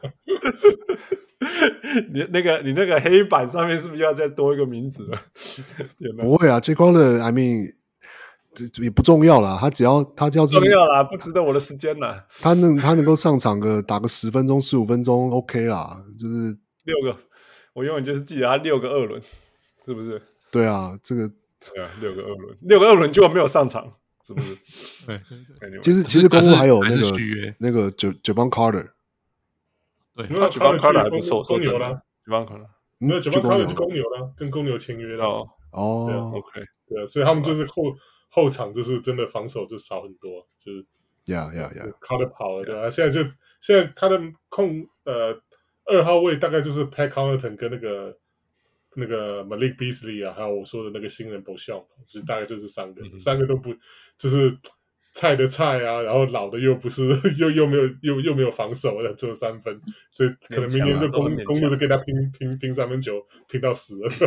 你那個黑板上面是不是要再多一個名字了？ 不會啊 ，Jay Crowder，I mean。也不重要啦，他要是重要啦，不值得我的時間啦。他能夠上場打個10分鐘、15分鐘 ，OK 啦，就是 6個。 我永遠就是記得他6個2輪，是不是？ 對啊，這個對啊，6個2輪，6個2輪就沒有上場，是不是？ 對。 其實公路還有那個Jevon Carter， 對， 那 Jevon Carter 還不錯， 公牛啦 ，Jevon Carter， 没有 Jevon Carter 就公牛啦，跟公牛簽約了。 哦 ，OK， 对啊，所以他們就是後場就是真的防守就少很多，就是Carter 跑了，对啊，現在他的2號位大概就是 Pat Connaughton 跟那個 Malik Beasley 啊，還有我說的那個新人 Beauchamp， 就是大概就是3個都不就是菜的菜啊，然後老的又不是又沒有防守的，只有3分，所以可能明年就公路就跟他拼3分球，拼到死了。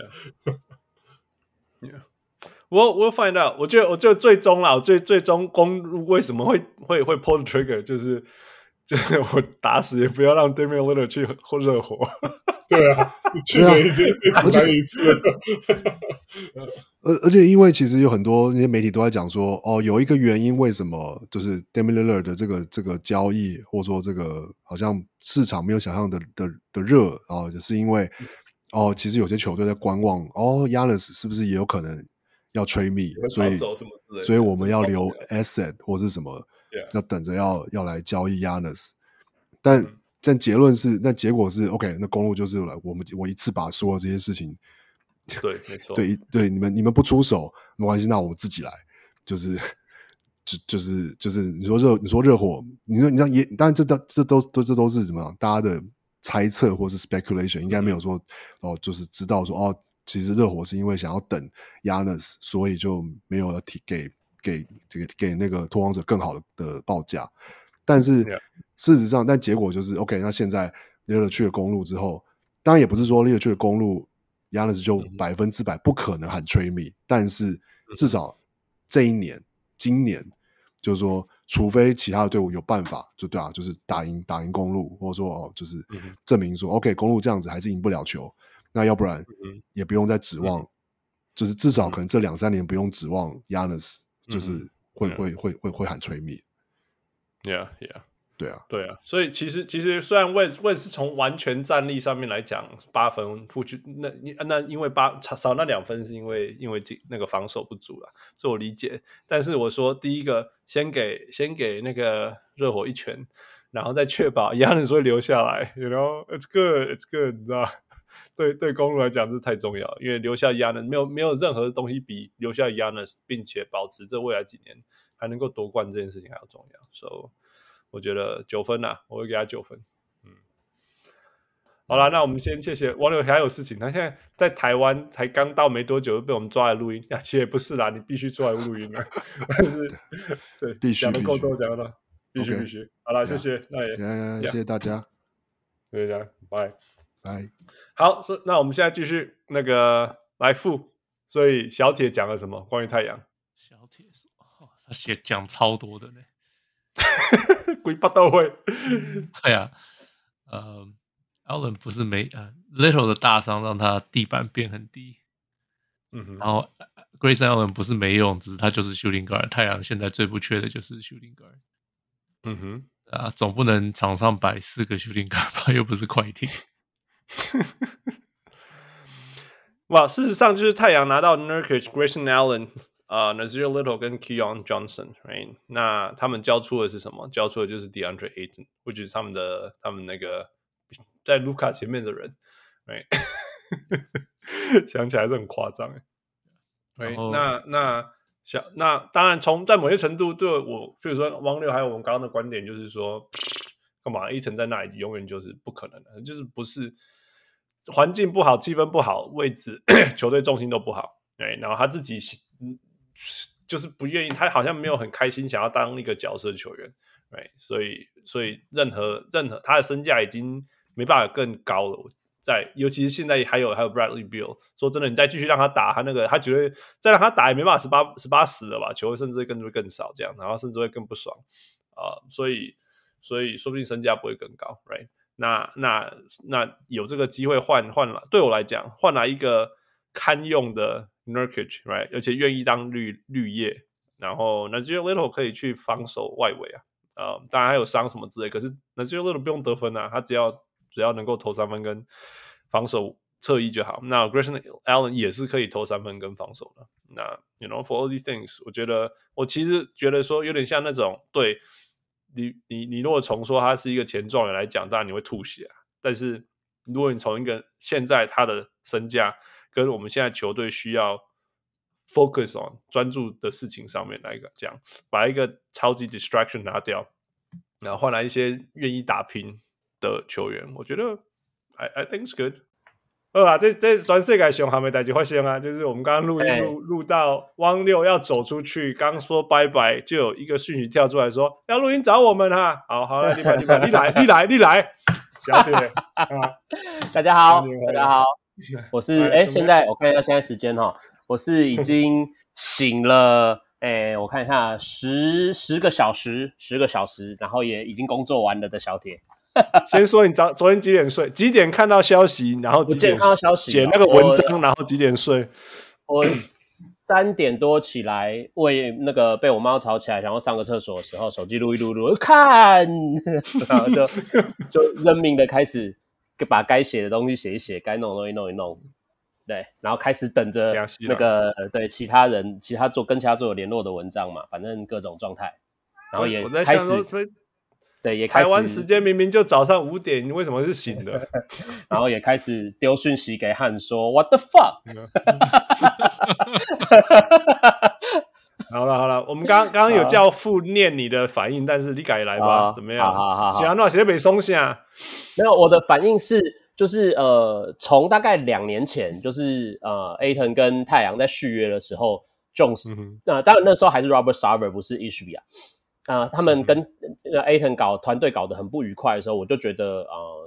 We'll find out。我覺得最終啦，最終公路為什麼會 pull the trigger，就是我打死也不要讓 Damian Lillard 去熱火。 對啊，去年已經很難一次了。 而且因為其實有很多那些媒體都在講說，哦，有一個原因為什麼就是 Damian Lillard 的這個交易，或者說這個好像市場沒有想象的熱啊，就是因為其實有些球隊在觀望，Giannis 是不是也有可能要 trade me， 所以我們要留 asset 或是什麼，要等着要來交易 Giannis， 但結果是 OK， 那公路就是我一次把所有這些事情， 對，沒錯， 对，你們不出手沒關係，那我們自己來，就是你說熱火，你像也，當然這都是什麼大家的猜測或是 speculation， 應該沒有說就是知道說其實熱火是因為想要等 Giannis， 所以就沒有給那個拓荒者更好的報價，但是事實上，但結果就是 OK， 那現在 Lillard 去了公路之後，當然也不是說 Lillard 去了公路 Giannis 就100%不可能喊 trade me， 但是至少今年就是說，除非其他的隊伍有辦法，对啊，就是打贏公路，或者說就是證明說 OK， 公路這樣子還是贏不了球，那要不然也不用再指望，就是至少可能這2-3年不用指望 Giannis 就是會喊 trade me。Yeah. 對啊，所以其實雖然West是從完全戰力上面來講8分不去，那因為少那2分是因為那個防守不足啦，這我理解。但是我說第一個先給那個熱火一拳，然後再確保 Giannis 會留下來 ，You know it's good， 你知道？對公路來講這太重要了，因為留下 Giannis 沒有任何東西比留下 Giannis 並且保持這未來幾年還能夠奪冠這件事情還要重要。So我覺得9分啊，我會給他9分。好啦，那我們先謝謝網友，還有事情。他現在在台灣才剛到沒多久，就被我們抓來錄音。其實也不是啦，你必須出來錄音啦。但是必須講的夠多，講的必須。好啦，謝謝，那也謝謝大家， 謝謝大家，拜。 好， 那我們現在繼續那個來復。所以小鐵講了什麼關於太陽？ 小鐵說，他講超多的呢。 鬼八都會。 對啊，Allen 不是Little 的大傷讓他地板變很低，然後 Grayson Allen 不是沒用，只是他就是 shooting guard。太陽現在最不缺的就是 shooting guard。總不能場上擺4個 shooting guard 吧？又不是快艇。 哇，事實上就是太陽拿到 Nurkic、Grayson Allen。Nazir Little 跟 Keon Johnson，right？ 那他們交出的是什麼？交出的就是 DeAndre Ayton，which is 他們那個在盧卡前面的人，right？ 想起來是很誇張，right？ 那當然在某些程度對我，比如說汪六還有我們剛剛的觀點，就是說，幹嘛 Ayton 在那裡永遠就是不可能的，就是不是環境不好、氣氛不好、位置球隊重心都不好，right？ 然後他自己。就是不願意，他好像沒有很開心想要當一個角色的球員，right？ 所以任何他的身價已經沒辦法更高了，尤其是現在還有 Bradley Beal， 說真的，你再繼續讓他打，他覺得再讓他打也沒辦法18-10了吧，球甚至會更少這樣，然後甚至會更不爽所以說不定身價不會更高 ，right？ 那有這個機會換來，對我來講換來一個堪用的Nurkic， right？ 而且願意當綠葉，然後 Nazir Little 可以去防守外圍當然還有傷什麼之類，可是 Nazir Little 不用得分啊，他只要能夠投3分防守側翼就好。那 Grayson Allen 也是可以投三分跟防守的。那 for all these things， 我其實覺得說有點像那種，對你如果從說他是一個前狀元來講，當然你會吐血啊。但是如果你從一個現在他的身價跟我們現在球隊需要 focus on 專注的事情上面來講，把一個超級 distraction 拿掉，然後換來一些願意打拼的球員，我覺得 I think it's good。這全世界上還沒代誌發生啊，就是我們剛剛錄音錄到汪六要走出去，剛說拜拜，就有一個訊息跳出來說要錄音找我們哈。好了，你來，小鐵大家好，我是現在我看一下現在時間哈，我是已經醒了，我看一下10個小時，然後也已經工作完了的小鐵。 先說你昨天幾點睡？幾點看到消息？然後幾點看到消息寫那個文章？然後幾點睡？ 我3點多起來，為那個被我媽吵起來，想要上個廁所的時候，手機錄一錄，看，然後就認命的開始把該寫的東西寫一寫，該弄的東西弄一弄，對，然後開始等着那個對其他跟其他做有聯絡的文章嘛，反正各種狀態，然後也開始。對，也開始。台灣時間明明就早上5點，你為什麼是醒的？ 然後也開始丟訊息給漢說 "What the fuck"。 好了，我們剛剛有叫父念你的反應，但是你改來吧，怎麼樣？ 好， 寫那寫沒鬆下。 沒有，我的反應是，就是從大概2年前，就是Ayton 跟太陽在續約的時候 ，Jones，當然那時候還是 Robert Sarver， 不是 Ishbia。他們跟Ayton 團隊搞得很不愉快的時候，我就覺得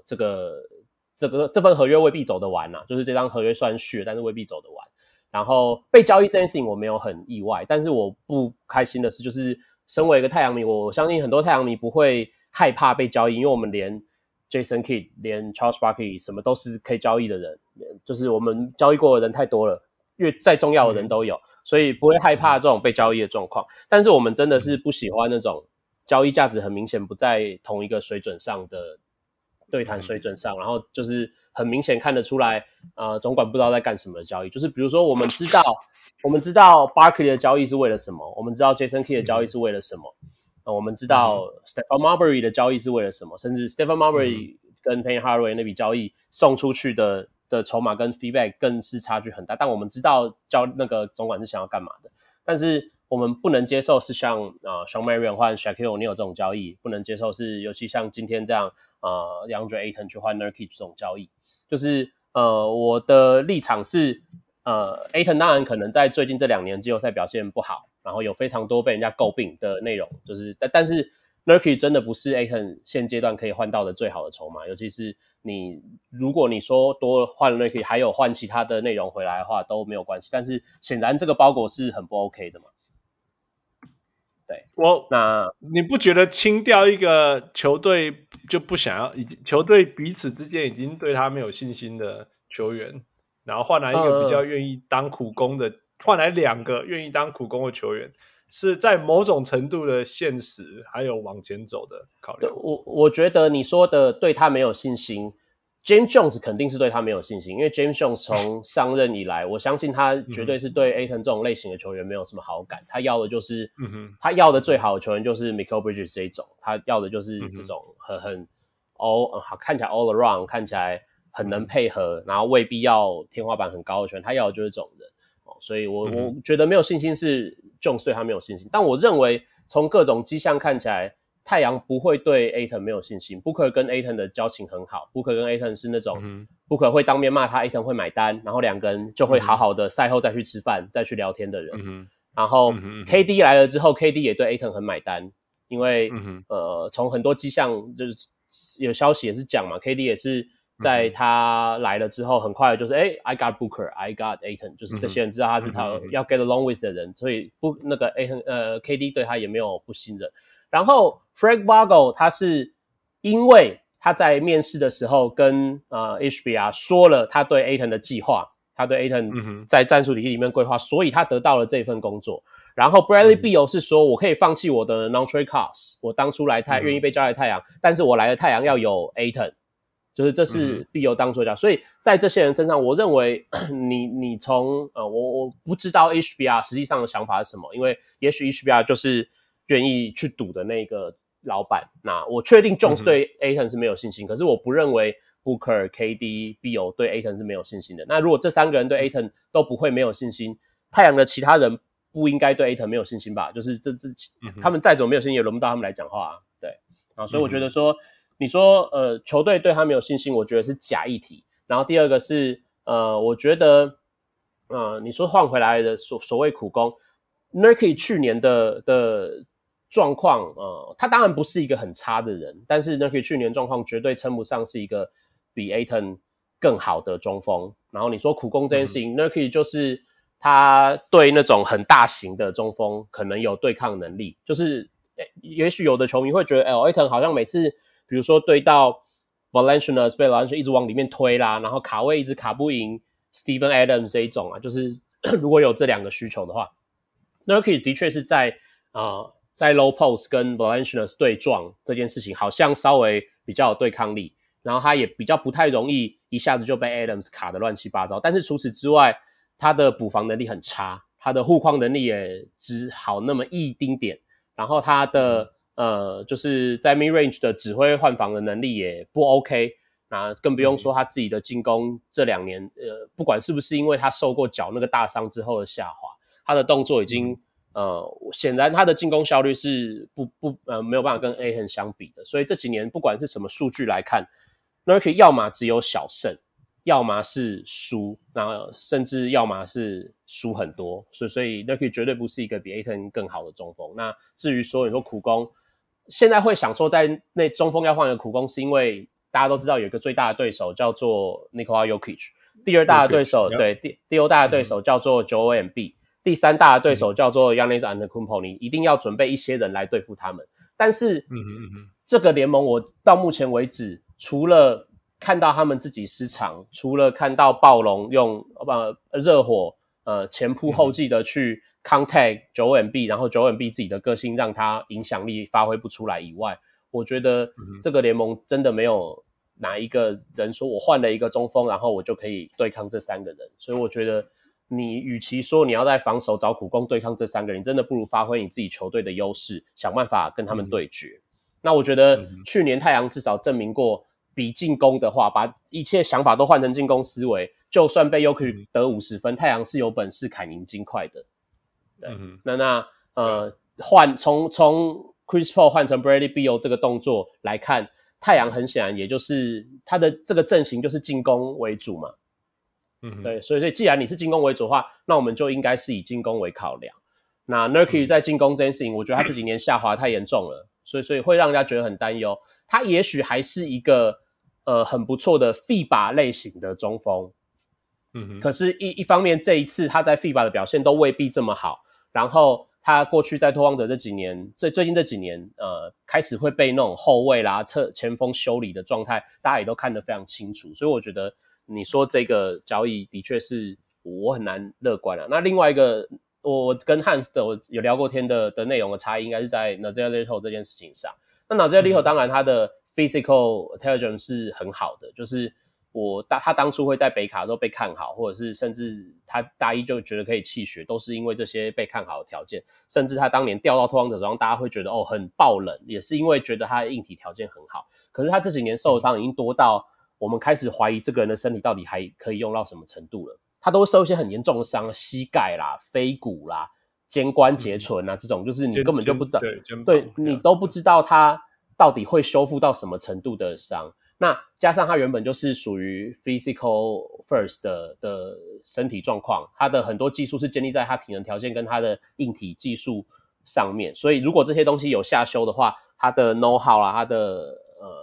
這份合約未必走得完啊，就是這張合約雖然續，但是未必走得完。然後被交易這件事情我沒有很意外，但是我不開心的是，就是身為一個太陽迷，我相信很多太陽迷不會害怕被交易，因為我們連 Jason Kidd 連 Charles Barkley 什麼都是可以交易的人，就是我們交易過的人太多了，再重要的人都有。所以不會害怕這種被交易的狀況，但是我們真的是不喜歡那種交易價值很明顯不在同一個水準上的對談水準上，然後就是很明顯看得出來，總管不知道在幹什麼的交易。就是比如說我們知道 Barkley 的交易是為了什麼，我們知道 Jason Kidd 的交易是為了什麼，我們知道 Stephon Marbury 的交易是為了什麼，甚至 Stephon Marbury 跟 Penny Hardaway 那筆交易送出去的籌碼跟 feedback 更是差距很大，但我們知道那個總管是想要幹嘛的，但是我們不能接受是像Shawn Marion 換 Shaquille O'Neal 這種交易，不能接受是尤其像今天這樣DeAndre Ayton 去換 Nurkic 這種交易，就是我的立場是Ayton 當然可能在最近這2年季後賽表現不好，然後有非常多被人家詬病的內容，就是但是 Nurkic 真的不是 Ayton 現階段可以換到的最好的籌碼，尤其是如果你說多換了 Nurkic 還有換其他的內容回來的話都沒有關係，但是顯然這個包裹是很不 OK 的嘛。对，那你不覺得清掉一個球隊就不想要，球隊彼此之間已經對他沒有信心的球員，然後換來一個比較願意當苦工的，換來2個願意當苦工的球員，是在某種程度的現實還有往前走的考量。 我覺得你說的對他沒有信心， James Jones 肯定是对他沒有信心，因為 James Jones 從上任以來，我相信他絕對是對 Ayton 這種類型的球員沒有什麼好感，他要的就是他要的最好的球員就是 Mikal Bridges 這一種，他要的就是這種看起來 all around， 看起來很能配合，然後未必要天花板很高的球員，他要的就是这種人。所以我覺得沒有信心是 Jones 對他沒有信心，但我認為從各種跡象看起來，太陽不會對 Ayton 沒有信心。Booker 跟 Ayton 的交情很好， Booker 跟 Ayton 是那種Booker 會當面罵他， Ayton 會買單，然後2個人就會好好的賽後再去吃飯再去聊天的人。然後 KD 來了之後 KD 也對 Ayton 很買單，因為從很多跡象就是有消息也是講嘛， KD 也是在他來了之後很快的就是I got Booker I got Ayton， 就是這些人知道他是他要 get along with 的人，所以那個 KD 對他也沒有不信任。然後 Frank Vogel 他是因為他在面試的時候跟HBR 說了他對 Ayton 的計劃，他對 Ayton 在戰術體系裡面規劃，所以他得到了這份工作。然後 Bradley Beal 是說我可以放棄我的 non-trade cost， 我當初願意被交來太陽，但是我來的太陽要有 Ayton， 就是這是必有當初的。所以在這些人身上，我認為你從我不知道 HBR 實際上的想法是什麼，因為也許 HBR 就是願意去賭的那個老闆。那我確定 Jones 對 Ayton 是沒有信心，可是我不認為 Booker、KD、Beal 對 Ayton 是沒有信心的。那如果這3個人對 Ayton 都不会沒有信心，太陽的其他人不應該對 Ayton 沒有信心吧？就是他們再怎麼沒有信心，也輪不到他們來講話啊。對啊，所以我覺得說，你說球隊對他沒有信心，我覺得是假議題。然後第二個是我覺得你說換回來的所謂苦工 ，Nurkic 去年的狀況，他當然不是一個很差的人，但是 Nurkic 去年狀況絕對稱不上是一個比 Ayton 更好的中鋒。然後你說苦工這件事情，Nurkic 就是他對那種很大型的中鋒可能有對抗能力，就是也許有的球迷會覺得Ayton 好像每次比如说對到 Valanciunas 被 Valanciunas 一直往裡面推啦，然後卡位一直卡不贏 Steven Adams 這一種啊，就是如果有這2個需求的話， Nurkic 的確是在low post 跟 Valanciunas 對撞這件事情好像稍微比較有對抗力，然後他也比較不太容易一下子就被 Adams 卡得亂七八糟，但是除此之外他的補防能力很差，他的護框能力也只好那麼一丁點，然後他的就是在 mid range 的指揮換防的能力也不 OK， 那更不用說他自己的進攻這2年不管是不是因為他受過腳那個大傷之后的下滑，他的動作已經顯然他的進攻效率是沒有辦法跟 Ayton 相比的，所以這幾年不管是什麼數據來看 Nurkic 要麼只有小勝，要麼是輸，然後甚至要麼是輸很多，所以 Nurkic 絕對不是一個比 Ayton 更好的中鋒。那至於说你说苦工，現在會想說在那中鋒要換一個苦工，是因為大家都知道有一個最大的對手叫做 Nikola Jokic， 第2大的對手對第2大的對手叫做 Joel Embiid， 第3大的對手叫做 Giannis Antetokounmpo， 你一定要準備一些人來對付他們。但是這個聯盟我到目前為止，除了看到他們自己失常，除了看到暴龍用熱火前仆後繼的去 contact Joel Embiid， 然後 Joel Embiid 自己的個性讓他影響力發揮不出來以外，我覺得這個聯盟真的沒有哪一個人說我換了一個中鋒，然後我就可以對抗這3個人。所以我覺得你與其說你要在防守找苦工對抗這3個人，你真的不如發揮你自己球隊的優勢，想辦法跟他們對決。那我覺得去年太陽至少證明過，比進攻的話，把一切想法都換成進攻思維，就算被 Jokic 得50分，太陽是有本事砍贏金塊的。對，從 Chris Paul 換成 Bradley Beal 這個動作來看，太陽很顯然也就是他的這個陣型就是進攻為主嘛。對，所以既然你是進攻為主的話，那我們就應該是以進攻為考量。那 Nurkic 在進攻這件事情，我覺得他這幾年下滑太嚴重了，所以會讓人家覺得很擔憂。他也許還是一個很不錯的 FIBA 類型的中鋒，可是一方面這一次他在 FIBA 的表現都未必這麼好，然後他過去在拓荒者這幾年，最近這幾年開始會被那種後衛啦、前鋒修理的狀態，大家也都看得非常清楚，所以我覺得你說這個交易的確是我很難樂觀了。那另外一個我跟 Hans 的我有聊過天的內容的差異，應該是在 Nassir Little 這件事情上。那Nassir Little 當然他的 physical intelligence 是很好的，就是他當初會在北卡的時候被看好，或者是甚至他大一就覺得可以棄學，都是因為這些被看好的條件。甚至他當年調到拓荒者手上，大家會覺得很爆冷，也是因為覺得他的硬體條件很好。可是他這幾年受傷已經多到我們開始懷疑這個人的身體到底還可以用到什麼程度了。他都會受一些很嚴重的傷，膝蓋啦、腓骨啦、肩關節唇啊，這種就是你根本就不知道，對，你都不知道他到底會修復到什麼程度的傷。那加上他原本就是屬於 physical first 的身體狀況，他的很多技術是建立在他體能條件跟他的硬體技術上面，所以如果這些東西有下修的話，他的 know how 啦，他的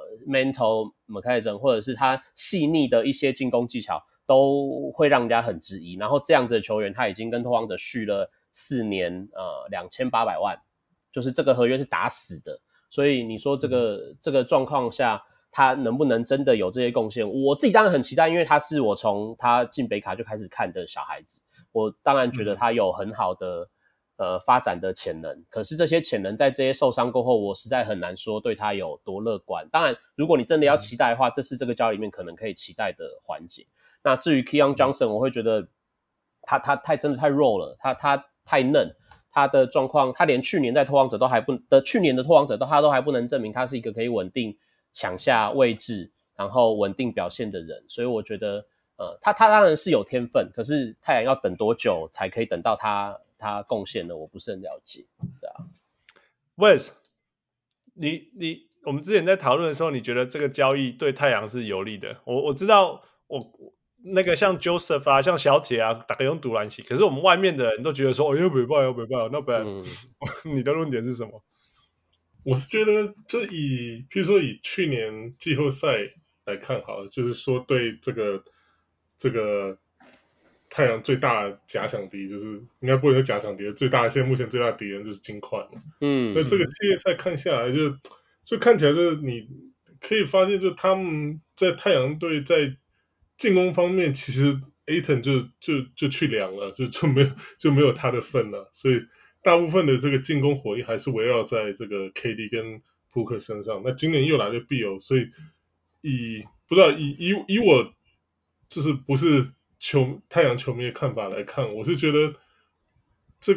mental mechanism 或者是他細膩的一些進攻技巧都會讓人家很質疑。然後這樣子的球員他已經跟拓荒者續了4年2800萬，就是這個合約是打死的。所以你說這個狀況下他能不能真的有這些貢獻，我自己當然很期待，因為他是我從他進北卡就開始看的小孩子，我當然覺得他有很好的發展的潛能，可是這些潛能在這些受傷過後，我實在很難說對他有多樂觀。當然，如果你真的要期待的話，這是這個交易裡面可能可以期待的環節。那至於 Keon Johnson， 我會覺得他真的太弱了，他太嫩，他的狀況，他連去年在拓荒者都還不去年的拓荒者他都還不能證明他是一個可以穩定搶下位置，然後穩定表現的人，所以我覺得他當然是有天分，可是太陽要等多久才可以等到他貢獻的，我不是很了解，对啊。 Wes， 我们之前在討論的時候，你覺得這個交易對太陽是有利的？我知道那個像 Joseph 啊，像小鐵啊，大家用獨籃洗，可是我們外面的人都覺得說，沒辦法，那不然你的論點是什麼？ 我是覺得，就譬如說以去年季後賽來看好了，就是說對這個太陽最大的假想敵，就是應該不能說假想敵，最大的現在目前最大的敵人就是金塊嘛。那這個系列賽看下來就看起來就是你可以發現，就他們在太陽隊在進攻方面，其實 Ayton 就去涼了，就沒有他的份了，所以大部分的這個進攻火力還是圍繞在這個 KD 跟 Booker 身上。那今年又來了 Beal， 所以不知道以我就是不是太陽球迷的看法來看，我是覺得這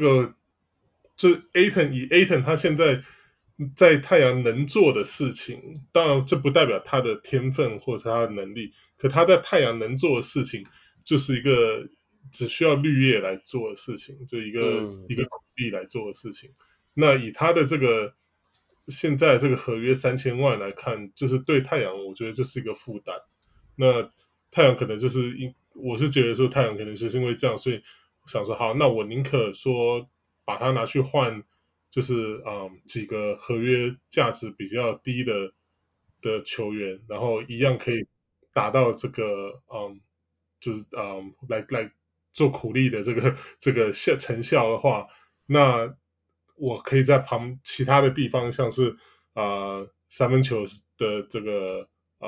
Ayton 他現在太陽能做的事情，當然這不代表他的天分或者他的能力，可他在太陽能做的事情就是一個只需要綠葉來做的事情，就一個苦力來做的事情。那以他的这個現在這個合約3000萬來看，就是對太陽我覺得這是一個負擔。那太陽可能我是覺得說太陽可能就是因為這樣，所以我想說好，那我寧可說把它拿去換，就是幾個合約價值比較低的球員，然後一樣可以達到這個就是來做苦力的這個成效的話，那我可以在其他的地方，像是三分球的這個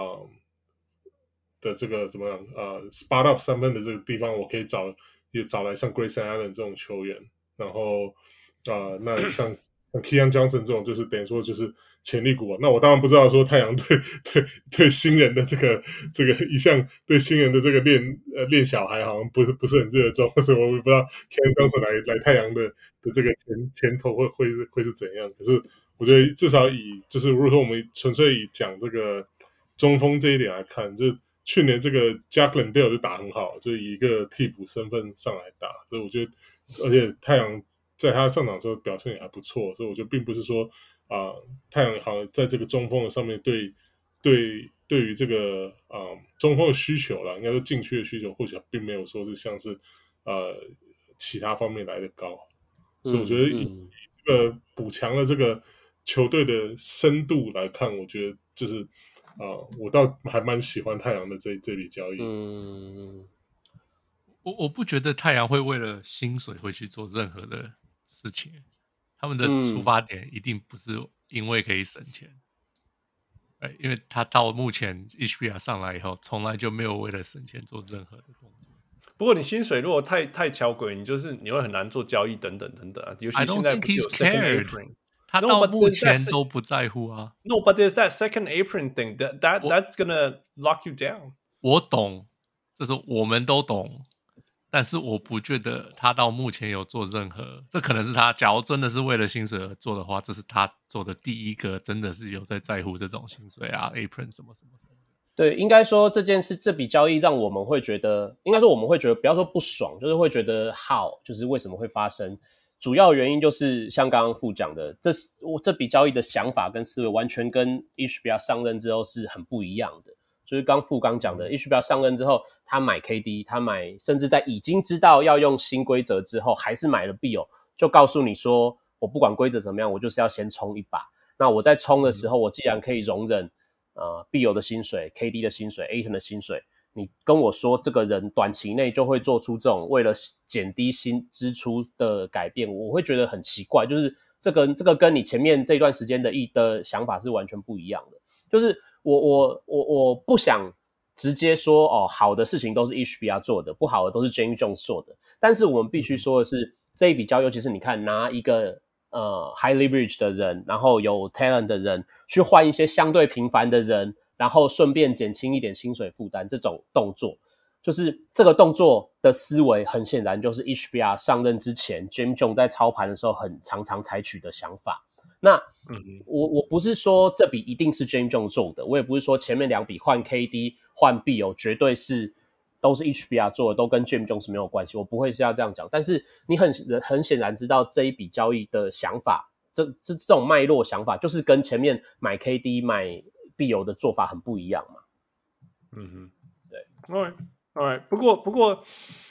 怎麼樣spot up 三分的這個地方，我可以找來像 Grayson Allen 這種球員，然後那像 Keon Johnson 這種就是等於說就是潛力股啊。那我當然不知道說太陽對新人的這個一向對新人的這個練小孩好像不是很熱衷，所以我也不知道 Keon Johnson 來太陽的這個前途會是怎樣。可是我覺得至少就是如果說我們純粹以講這個中鋒這一點來看，就去年這個 Jack Landale 就打很好，就以一個替補身份上來打，所以我覺得，而且太陽在他上場的時候表現也還不錯，所以我覺得並不是說太陽好像在這個中鋒的上面對於這個中鋒的需求啦，應該說禁區的需求或許並沒有說是像是其他方面來的高，所以我覺得以這個補強的這個球隊的深度來看，我覺得就是我倒還蠻喜歡太陽的這筆交易。 我不覺得太陽會為了薪水會去做任何的事情，他們的出發點一定不是因為可以省錢，因為他到目前 HBR 上來以後，從來就沒有為了省錢做任何的動作。 不過你薪水如果太巧詭，你會很難做交易等等啊。尤其現在不是有 second apron， 他到目前都不在乎啊。 No, but there's that second apron thing that's gonna lock you down。 我懂，这是我們都懂。但是我不覺得他到目前有做任何，這可能是他假如真的是為了薪水而做的話，這是他做的第一個真的是有在乎這種薪水啊 apron 什麼。 對，應該說這筆交易讓我們會覺得，應該說我們會覺得不要說不爽，就是會覺得 how， 就是為什麼會發生，主要原因就是像剛剛傅講的，這筆交易的想法跟思維完全跟 HBR 上任之後是很不一樣的。就是傅剛講的 HBR 上任之後，他買 KD， 他買甚至在已經知道要用新規則之後，還是買了 Beal， 就告訴你說，我不管規則怎麼樣，我就是要先衝一把。那我在衝的時候，我既然可以容忍Beal 的薪水、KD 的薪水、Ayton 的薪水，你跟我說這個人短期內就會做出這種為了減低新支出的改變，我會覺得很奇怪。就是這個跟你前面這段時間的想法是完全不一樣的。就是我不想直接說好的事情都是 HBR 做的，不好的都是 James Jones 做的。但是我們必須說的是， 這一筆交易，尤其是你看拿一個high leverage 的人，然後有 talent 的人去換一些相對平凡的人，然後順便減輕一點薪水負擔，這種動作，就是這個動作的思維，很顯然就是 HBR 上任之前 James Jones 在操盤的時候很常常採取的想法。那我不是說這筆一定是 James Jones 做的，我也不是說前面2筆換 KD 換 Beal 絕對是都是 HBR 做的，都跟 James Jones 沒有關係，我不會是要這樣講。但是你很顯然知道這一筆交易的想法，這種脈絡想法，就是跟前面買 KD 買 Beal 的做法很不一樣嘛。对 ，All right， 不過，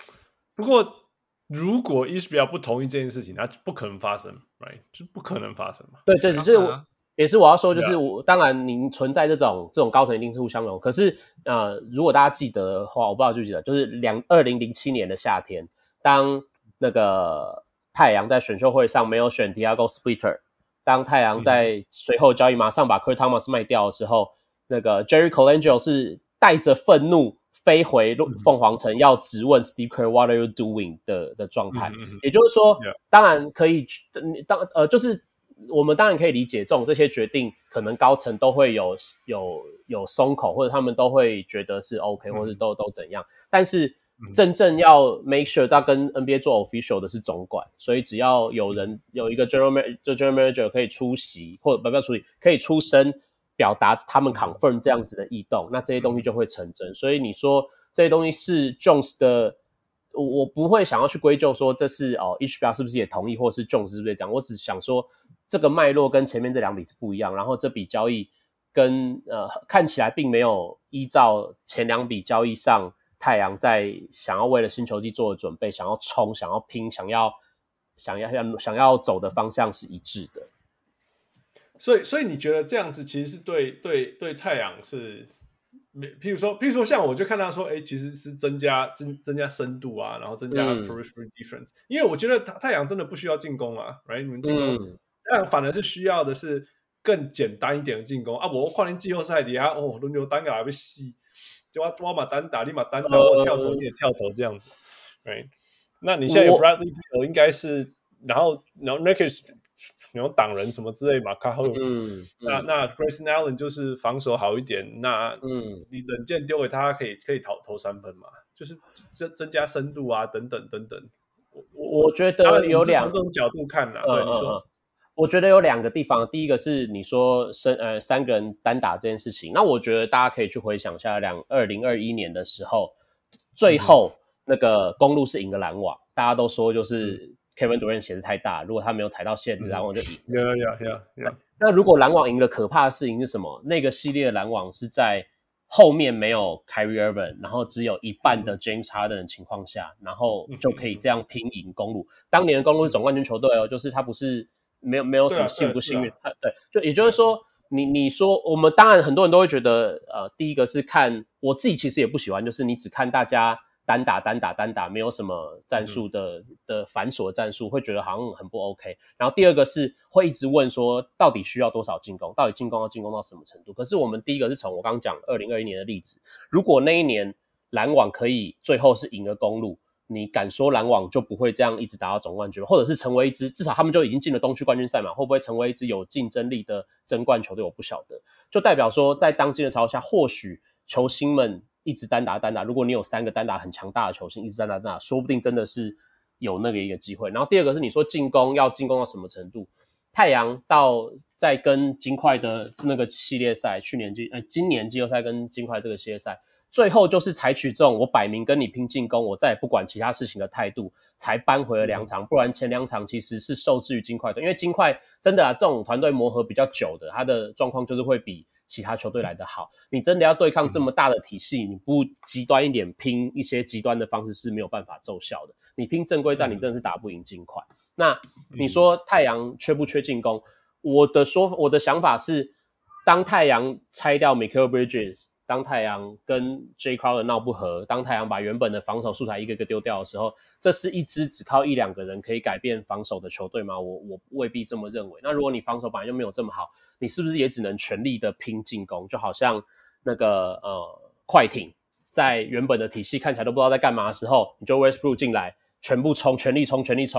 如果 HBR 不同意这件事情，那不可能发生 ，right？ 就不可能发生嘛。 对，就是也是我要說，就是当然您存在这种高层一定是互相容。可是如果大家記得的話，我不知道記不記得，就是2007年的夏天，當那個太陽在選秀會上沒有選 Thiago Splitter， 當太陽在隨後交易馬上把 Kurt Thomas 賣掉的時候，那個 Jerry Colangelo 是帶着憤怒飛回鳳凰城要質問 Steve Kerr What are you doing 的狀態。也就是說，當然可以就是我們當然可以理解這些決定可能高層都會有鬆口，或者他們都會覺得是 OK， 或者都怎樣。但是真正要 make sure 要跟 NBA 做 official 的是總管，所以只要有一個 general manager 可以出席，或者不要出席，可以出聲表達他們 confirm 這樣子的異動，那這些東西就會成真。所以你說這些東西是 Jones 的，我不會想要去歸咎說這是HBR 是不是也同意，或是 Jones 是不是這樣，我只想說這個脈絡跟前面這2筆是不一樣，然後這筆交易跟看起來並沒有依照前2筆交易上太陽在想要為了新球季做的準備，想要衝，想要拼，想要走的方向是一致的。 所以你覺得這樣子其實是對太陽是，譬如說像我就看他說，其實是增加深度啊，然後增加 periphery defense，因為我覺得太陽真的不需要進攻啊 ，right？ 你們進攻，太陽反而是需要的是更簡單一點的進攻啊。我看你季後賽底下輪流單打還被洗，就我嘛單打，你嘛單打，我跳投你也跳投這樣子 ，right？ 那你現在有 Bradley Beal 應該是，然後 Nurkic 有擋人什麼之類嘛，卡後，那 Grayson Allen 就是防守好一點，那你冷箭丟給他可以投3分嘛，就是增加深度啊，等等。 我覺得有從這種角度看啦，對你說， 我覺得有2個地方，第一個是你說3個人單打這件事情，那我覺得大家可以去回想一下2021年的時候，最後那個公鹿是贏了籃網，大家都說就是Kevin Durant 鞋子太大，如果他沒有踩到線，籃網就贏。 Yeah. 那如果籃網贏了，可怕的事情是什麼？那個系列的籃網是在後面沒有 Kyrie Irving， 然後只有一半的 James Harden 的情況下，然後就可以這樣拼贏公鹿。當年的公鹿是總冠軍球隊哦，就是他不是沒有什麼幸不幸運，對，就也就是說，你說我們當然很多人都會覺得，第一個是看我自己其實也不喜歡，就是你只看大家單打，沒有什麼戰術的繁瑣的戰術，會覺得好像很不 OK。然後第二個是會一直問說，到底需要多少進攻？到底進攻要進攻到什麼程度？可是我們第一個是從我剛剛講2021年的例子，如果那一年籃網可以最後是贏了公鹿，你敢說籃網就不會這樣一直打到總冠軍嗎？或者是成為一支至少他們就已經進了東區冠軍賽嘛？會不會成為一支有競爭力的爭冠球隊？我不曉得。就代表說，在當今的潮下，或許球星們一直單打，如果你有3個單打很強大的球星一直單打，說不定真的是有那個一個機會。然後第二個是你說進攻要進攻到什麼程度？太陽到在跟金塊的那個系列賽，今年季後賽跟金塊這個系列賽，最後就是採取這種我擺明跟你拼進攻，我再也不管其他事情的態度，才扳回了2場。不然前2場其實是受制於金塊隊，因為金塊真的這種团隊磨合比較久的，他的狀況就是會比其他球隊來得好。你真的要對抗這麼大的體系，你不極端一點拼一些極端的方式是沒有辦法奏效的。你拼正規戰，你真的是打不贏金塊。那你說太陽缺不缺進攻？我的想法是，當太陽拆掉 Mikal Bridges， 當太陽跟 Jay Crowder 鬧不和，當太陽把原本的防守素材一個個丟掉的時候，這是一支只靠1-2個人可以改變防守的球隊嗎？我未必這麼認為。那如果你防守本來就沒有這麼好，你是不是也只能全力的拼進攻？就好像那個快艇在原本的體系看起來都不知道在幹嘛的時候，你就 Westbrook 進來，全部衝，全力衝，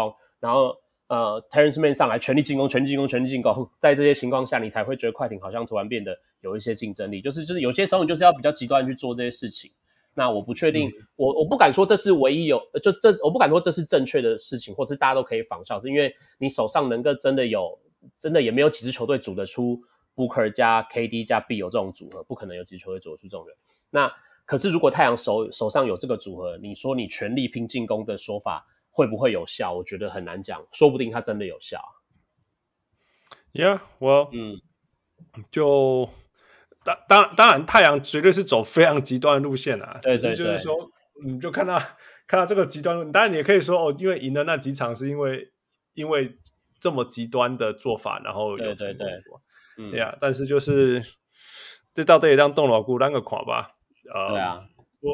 然後Terrence Mann 上來全力進攻，在這些情況下，你才會覺得快艇好像突然变得有一些競爭力。就是有些時候你就是要比较極端去做这些事情。那我不確定，我不敢說這是唯一我不敢說這是正確的事情，或是大家都可以仿效，是因為你手上能夠真的也沒有幾支球隊組得出 Booker 加 KD 加 B 有這種組合，不可能有幾支球隊組得出這種人。那可是如果太陽手上有這個組合，你說你全力拼進攻的說法會不會有效？我覺得很難講，說不定它真的有效。 Yeah, well, 就當然，太陽絕對是走非常極端的路線啊。 對， 就是說，你就看到這個極端，當然你也可以說因為贏了那幾場是因為這麼極端的做法，然後有成功過。Yeah, 但是就是這到底也讓動腦骨讓個垮吧。 對啊，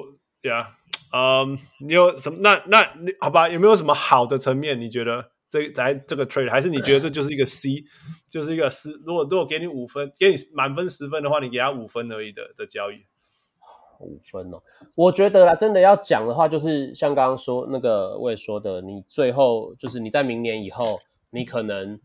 你有什麼？那你好吧？有沒有什麼好的層面？你覺得在這個 trade， 還是你覺得這就是一個 C， 就是一個10？如果給你5分，給你滿分10分的話，你給他5分而已的交易 ？5分哦，我覺得啦，真的要講的話，就是像剛刚說那個我也說的，你最後就是你在明年以後，你可能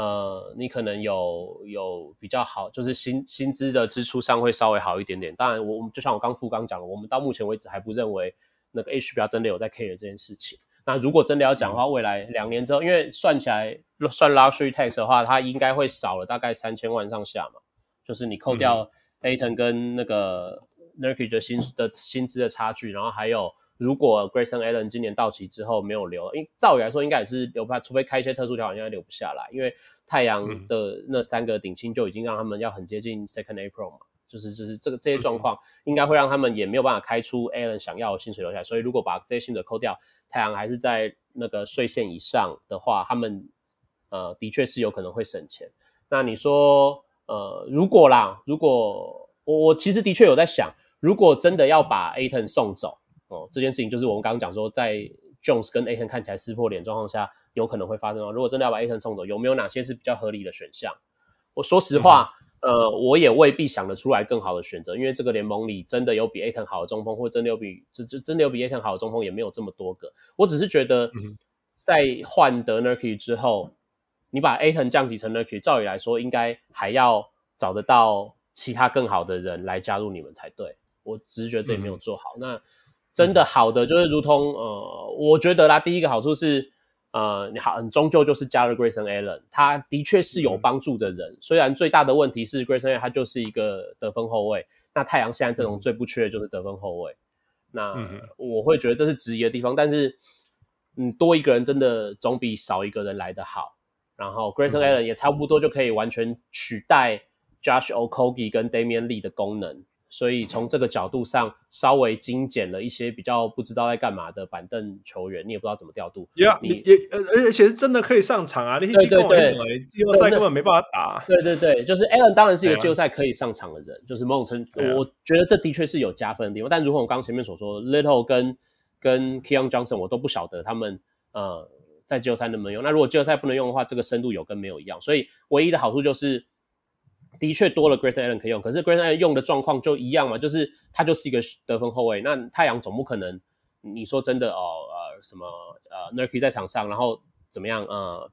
有比较好，就是薪資的支出上会稍微好一點點。當然我就像我剛講的，我們到目前為止還不認為那個 HBR 真的有在 care 這件事情。那如果真的要講的話，未來2年之後，因為算起來算 luxury tax 的話，它應該會少了大概3000萬上下嘛，就是你扣掉 Ayton 跟那個 Nurkic 的薪資的差距，然後還有如果 Grayson Allen 今年到期之後沒有留，因為照理來說應該也是留不下，除非開一些特殊條款，應該留不下來，因為太陽的那3個頂薪就已經讓他們要很接近 Second April 嘛，就是這些狀況應該會讓他們也沒有辦法開出 Allen 想要的薪水留下來，所以如果把這些薪水扣掉，太陽還是在那個稅線以上的話，他們的確是有可能會省錢。那你說如果我其實的確有在想，如果真的要把 Ayton 送走這件事情，就是我們剛剛講說在 Jones 跟 Ayton 看起來撕破臉狀況下有可能會發生。如果真的要把 Ayton 送走，有沒有哪些是比較合理的選項？我說實話我也未必想得出來更好的選擇，因為這個聯盟裡真的有比 Ayton 好的中鋒，或真的有比 Ayton 好的中鋒也沒有這麼多個。我只是覺得在換得 Nurkic 之後，你把 Ayton 降級成 Nurkic， 照理來說應該還要找得到其他更好的人來加入你們才对。我只是覺得這也沒有做好。那真的好的就是如同我覺得啦，第一個好處是你終究就是加了 Grayson Allen， 他的確是有幫助的人。雖然最大的問題是 Grayson Allen 他就是一個得分後衛，那太陽現在陣容最不缺的就是得分後衛。那我會覺得這是質疑的地方，但是多一個人真的總比少一個人來得好。然後 Grayson Allen 也差不多就可以完全取代 Josh Okogie 跟 Damian Lee 的功能。所以從這個角度上，稍微精簡了一些比較不知道在幹嘛的板凳球員，你也不知道怎麼調度。 而且是真的可以上場啊！ 對， 季後賽根本沒辦法打。 對，就是 Allen 當然是一個季後賽可以上場的人，就是某種程度，我覺得這的確是有加分的地方。但如果我剛剛前面所說 ，Little 跟 Keon Johnson 我都不曉得他們在季後賽能不能用。那如果季後賽不能用的話，這個深度有跟沒有一樣。所以唯一的好處就是的確多了 Grayson Allen 可以用，可是 Grayson Allen 用的狀況就一樣嘛，就是他就是一個得分後衛。那太陽總不可能，你說真的什麼Nurkic 在場上，然後怎麼樣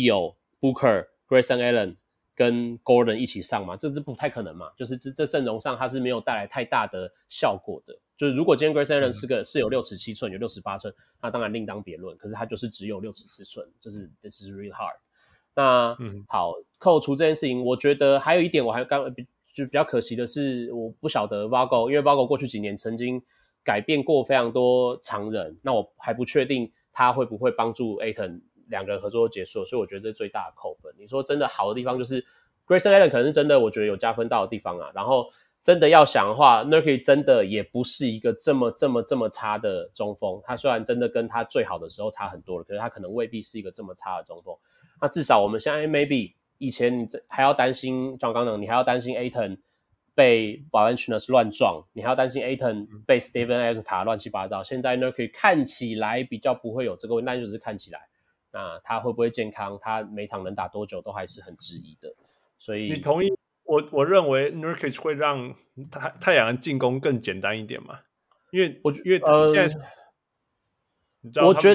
Beal、Booker、Grayson Allen 跟 Gordon 一起上嘛？這是不太可能嘛，就是這陣容上他是沒有帶來太大的效果的。就是如果今天 Grayson Allen 是有6尺7寸，有68寸，那當然另當別論。可是他就是只有6尺4寸，就是 this is really hard。那好，扣除這件事情，我覺得還有一點，我還就比較可惜的是，我不曉得 Vogel， 因為 Vogel 過去幾年曾經改變過非常多常人，那我還不確定他會不會幫助 Ayton 兩個人合作結束，所以我覺得這是最大的扣分。你說真的好的地方就是 Grayson Allen 可能是真的，我覺得有加分到的地方啊。然後真的要想的話 ，Nurkic 真的也不是一個這麼差的中鋒，他雖然真的跟他最好的時候差很多了，可是他可能未必是一個這麼差的中鋒。那至少我們现在 maybe 以前你還要擔心，像剛剛你還要擔心 Ayton 被 Valanciunas 亂撞，你還要擔心 Ayton 被 Steven Adams 卡亂七八糟。現在呢，可以看起來比較不會有這個問題，但就是看起來，那他會不會健康，他每場能打多久都還是很質疑的。所以你同意我認為 Nurkic 會讓太陽的進攻更簡單一點嘛？因為現在。 我覺得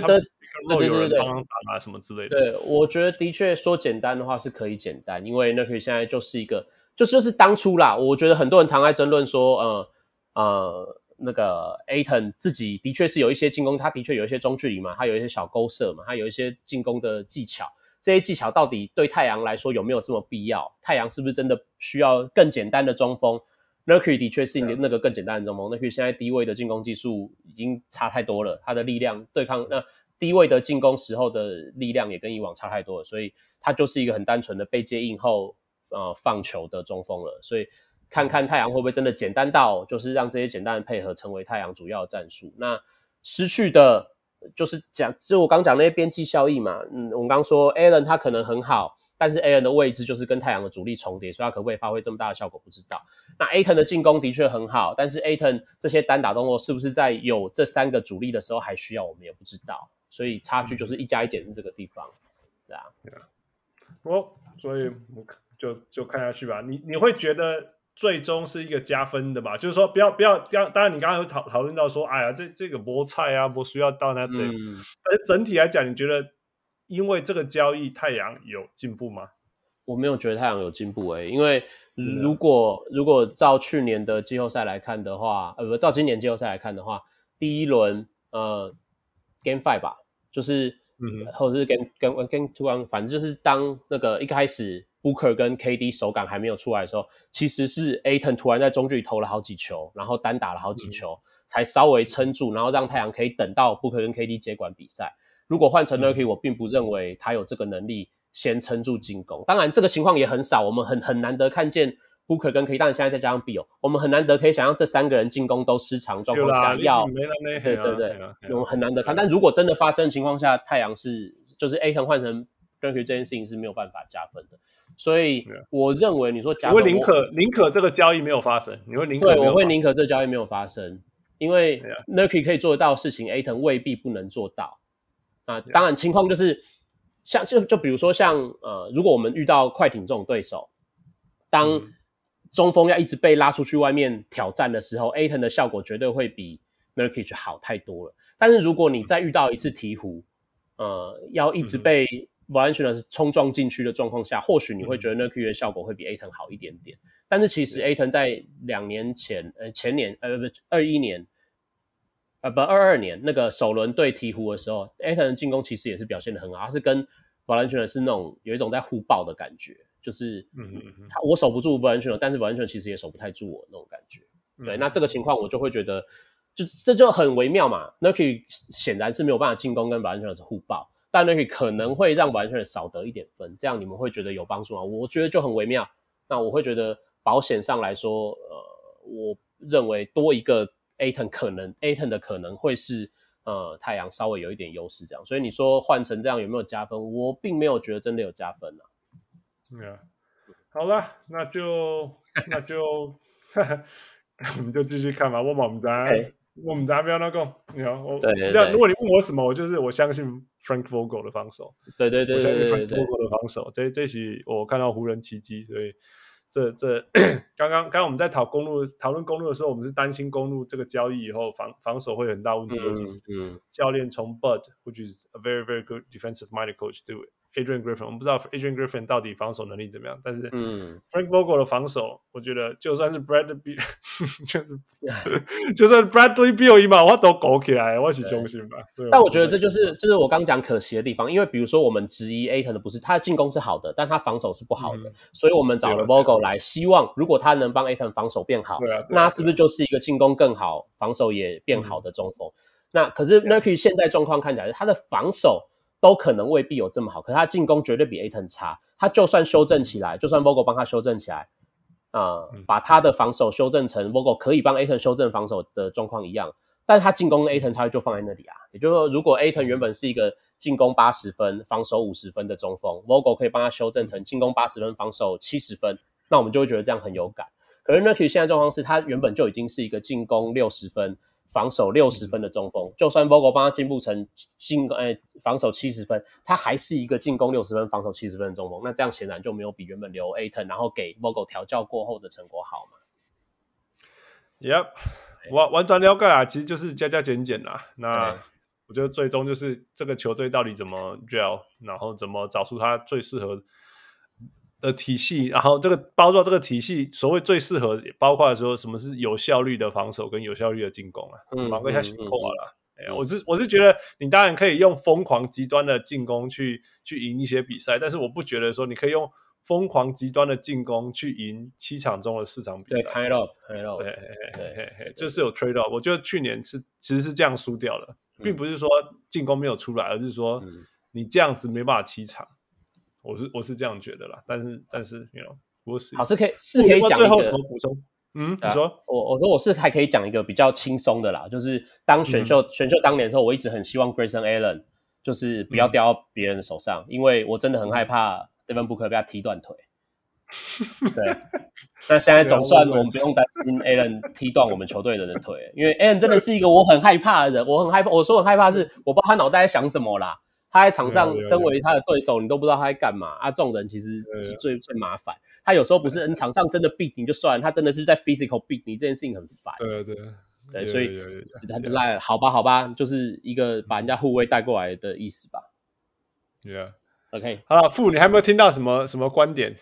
對，有人幫忙打什麼之類的。 对，我覺得的確說簡單的話是可以簡單，因為 Nurkic 現在就是一個，就是當初啦，我覺得很多人常在爭論說，那個 Ayton 自己的確是有一些進攻，他的確有一些中距離嘛，他有一些小勾射嘛，他有一些進攻的技巧，這些技巧到底對太陽來說有沒有這麼必要？太陽是不是真的需要更簡單的中鋒？Nurkic 的確是那個更簡單的中鋒。Nurkic 現在低位的進攻技術已經差太多了，他的力量對抗低位的進攻時候的力量也跟以往差太多了，所以他就是一個很单純的被接应後放球的中鋒了。所以看看太陽會不會真的簡單到就是讓這些簡单的配合成為太陽主要的戰術。那失去的就是就我剛講那些邊際效益嘛。我們剛說 Allen 他可能很好，但是 Allen 的位置就是跟太陽的主力重疊，所以他可不可以發揮這麼大的效果不知道。那 Ayton 的進攻的確很好，但是 Ayton 這些單打動作是不是在有這3个主力的时候還需要，我們也不知道。所以差距就是1+1減是這個地方，對啊。 所以就看下去吧。你會覺得最終是一個加分的吧？就是說不要，當然你剛剛有討論到說，哎呀，這個沒菜啊，不需要到那這。但是整體來講，你覺得因為這個交易，太陽有進步嗎？ 我沒有覺得太陽有進步因為如果照去年的季後賽來看的話，照今年季後賽來看的話，第一輪Game 5吧，就是或者是 Game 2，反正就是當那個一開始 Booker 跟 KD 手感還沒有出來的時候，其實是 Ayton 突然在中距離投了好幾球，然後單打了好幾球，才稍微撐住，然後讓太陽可以等到 Booker 跟 KD 接管比賽。如果換成 Nurkic， 我並不認為他有這個能力先撐住進攻。當然這個情況也很少，我們很難得看見 Booker 跟 KD， 當然現在再加上 Beal， 我們很難得可以想象這3個人進攻都失常狀況下要對，我們很難得看。但如果真的發生的情況下，太陽就是 Ayton 換成 Nurkic 這件事情是沒有辦法加分的。所以我認為你說加分， 你會寧可這個交易沒有發生，你會寧可對，我會寧可這個交易沒有發生，因為 Nurkic 可以做得到的事情 ，Ayton 未必不能做到。當然情況就是就比如說像如果我們遇到快艇這種對手，當中鋒要一直被拉出去外面挑戰的時候，Ayton 的效果絕對會比 Nurkic 好太多了。但是如果你再遇到一次鹈鶘，要一直被 Valanciunas 衝撞禁區的狀況下，或許你會覺得 Nurkic 的效果會比 Ayton 好一點點。但是其實 Ayton 在2年前前年21年22年那個首輪對鹈鶘的時候 ，Ayton 的進攻其實也是表現得很好，他是跟 Valanciunas 是那種有一種在互爆的感覺，就是我守不住 Valanciunas， 但是 Valanciunas 其實也守不太住我那種感覺。對，那這個情況我就會覺得，這就很微妙嘛。Nurkic 顯然是沒有辦法進攻跟 Valanciunas 互爆，但 Nurkic 可能會讓 Valanciunas 少得一點分，這樣你們會覺得有幫助嗎？我覺得就很微妙。那我會覺得保險上來說，我認為多一個 Ayton 的可能會是太陽稍微有一點優勢這樣，所以你說換成這樣有沒有加分？我並沒有覺得真的有加分啊。 好了，那就我們就繼續看吧。我們不要那個，如果你問我什麼，我相信 Frank Vogel 的防守。對，我相信 Frank Vogel 的防守。這期我看到湖人奇蹟，所以剛剛我們在討論公路的時候，我們是擔心公路這個交易以後防守會有很大問題，尤其是教練從 Bud，which is a very very good defensive minded coach to Adrian Griffin， 我們不知道 Adrian Griffin 到底防守能力怎麼樣，但是 Frank Vogel 的防守，我覺得就算是 Bradley Beal 就算 Bradley Beal 嘛，我都搞起來，我是相信吧。 但我覺得這就是我剛講可惜的地方，因為比如說我們質疑 Ayton 的不是他的進攻是好的，但他防守是不好的，所以我們找了 Vogel 來，希望如果他能幫 Ayton 防守變好，那是不是就是一個進攻更好、防守也變好的中鋒？那可是 Nurkic 現在狀況看起來，他的防守都可能未必有這麼好，可是他進攻絕對比 Ayton 差。他就算修正起來，就算 Vogel 幫他修正起來，把他的防守修正成 Vogel 可以幫 Ayton 修正防守的狀況一樣，但是他進攻跟 Ayton 差距就放在那裡啊。也就是說，如果 Ayton 原本是一個進攻80分、防守50分的中鋒 ，Vogel 可以幫他修正成進攻80分、防守70分，那我們就會覺得這樣很有感。可是 Nurkic 現在狀況是他原本就已經是一個進攻60分。防守60分的中鋒，就算 Vogel 幫他進步成防守70分，他還是一個進攻60分、防守70分的中鋒。那這樣顯然就沒有比原本留 Ayton 然後給 Vogel 調教過後的成果好嘛。 Yep， 我完全了解啊，其實就是加減減啦。那我覺得最終就是這個球隊到底怎麼 gel， 然後怎麼找出他最適合的體系，然後這個包括这個體系所謂最適合，包括說什麼是有效率的防守跟有效率的進攻啊，忙個一下辛苦了。我是覺得你當然可以用瘋狂極端的進攻去贏一些比賽，但是我不覺得說你可以用瘋狂極端的進攻去贏7場中的4場比賽。 對 kind of 對，就是有 trade off。我覺得去年其實是這樣輸掉的，並不是說進攻沒有出來，而是說你這樣子沒辦法7場。我是這樣覺得啦，但是 you know， 好是可以講一個最後什麼補充？你說， 我說我是還可以講一個比較輕鬆的啦，就是當選秀當年的時候，我一直很希望 Grayson Allen 就是不要掉到別人的手上，因為我真的很害怕 Devin Booker 被他踢斷腿。对，那現在總算我們不用擔心 Allen 踢斷我們球隊的人腿，因為 Allen 真的是一個我很害怕的人，我說很害怕是我不知道他腦袋在想什麼啦。他在场上身為他的對手，你都不知道他在幹嘛啊！這種人其實最麻煩。他有時候不是場上真的 beat 你就算了，他真的是在 physical beat 你，這件事情很煩。對，所以他就賴了，好吧，就是一個把人家護衛帶過來的意思吧。OK， 好了，傅，你還有沒有聽到什麼觀點？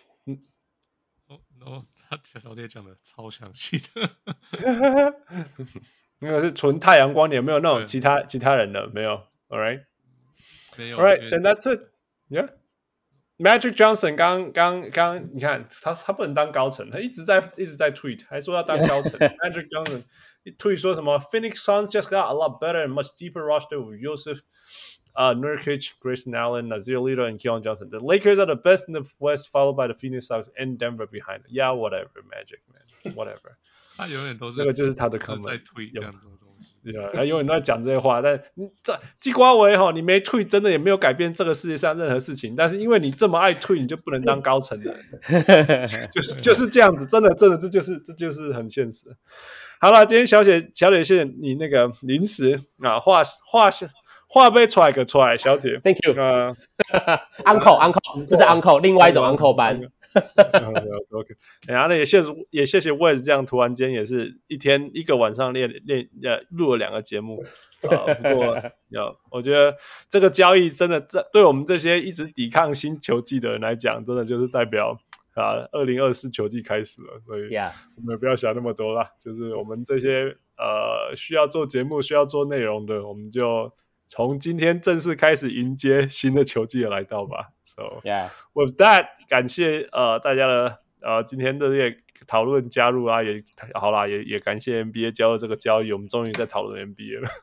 他小弟講的超詳細的， 那個是純太陽光點，沒有那種其他人的，沒有。All right。All right, then that's it. Yeah. Magic Johnson 剛你看他不能當高層，他一直在 tweet， 還說要當高層。Magic Johnson 一 tweet 說什麼 Phoenix Suns just got a lot better and much deeper roster with Joseph Nurkic, Grayson Allen, Nazir Little, and Keon Johnson. The Lakers are the best in the West, followed by the Phoenix Suns and Denver behind. Yeah, whatever, Magic man, whatever. 他永遠都是那個就是他的 comment 在 tweet 這樣子的東西。 他永遠都在講這些話，但季瓜維你沒退，真的也沒有改變這個世界上任何事情。但是因為你這麼愛退，你就不能當高層人，就是這樣子，真的，這就是很現實。好了，今天小鐵謝謝你那個臨時啊話被踹個踹，小鐵 ，Thank you， Uncle， 這是 Uncle， 另外一種 Uncle 班。 OK， 然後呢也謝謝 Wes 這樣突然間也是一個晚上錄了2個節目。不過我覺得這個交易真的對我們這些一直抵抗新球季的人來講，真的就是代表2024球季開始了，所以我們也不要想那麼多啦，就是我們這些需要做節目需要做內容的，我們就從今天正式開始迎接新的球季的來到吧。So with that， 感謝大家的今天的这些討論加入啊，也好啦，也感謝 NBA 加入這個交易，我們終於在討論 NBA 了。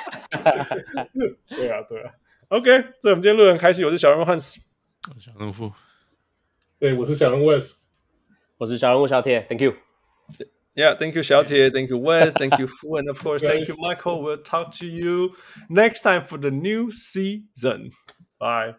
對啊 ，OK， 所以我們今天錄得很開心，我是小人物 Hans， 我是小人物傅， 對，我是小人物 Wes， 我是小人物小鐵 ，Thank you。Yeah, thank you, Xiaotie. Thank you, Wes. Thank you, Fu. And of course, thank you, Michael. We'll talk to you next time for the new season. Bye.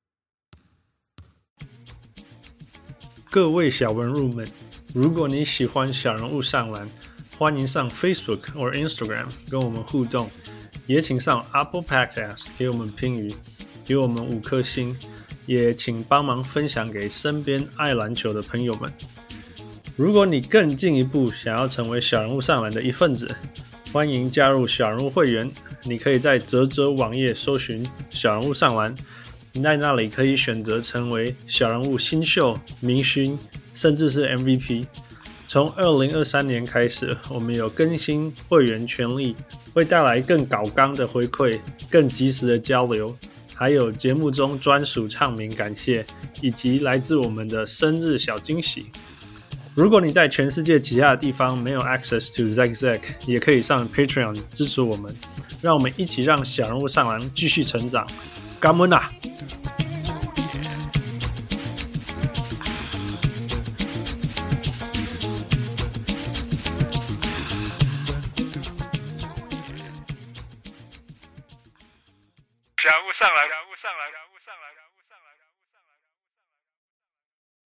各位小文入們，如果你喜歡小人物上籃，歡迎上 Facebook 或 Instagram 跟我們互動，也請上 Apple Podcast 給我們評語，給我們5顆星，也請幫忙分享給身邊愛籃球的朋友們。如果你更進一步想要成為小人物上籃的一份子，歡迎加入小人物會員。你可以在嘖網頁搜尋小人物上籃，在那裡可以選擇成為小人物新秀、明星，甚至是 MVP。從2023年開始，我們有更新會員權利，會帶來更高綱的回饋、更及時的交流，還有節目中專屬唱名感謝，以及來自我們的生日小驚喜。如果你在全世界其他的地方沒有 access to Zack， 也可以上 Patreon 支持我們，讓我們一起讓小人物上籃繼續成長。感恩啊！小人物上籃。